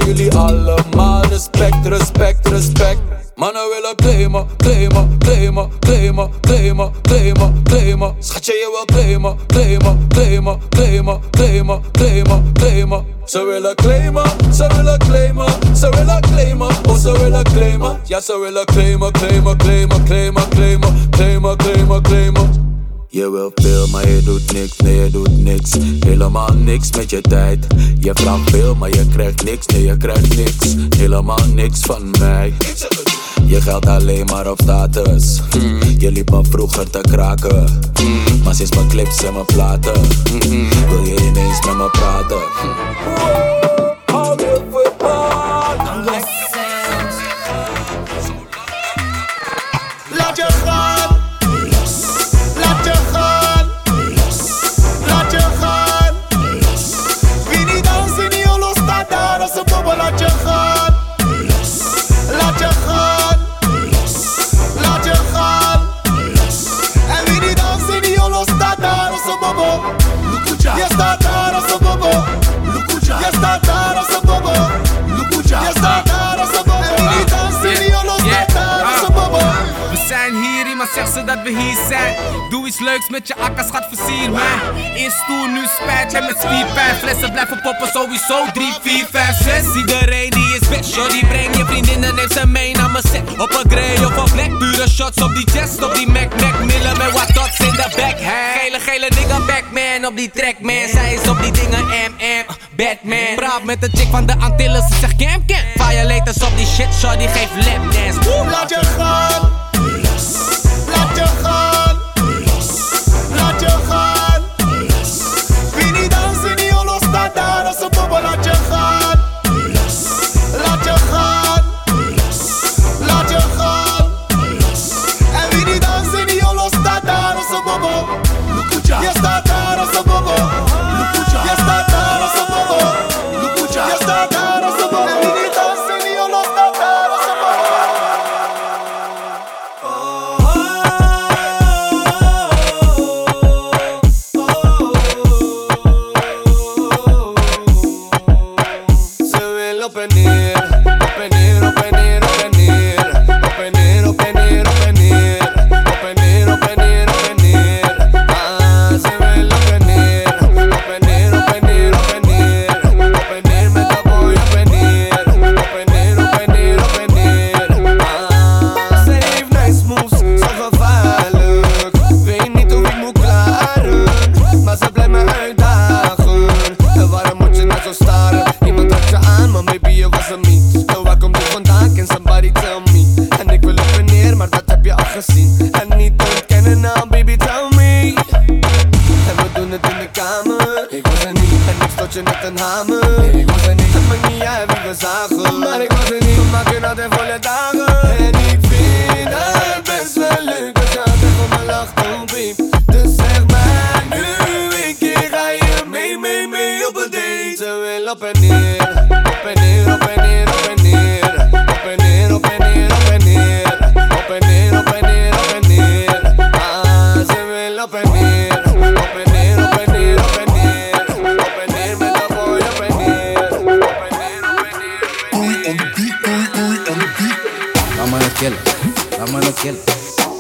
jullie allemaal respect, respect, respect. Mannen willen claimen, claimen, claimen, claimen, claimen, claimen, claimen. Schatje, je wil claimen, claimen, claimen, claimen, claimen, claimen, claimen. Ze willen claimen, ze willen claimen, ze willen claimen, oh ze willen claimen. Ja, ze willen claimen, claimen, claimen, claimen, claimen, claimen, claimen, claimen. Je wil veel, maar je doet niks, nee je doet niks. Helemaal niks met je tijd. Je vraagt veel, maar je krijgt niks, nee je krijgt niks. Helemaal niks van mij. Je geldt alleen maar op status. Je liep me vroeger te kraken. Maar sinds mijn clips en mijn platen wil je ineens met me praten. Hou je voetbal. Laat je gaan. Laat je gaan. Laat je gaan. Wie niet dans in die holo staat daar als een bobbel. Laat je gaan. Laat je gaan. Laat je gaan. En wie niet dans in die holo staat daar als een bobbel. Je staat daar als een bobbel. Je staat daar als een bobbel. Je staat daar als een bobbel. En wie niet dans in die holo staat daar als een bobbel. We zijn hier, iemand zegt ze dat we hier zijn. Doe iets leuks met je akka, schat, versier mij. Eerst stoel, nu spijt jij met spierpijn. Flessen blijven poppen, sowieso 3, 4, 5, 6. Iedereen die is best, shorty, breng je vriendinnen, neem ze mee naar mijn set. Op een grey of een black, pure shots op die chest. Op die Mac, Millen met wat dots in de back. Gele nigga, Backman op die track, man. Zij is op die dingen, Batman. Praat met de chick van de Antilles, ze zegt camp. Violators op die shit, shorty, geef lapdance. Laat je gaan. Laat je gaan. Laat je gaan. Wie niet dans in die holo staat daar als een bobbel. Laat je gaan. Laat je gaan. Laat je gaan. En wie niet dans in die holo staat daar als een bobbel. Je staat daar als een bobbel. Je staat daar als een bobbel. Je staat daar als een bobbel. En wie niet dans in die holo staat daar als een bobbel. En niet ontkennen, nou baby tell me. En we doen het in de kamer. Ik was er niet en ik stoot je met een hamer. Ik was er niet, het maakt niet uit wie we zagen. Maar ik was er niet, we maken altijd volle dagen. En ik vind het best wel leuk als je altijd voor me lacht, oh babe. Dus zeg maar nu een keer, ga je mee op een date. Ze wil op en neer, op en neer, op en neer, op en neer. Op en neer, op en neer, op en neer. Op en neer, op en neer, op en neer. Ah, ze wil op en neer. Op en neer, op en neer, op en neer. Op en neer met dat boy, op en neer. Op en neer, op en neer, op en neer. Oei, on the beat, oei, on the beat. Laat me het killen, laat me het killen.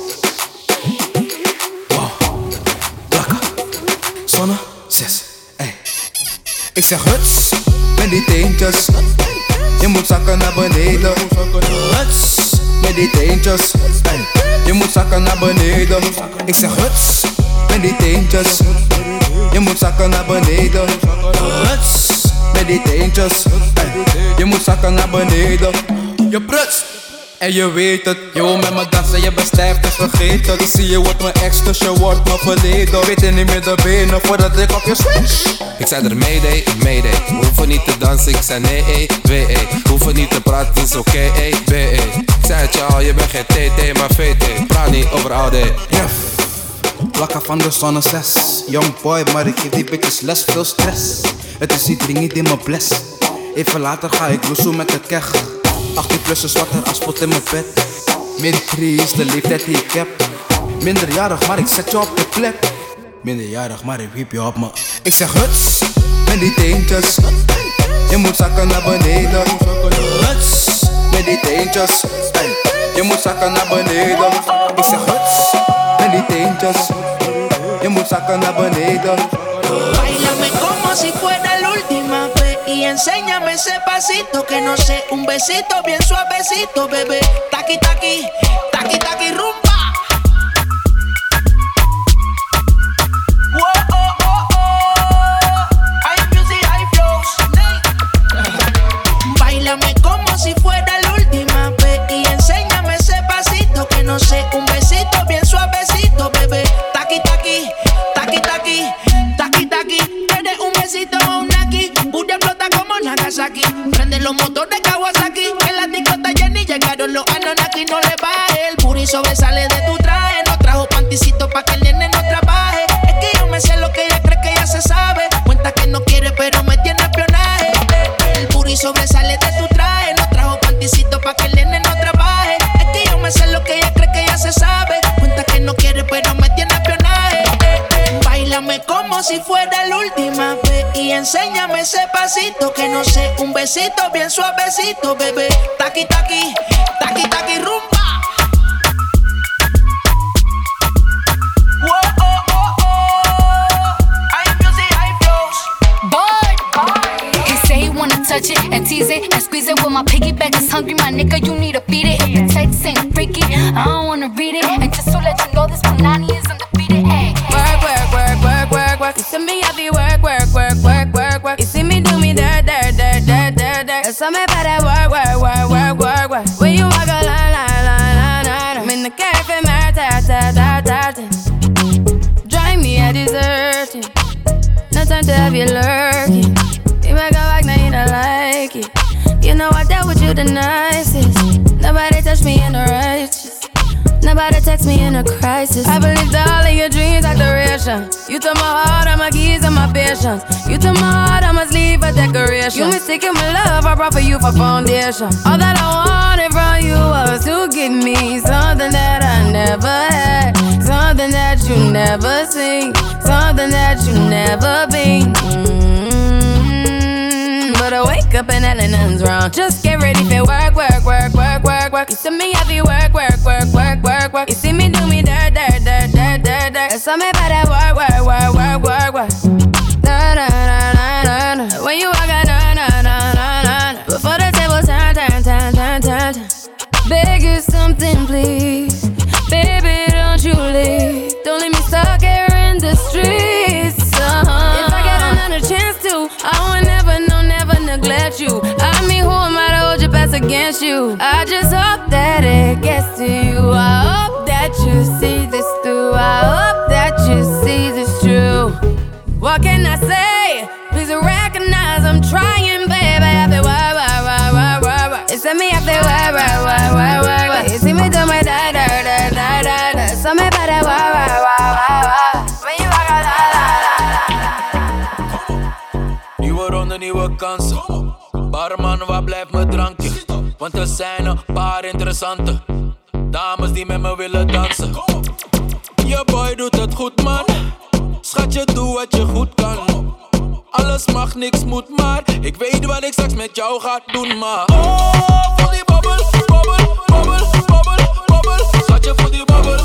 Wow, plakken, zonne, 6, ey. Ik zeg huts, met die teentjes. Je moet zakken naar beneden. Huts, met die teentjes. Je moet zakken naar beneden. Ik zeg huts, met die teentjes. Je moet zakken naar beneden. Huts, met die teentjes. Je moet zakken naar beneden. Je prutst. En je weet het, je wil met me dansen, je bent stijf te vergeten. Ik zie je wordt mijn ex, dus je wordt mijn verleden. Weet je niet meer de benen voordat ik op je switch. Ik zei er mayday, mayday. We hoeven niet te dansen, ik zei nee, 2 We hoeven niet te praten, is oké, B Ik zei het je al, je bent geen TT, maar VT. Praat niet over oude. Jef, plakken van de zonne 6. Young boy, maar ik geef die bitches les, veel stress. Het is die dringend in mijn bles. Even later ga ik loesoe met de keg. 18 plus een zwarte asfalt in mijn bed. Min 3 is de leeftijd die ik heb. Minderjarig, maar ik zet je op de plek. Minderjarig, maar ik wiep je op me. Ik zeg huts, met die teentjes. Je moet zakken naar beneden. Huts, met die teentjes. Ey, je moet zakken naar beneden. Ik zeg huts, met die teentjes. Je moet zakken naar beneden. Báilame como si fuera la última vez y enséñame ese pasito que no sé, un besito bien suavecito, bebé. Taqui taqui, taqui taqui rumba. Whoa, oh, oh, oh. Hay music, hay flows. Báilame como si fuera la última vez y enséñame ese pasito que no sé, un besito bien suavecito, bebé. Taqui taqui, taqui taqui. Tienes un besito o un aquí. Booty explota como Nagasaki. Prende los motores Kawasaki. En la discota Jenny llegaron los Anunnaki. No le baje, el booty sobresale de tu traje. No trajo panticito pa' que el nene no trabaje. Es que yo me sé lo que ella cree que ya se sabe. Cuenta que no quiere pero me tiene espionaje. El booty sobresale de tu traje. No trajo panticito pa' que el nene no trabaje. Es que yo me sé lo que ella cree que ya se sabe. Cuenta que no quiere pero me tiene espionaje. Báilame como si fuera la última vez y enséñame ese pasito que no sé, un besito bien suavecito, bebé. Taqui taqui, taqui taqui rumba. Whoa, oh, oh, oh. Hay music, hay flows. Boy, he say he wanna touch it and tease it and squeeze it. When my piggyback is hungry, my nigga, you need to beat it. If the text ain't freaky, I don't wanna read it. And just to let you know, this Punani is undefeated. Ay. You see me happy work. You see me do me dirt. Tell me about that work. When you walk a line. I'm in the cafe, drive me a dessert. No time to have you lurking. You make a back, now you don't like it. You know I dealt with you the nicest. Nobody touched me in the righteous. Nobody text me in a crisis. I believed all of your dreams are duration. You took my heart, all my keys, and my patience. You took my heart, I must leave a decoration. You mistaken my love, I brought for you for foundation. All that I wanted from you was to give me something that I never had, something that you never seen, something that you never been. But I wake up and hell nothing's wrong. Just get ready for work. You see me happy work. You see me do me dirt. Tell me about that work. When you walk out, before the table turn. Beg you something, please. Baby, don't you leave. Don't leave me stuck here in the streets. If I get another chance to, I would never neglect you. I mean, who am I to hold your best against you? I just hope that it gets to you. I hope that you see this through. I hope that you see this true. What can I say? Please recognize I'm trying, baby. I feel work. It's me, I feel work. You see me do my da. So me better work. When you walk out, Nieuwe ronde, nieuwe kansen. Barman, waar blijft mijn drankje? Want er zijn een paar interessante dames die met me willen dansen. Je boy doet het goed, man. Schatje, doe wat je goed kan. Alles mag, niks moet, maar ik weet wat ik straks met jou ga doen, maar oh, voel die bobbel. Schatje, voel die bobbel.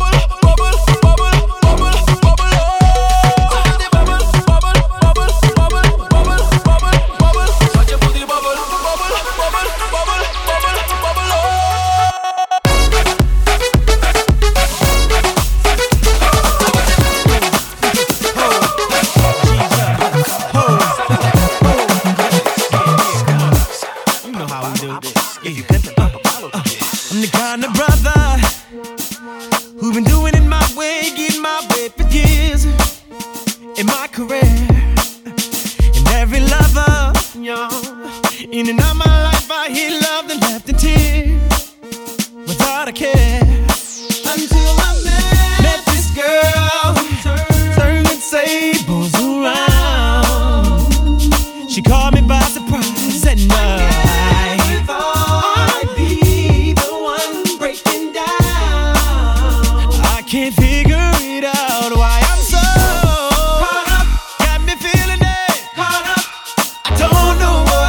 In and out my life, I hear love that left in tears without a care. Until I met this girl, turning tables around. She caught me by surprise at night. I'd be the one breaking down. I can't figure it out why I'm so caught up. Got me feeling it. Caught up. I don't know what.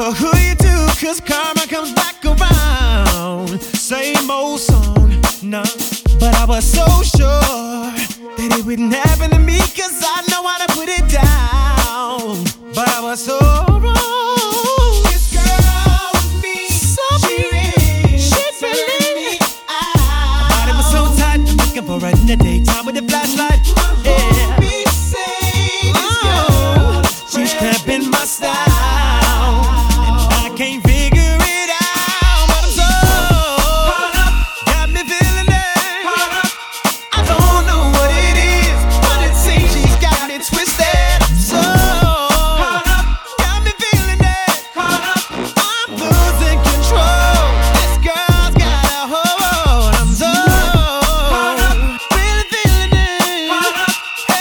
for who you do, cause karma comes back around. Same old song, no. But I was so sure that it wouldn't happen to me, cause I know how to put it down. But I was so wrong. This girl with me, so she's really my body was so tight, I'm looking for her in the daytime with a flashlight. Yeah. She's cramping my style, and I can't figure it out, but I'm so caught up, got me feeling it. I don't know what it is, but it seems she's got me twisted. So caught up, got me feeling it. I'm losing control. This girl's got a hold. I'm so really feeling it.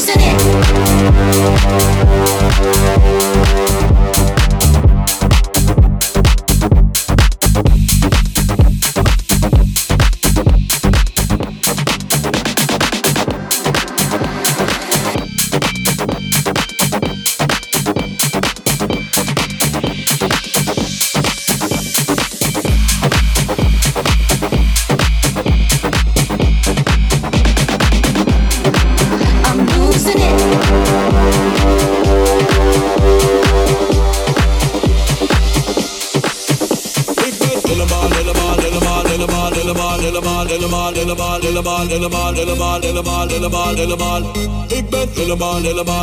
losing it. Ik ben helemaal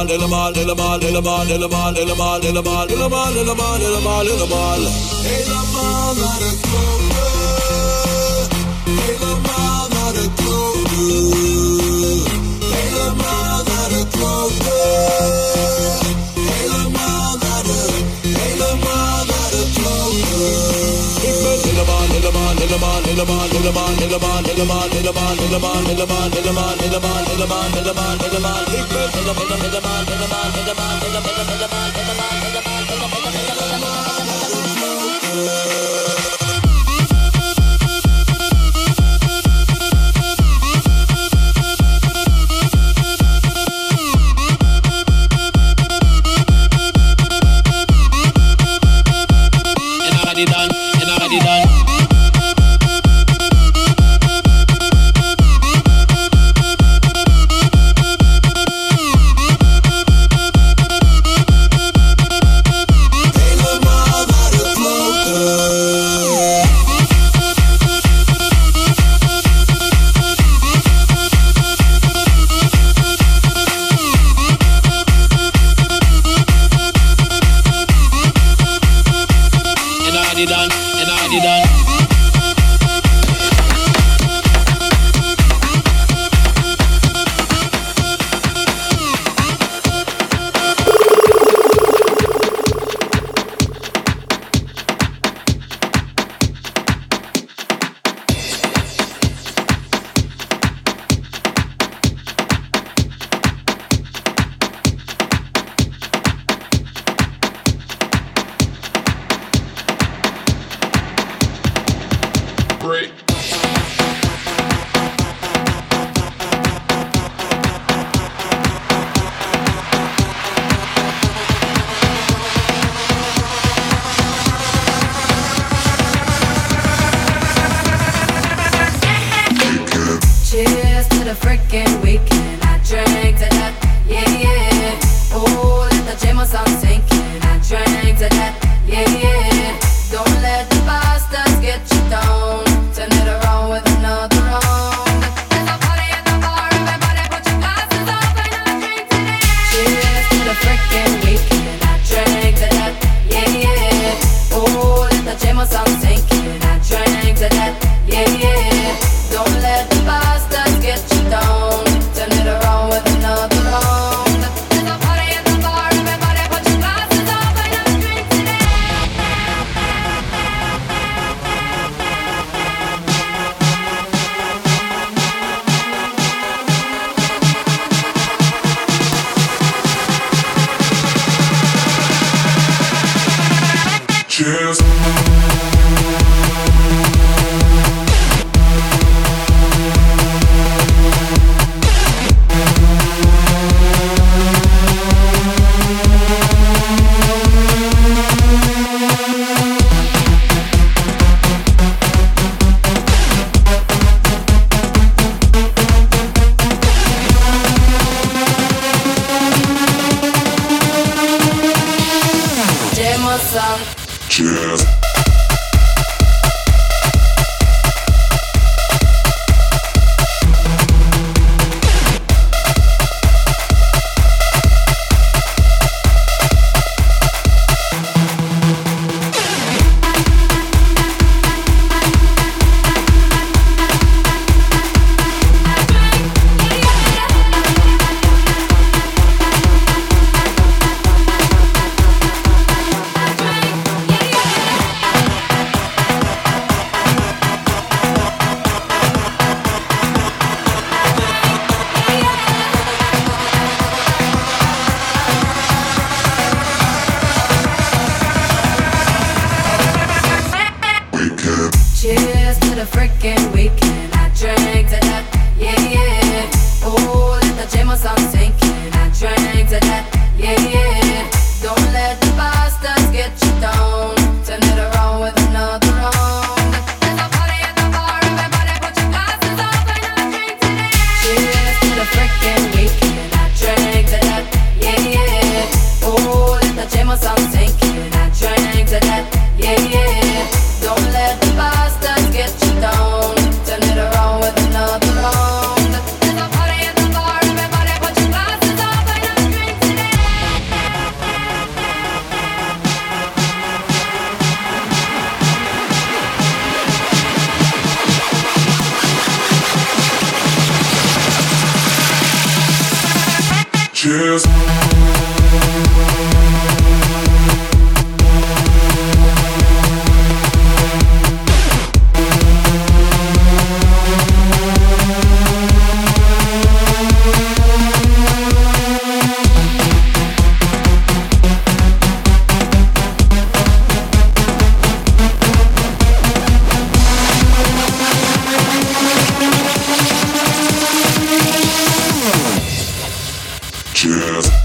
naar de klote. Helemaal naar de klote. Helemaal naar de klote. Helemaal naar de klote. Ik ben helemaal Cheers to the freaking weekend. I drank to that, yeah, yeah. Oh, let the J-Mo song sink in. I drank to that, yeah, yeah. Don't let the bastards get you down. Turn it around with another round. There's a party at the bar, everybody put your glasses up and I drink to that. Cheers to the freaking weekend. I drank to that, yeah, yeah. Oh, let the J-Mo song sink in. I drank to that, yeah, yeah. Don't let the bastards get you down. Turn it around with another round. There's a party at the bar, everybody put your glasses up and I drink to that. Cheers. Cheers. Cheers.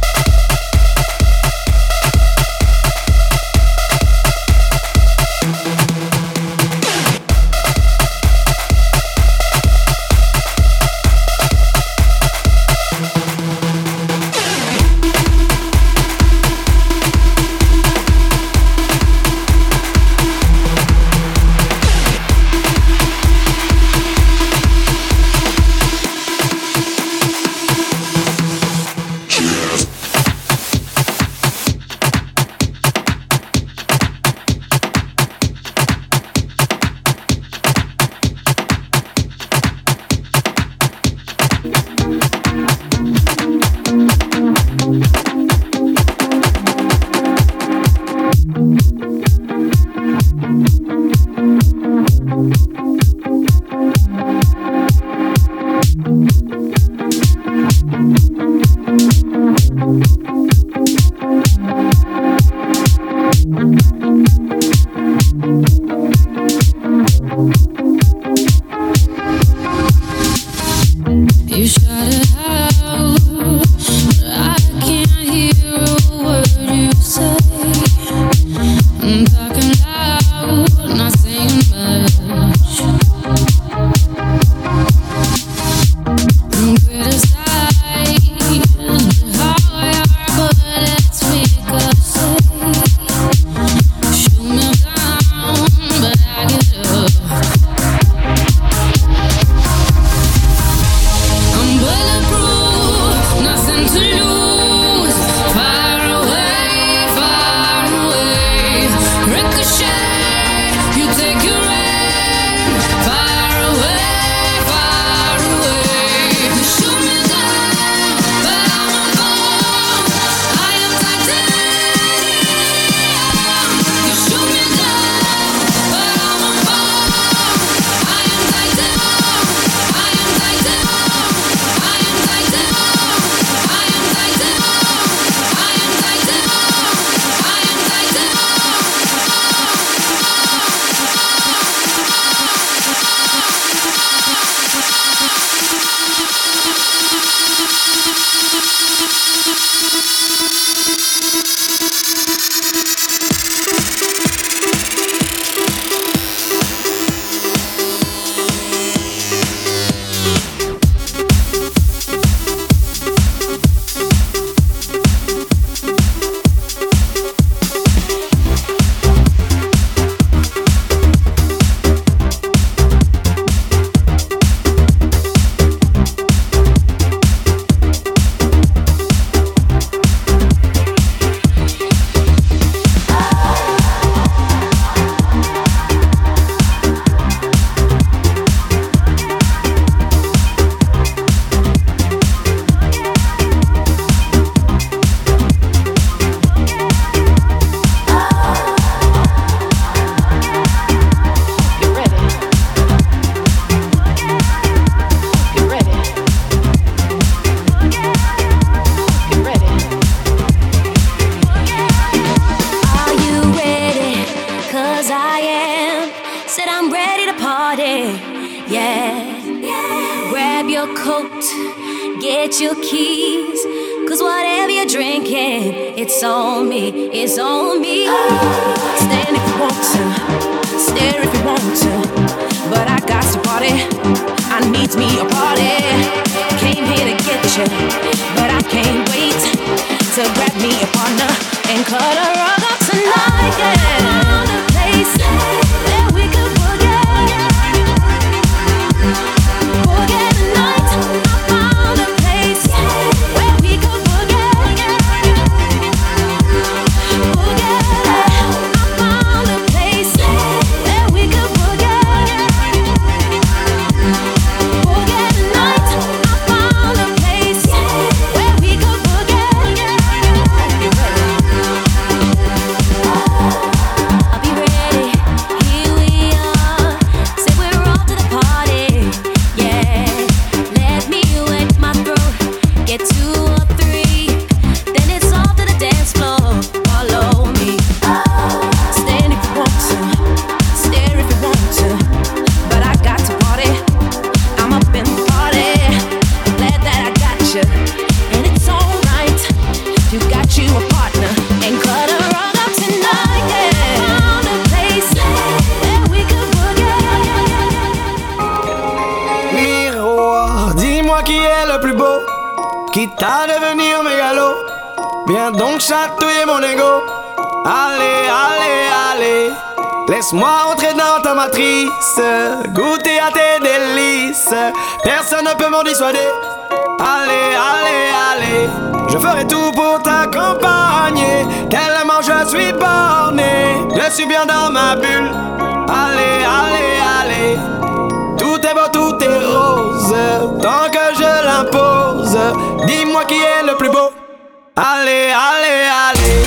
You shut it out, but I can't hear a word you say. I'm talking loud, not saying much. I'm criticized hard, but let's make a save. Shoot me down, but I get up. I'm bulletproof, nothing to lose. Far away, ricochet. You take your aim. Far away. You shoot me down, but I won't fall. I am titanium. You shoot me down, but I won't fall. I am titanium. I am titanium. Grab your coat, get your keys, 'cause whatever you're drinking, it's on me, it's on me. Stand if you want to, stare if you want to, but I got to party, I need me a party. Came here to get you, but I can't wait to grab me a partner and cut a rug up tonight. Yeah. Found a place that we could forget the night. I found a place where we could forget. I found a place where we could forget the night. I found a place where we could forget. qui est le plus beau, quitte à devenir mégalo. Viens donc chatouiller mon ego. Allez, allez, allez, laisse-moi entrer dans ta matrice, goûter à tes délices. Personne ne peut m'en dissuader. Allez, allez, allez, je ferai tout pour t'accompagner. Tellement je suis borné, je suis bien dans ma bulle. Allez, allez, allez, tout est beau, tout est rose, tant que je l'impose. Dis-moi qui est le plus beau. Allez, allez, allez.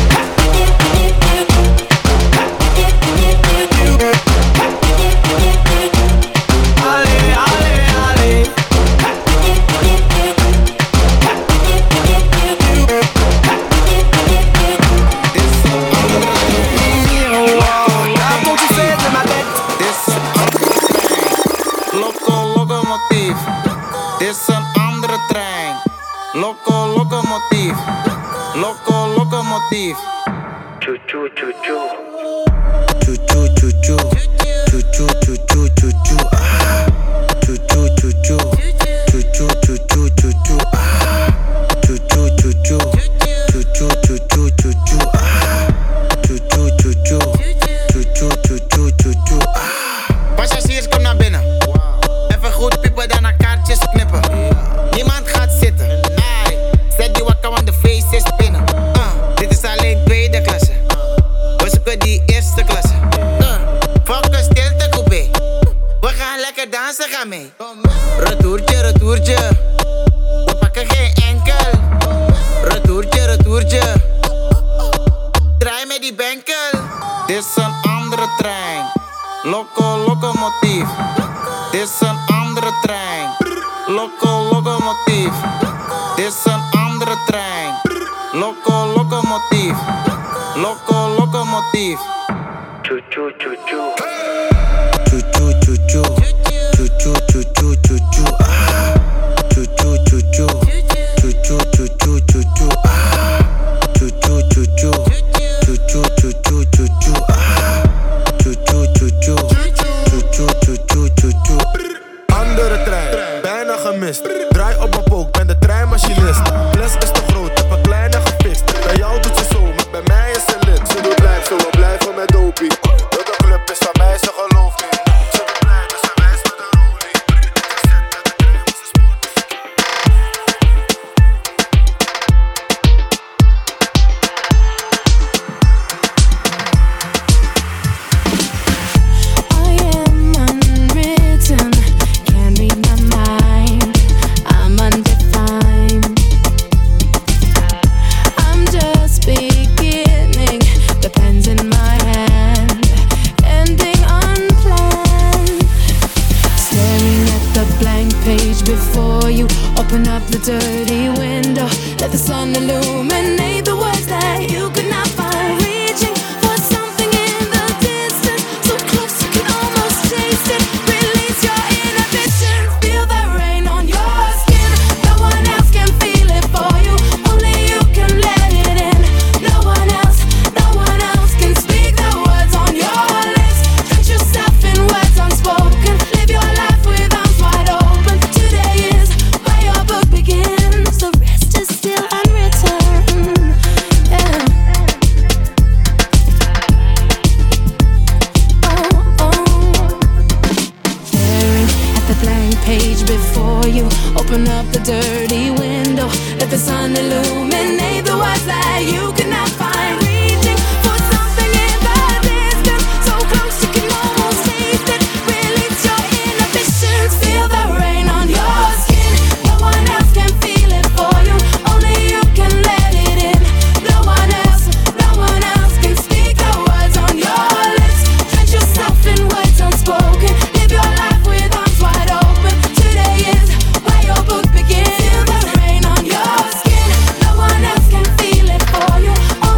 Locomotief. Choo choo choo choo. Choo choo choo choo. Choo choo choo choo choo choo. Choo choo choo choo. Choo choo choo choo choo choo. Choo choo choo choo. Choo choo choo choo choo choo. Choo choo choo choo. Choo choo choo choo choo choo. Passagiers, kom naar binnen. Even goed piepen, daarna kaartjes knippen. Niemand gaat zitten. Zet die wakker, want de feest is binnen. Dit is alleen tweede klasse. We zoeken die eerste klasse. Fuck een stilte coupé. We gaan lekker dansen, ga mee. Retourtje, retourtje. We pakken geen enkel. Retourtje, retourtje. Draai met die benkel. Dit is een andere trein. Locomotief. Dit is een andere trein. Locomotief. Dit is een andere trein. Locomotief. Locomotief. Choo choo choo choo. Choo choo choo choo. Choo choo choo choo choo choo. Choo choo choo choo. Choo choo choo choo choo choo. Choo choo choo choo. Choo choo choo choo choo choo. Choo choo choo choo. Choo choo choo choo choo. Andere trein, bijna gemist. Draai op mijn pook, ben de treinmachinist. Fles is te groot, heb een kleine gefixt. Bij jou doet ze zo, maar bij mij is ze lid. Ze doet blijf zo, we blijven met dopie. Dat de club is van mij, ze gelooft niet. Ze doet blij, dus ze wijst met de rolie. Open up the dirty window, let the sun illuminate the words that you could not find. Reaching for something in the distance, so close you can almost taste it. Release your inhibitions, feel the rain on your skin. No one else can feel it for you, only you can let it in. No one else can speak the words on your lips. Drench yourself in words unspoken, live your life with arms wide open. Today is where your book begins, the rest is still unwritten. Yeah. Staring at the blank page before you, open up the dirty window, let the sun illuminate the words that you could not find. Reaching for something in the distance, so close you can almost taste it. Release your inhibitions, feel the rain on your skin. No one else can feel it for you, only you can let it in. No one else can speak the words on your lips. Drench yourself in words unspoken, live your life with arms wide open. Today is where your book begins. Feel the rain on your skin. No one else can feel it for you,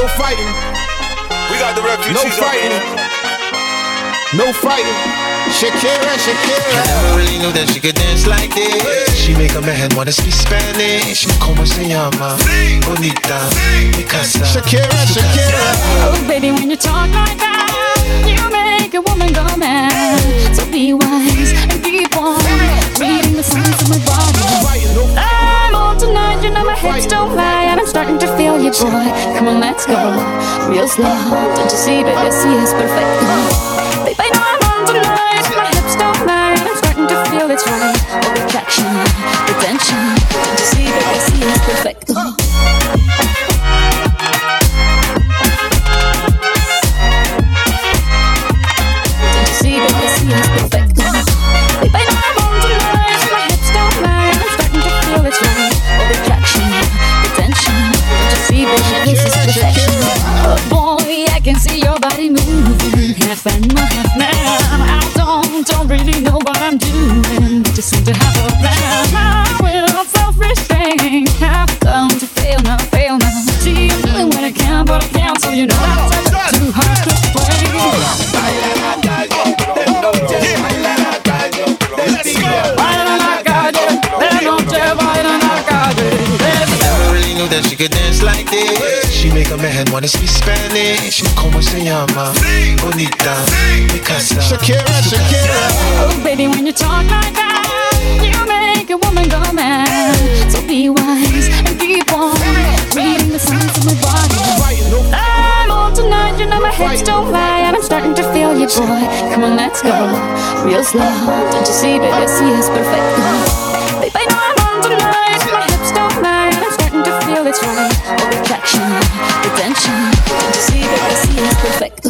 fighting. We got the refugees. No fighting. No fighting. Shakira, Shakira. I never really knew that she could dance like this. She make a man wanna speak Spanish. Como se llama? Bonita, mi casa. Shakira, Shakira. Oh, baby, when you talk like that, you make a woman go mad. So be wise and keep on reading the signs of my body. I'm on tonight, you know my hips don't lie, and I'm starting to feel you, boy. Come on, let's go, real slow. Don't you see, baby, see it's perfect. Babe, I know I'm on tonight, my hips don't lie, and I'm starting to feel it's right. All the attraction, the tension. Don't you see, baby, see it's perfect. And my half man, I don't really know what I'm doing. Just seem to have a plan. I will self-restraint. Have come to fail now. See, I'm doing what I can, but I can't. So you know that's too hard to play. Never really knew that she could dance like this. She make a man wanna speak Spanish. Como se llama? Bonita, mi casa. Shakira, Shakira. Oh, baby, when you talk like that, you make a woman go mad. So be wise and keep on reading the signs of my body. I'm on tonight, you know my hips don't lie, and I'm starting to feel you, boy. Come on, let's go, real slow. Don't you see, baby, see it's perfect. Babe, I know I'm on tonight, my hips don't lie, and I'm starting to feel it's right. All the attraction, the tension. Don't you see, baby, see it's perfect.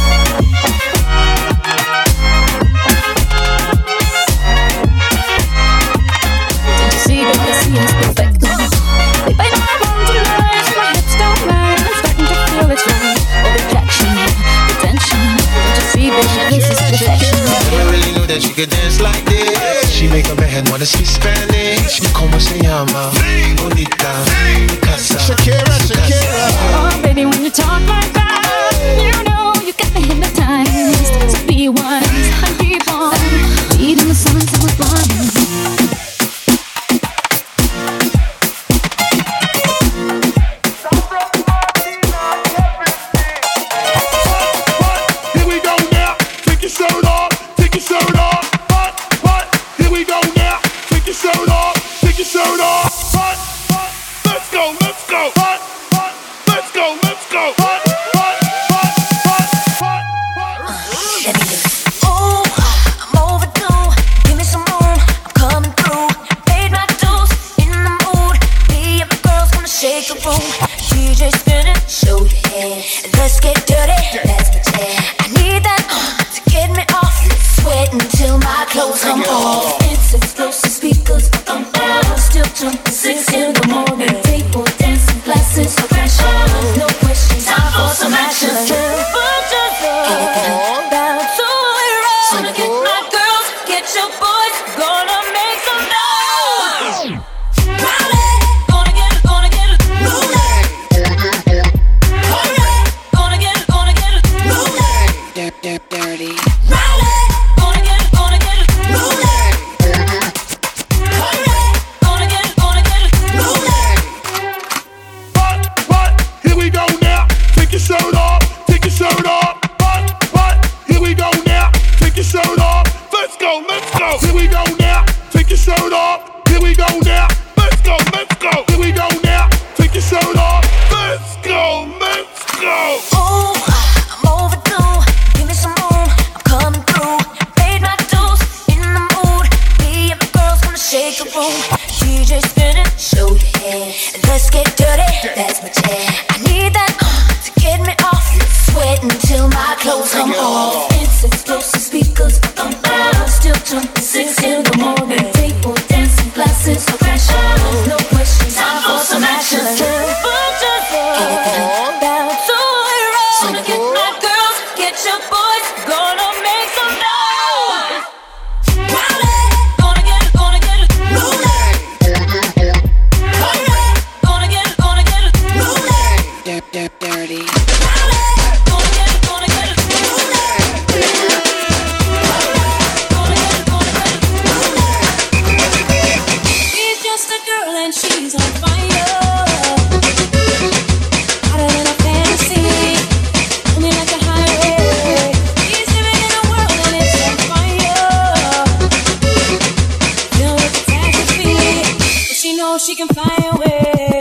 That she could dance like this. She make a man wanna speak Spanish. Como se llama? Bonita, mi casa. Shakira, Shakira. Oh, baby, when you talk like that, you know you got me hypnotized. So be wise and keep on reading the signs of my body. She can fly away.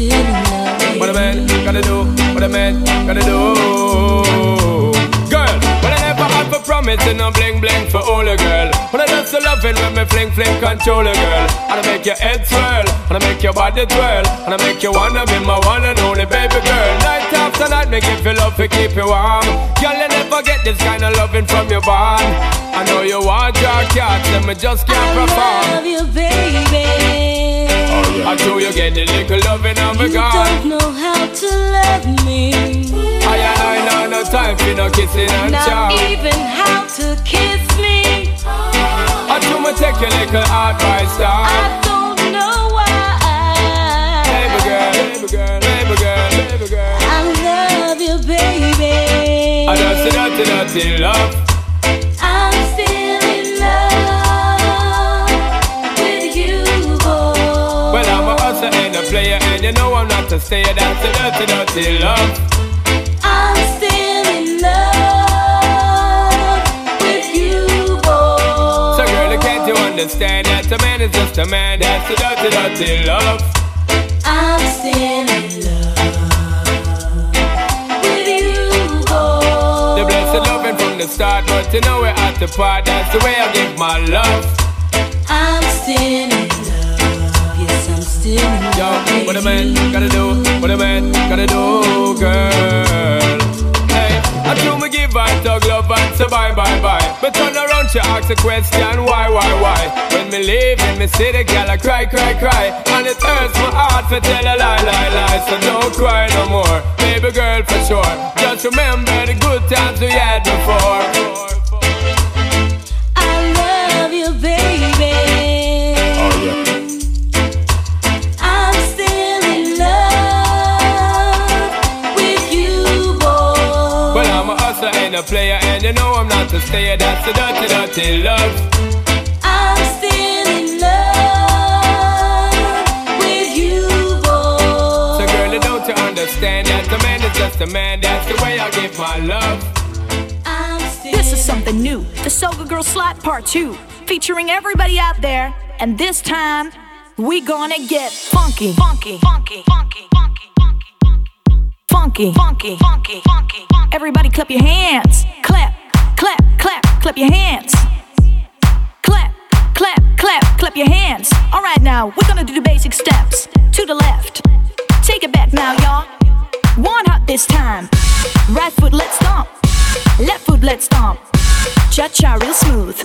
What a man gotta do, what a man gotta do. Girl, missing no bling bling for all a girl. When I just love it when me fling fling control a girl. And I make your head swirl, and I make your body twirl, and I make you wanna be my one and only baby girl. Night after night, me give you love to keep you warm. Girl, you never get this kind of loving from your bond. I know you want your cats, and me just can't perform. I love you, baby. I know you get the little loving of a God. You don't know how to love me. I know no time for no kissing and chow. Not even how to kiss me. I do me take your little advice down. I don't know why. Baby girl, baby girl, baby girl, baby girl. I love you, baby. I don't see nothing love. I'm still in love with you, boy. Well, I'm a hustler and a player, and you know I'm not to stay. That's the dirty love. I'm still in love with you, boy. So girl, can't you understand that a man is just a man? That's the dirty love. I'm still in love with you, boy. The blessed loving from the start, but you know we're at the part. That's the way I give my love. I'm still in love. Yes, I'm still in love. Yo, what a man gotta do, what a man gotta do, girl. Hey, I do me give her dog love and say bye, bye, bye. But turn around, she ask a question, why? When me leave in me city, girl, I cry. And it hurts my heart to tell a lie. So don't cry no more, baby girl, for sure. Just remember the good times we had before. I love you, baby. Oh, yeah. I'm still in love with you, boy. Well, I'm a hustler and a player, and you know I'm not to stay. That's the dirty love. I'm still in love with you, boy. So girl, don't you understand that a man is just a man? That's the way I give my love. This is something new. The Soga Girl Slap Part 2, featuring everybody out there. And this time, we gonna get funky. Everybody clap your hands. Clap your hands. Clap your hands. All right, now we're gonna do the basic steps. To the left. Take it back now, y'all. One hop this time. Right foot, let's stomp. Left foot, let's stomp. Cha-cha, real smooth.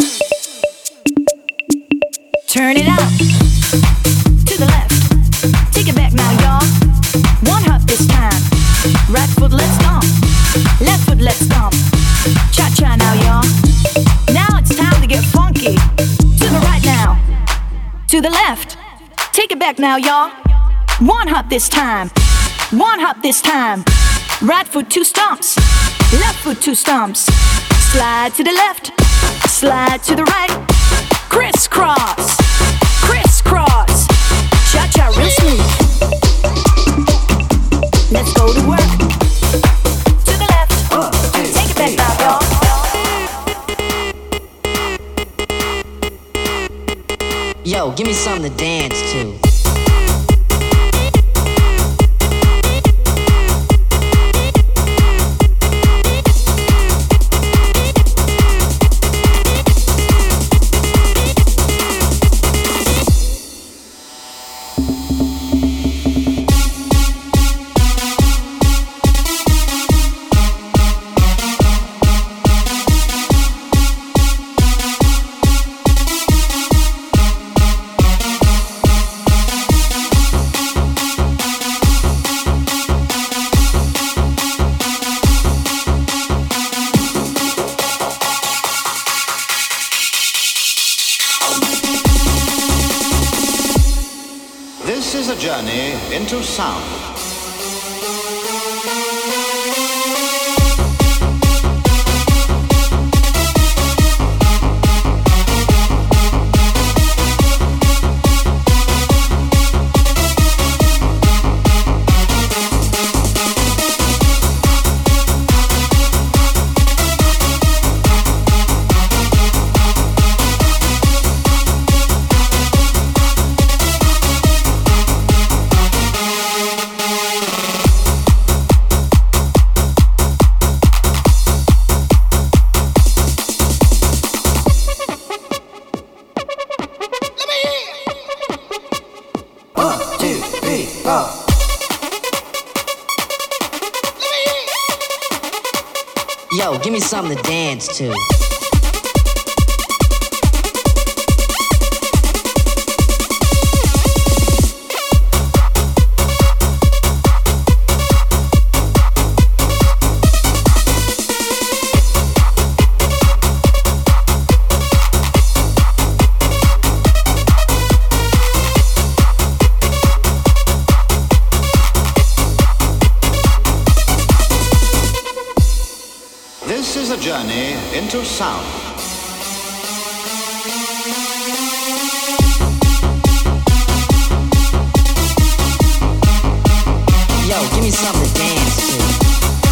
Turn it out. To the left. Take it back now, y'all. One hop this time. Right foot, let's stomp. Left foot, let's stomp. Cha-cha now, y'all. Now it's time to get funky. To the right now. To the left. Take it back now, y'all. One hop this time. One hop this time. Right foot, 2 stomps. Left foot, 2 stomps. Slide to the left. Slide to the right. Crisscross. Crisscross. Cha-cha real smooth. Let's go to work. To the left. Take it back now, y'all. Yo, give me something to dance to. This is a journey into sound. give me something to dance to. This is a journey into sound. Yo, give me something to dance to.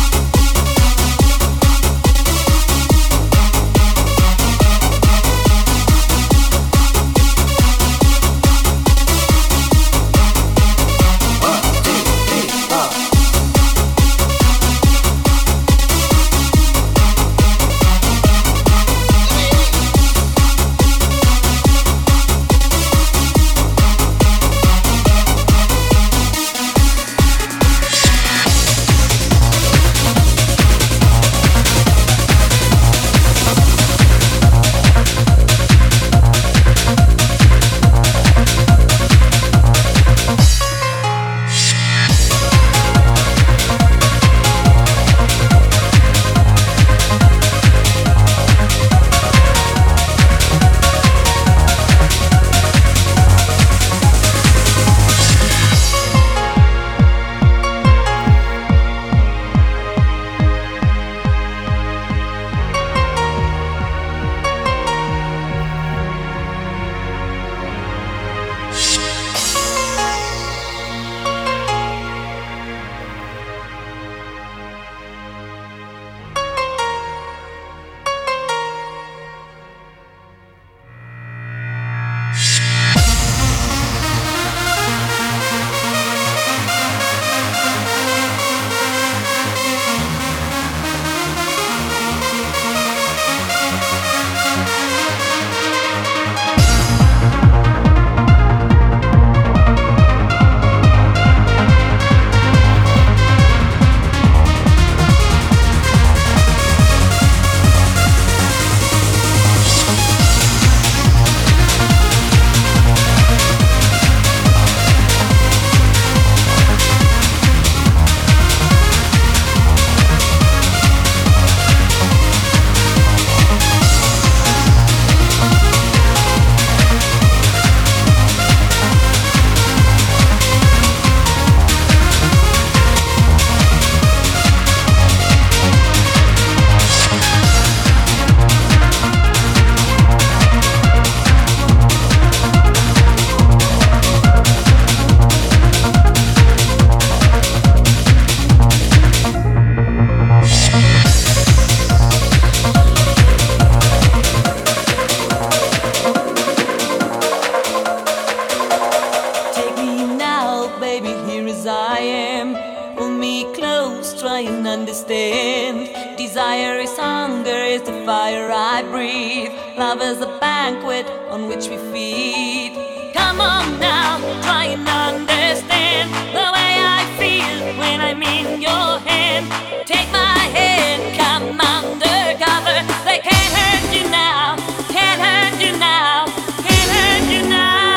Desire is hunger, is the fire I breathe. Love is a banquet on which we feed. Come on now, try and understand the way I feel when I'm in your hand. Take my hand, come undercover. They can't hurt you now, can't hurt you now, can't hurt you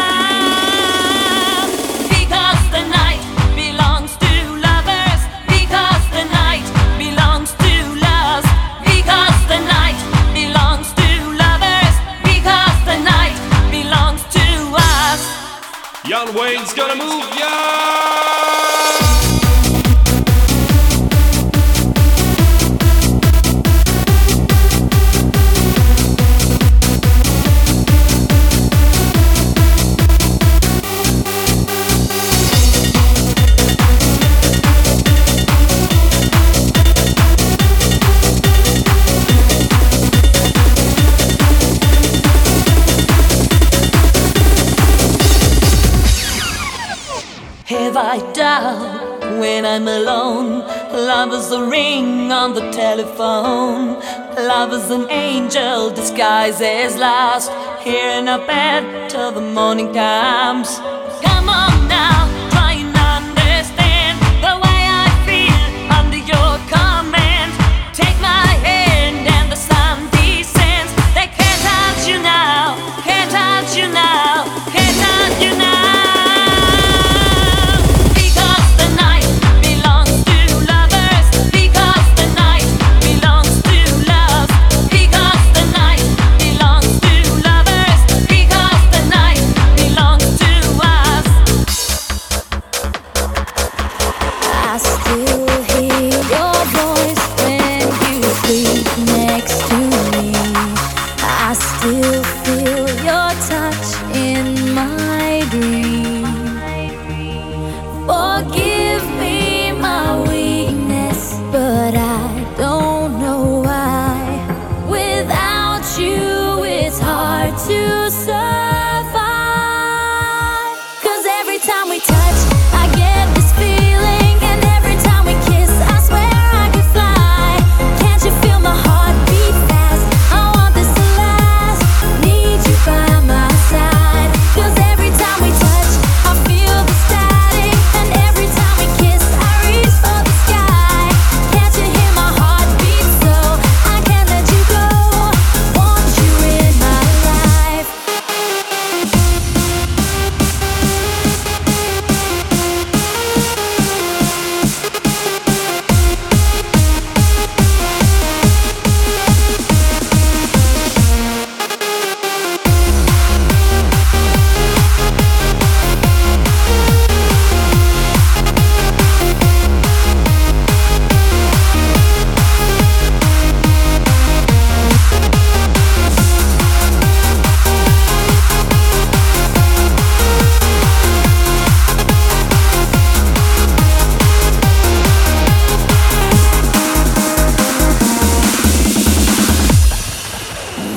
now. Because the night belongs to lovers. Because the night belongs to love. Because the night belongs to lovers. Because the night belongs to us. Young Wayne's gonna move, yeah. Have I doubt when I'm alone? Love is a ring on the telephone. Love is an angel disguised as lost, here in a bed till the morning comes. Come on now, try and understand the way I feel under your command. Take my hand,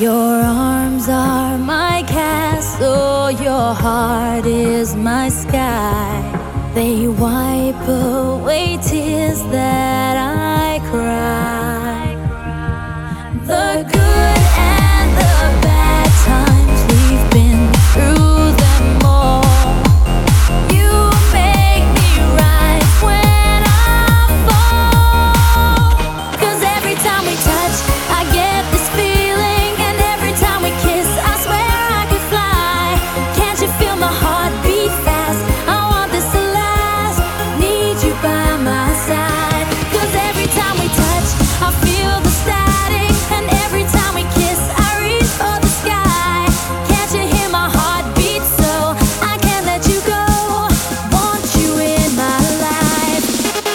Your arms are my castle, your heart is my sky. They wipe away tears that I cry. The good and the bad times, we've been through them all. You make me rise when I fall. 'Cause every time we touch, I get this feeling. And every time we kiss, I swear I could fly. Can't you feel my heart beat fast? I want this to last. Need you by my side. 'Cause every time we touch, I feel the static. And every time we kiss, I reach for the sky. Can't you hear my heart beat so I can't let you go? Want you in my life.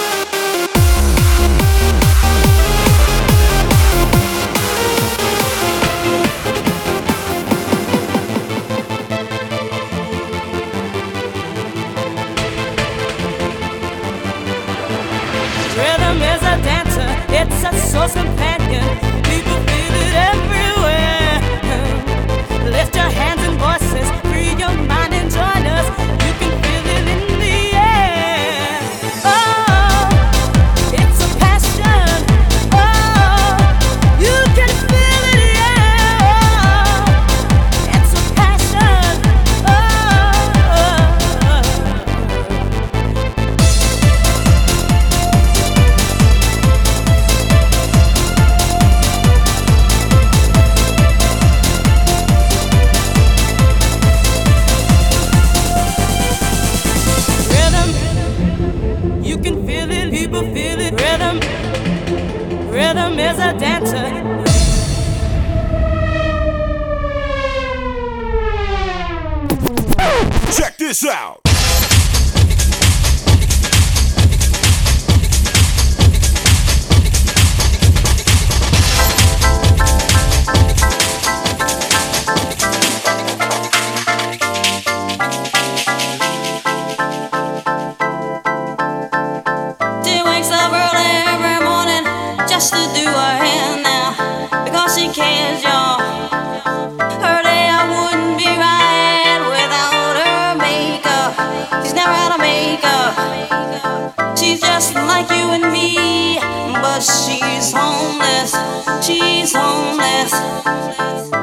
Rhythm is a dancer, it's a soul's companion. People feel it everywhere. Lift your hands and voices, free your mind and join us. You can feel it in the air. Oh, it's a passion. Oh, you can feel it, yeah. It's a passion. Rhythm, you can feel it, people feel it. Rhythm is a dancer. Check this out. She wakes up early every morning just to do her hair now because she cares, y'all. Her day I wouldn't be right without her makeup. She's never had a makeup. She's just like you and me, but she's homeless. She's homeless.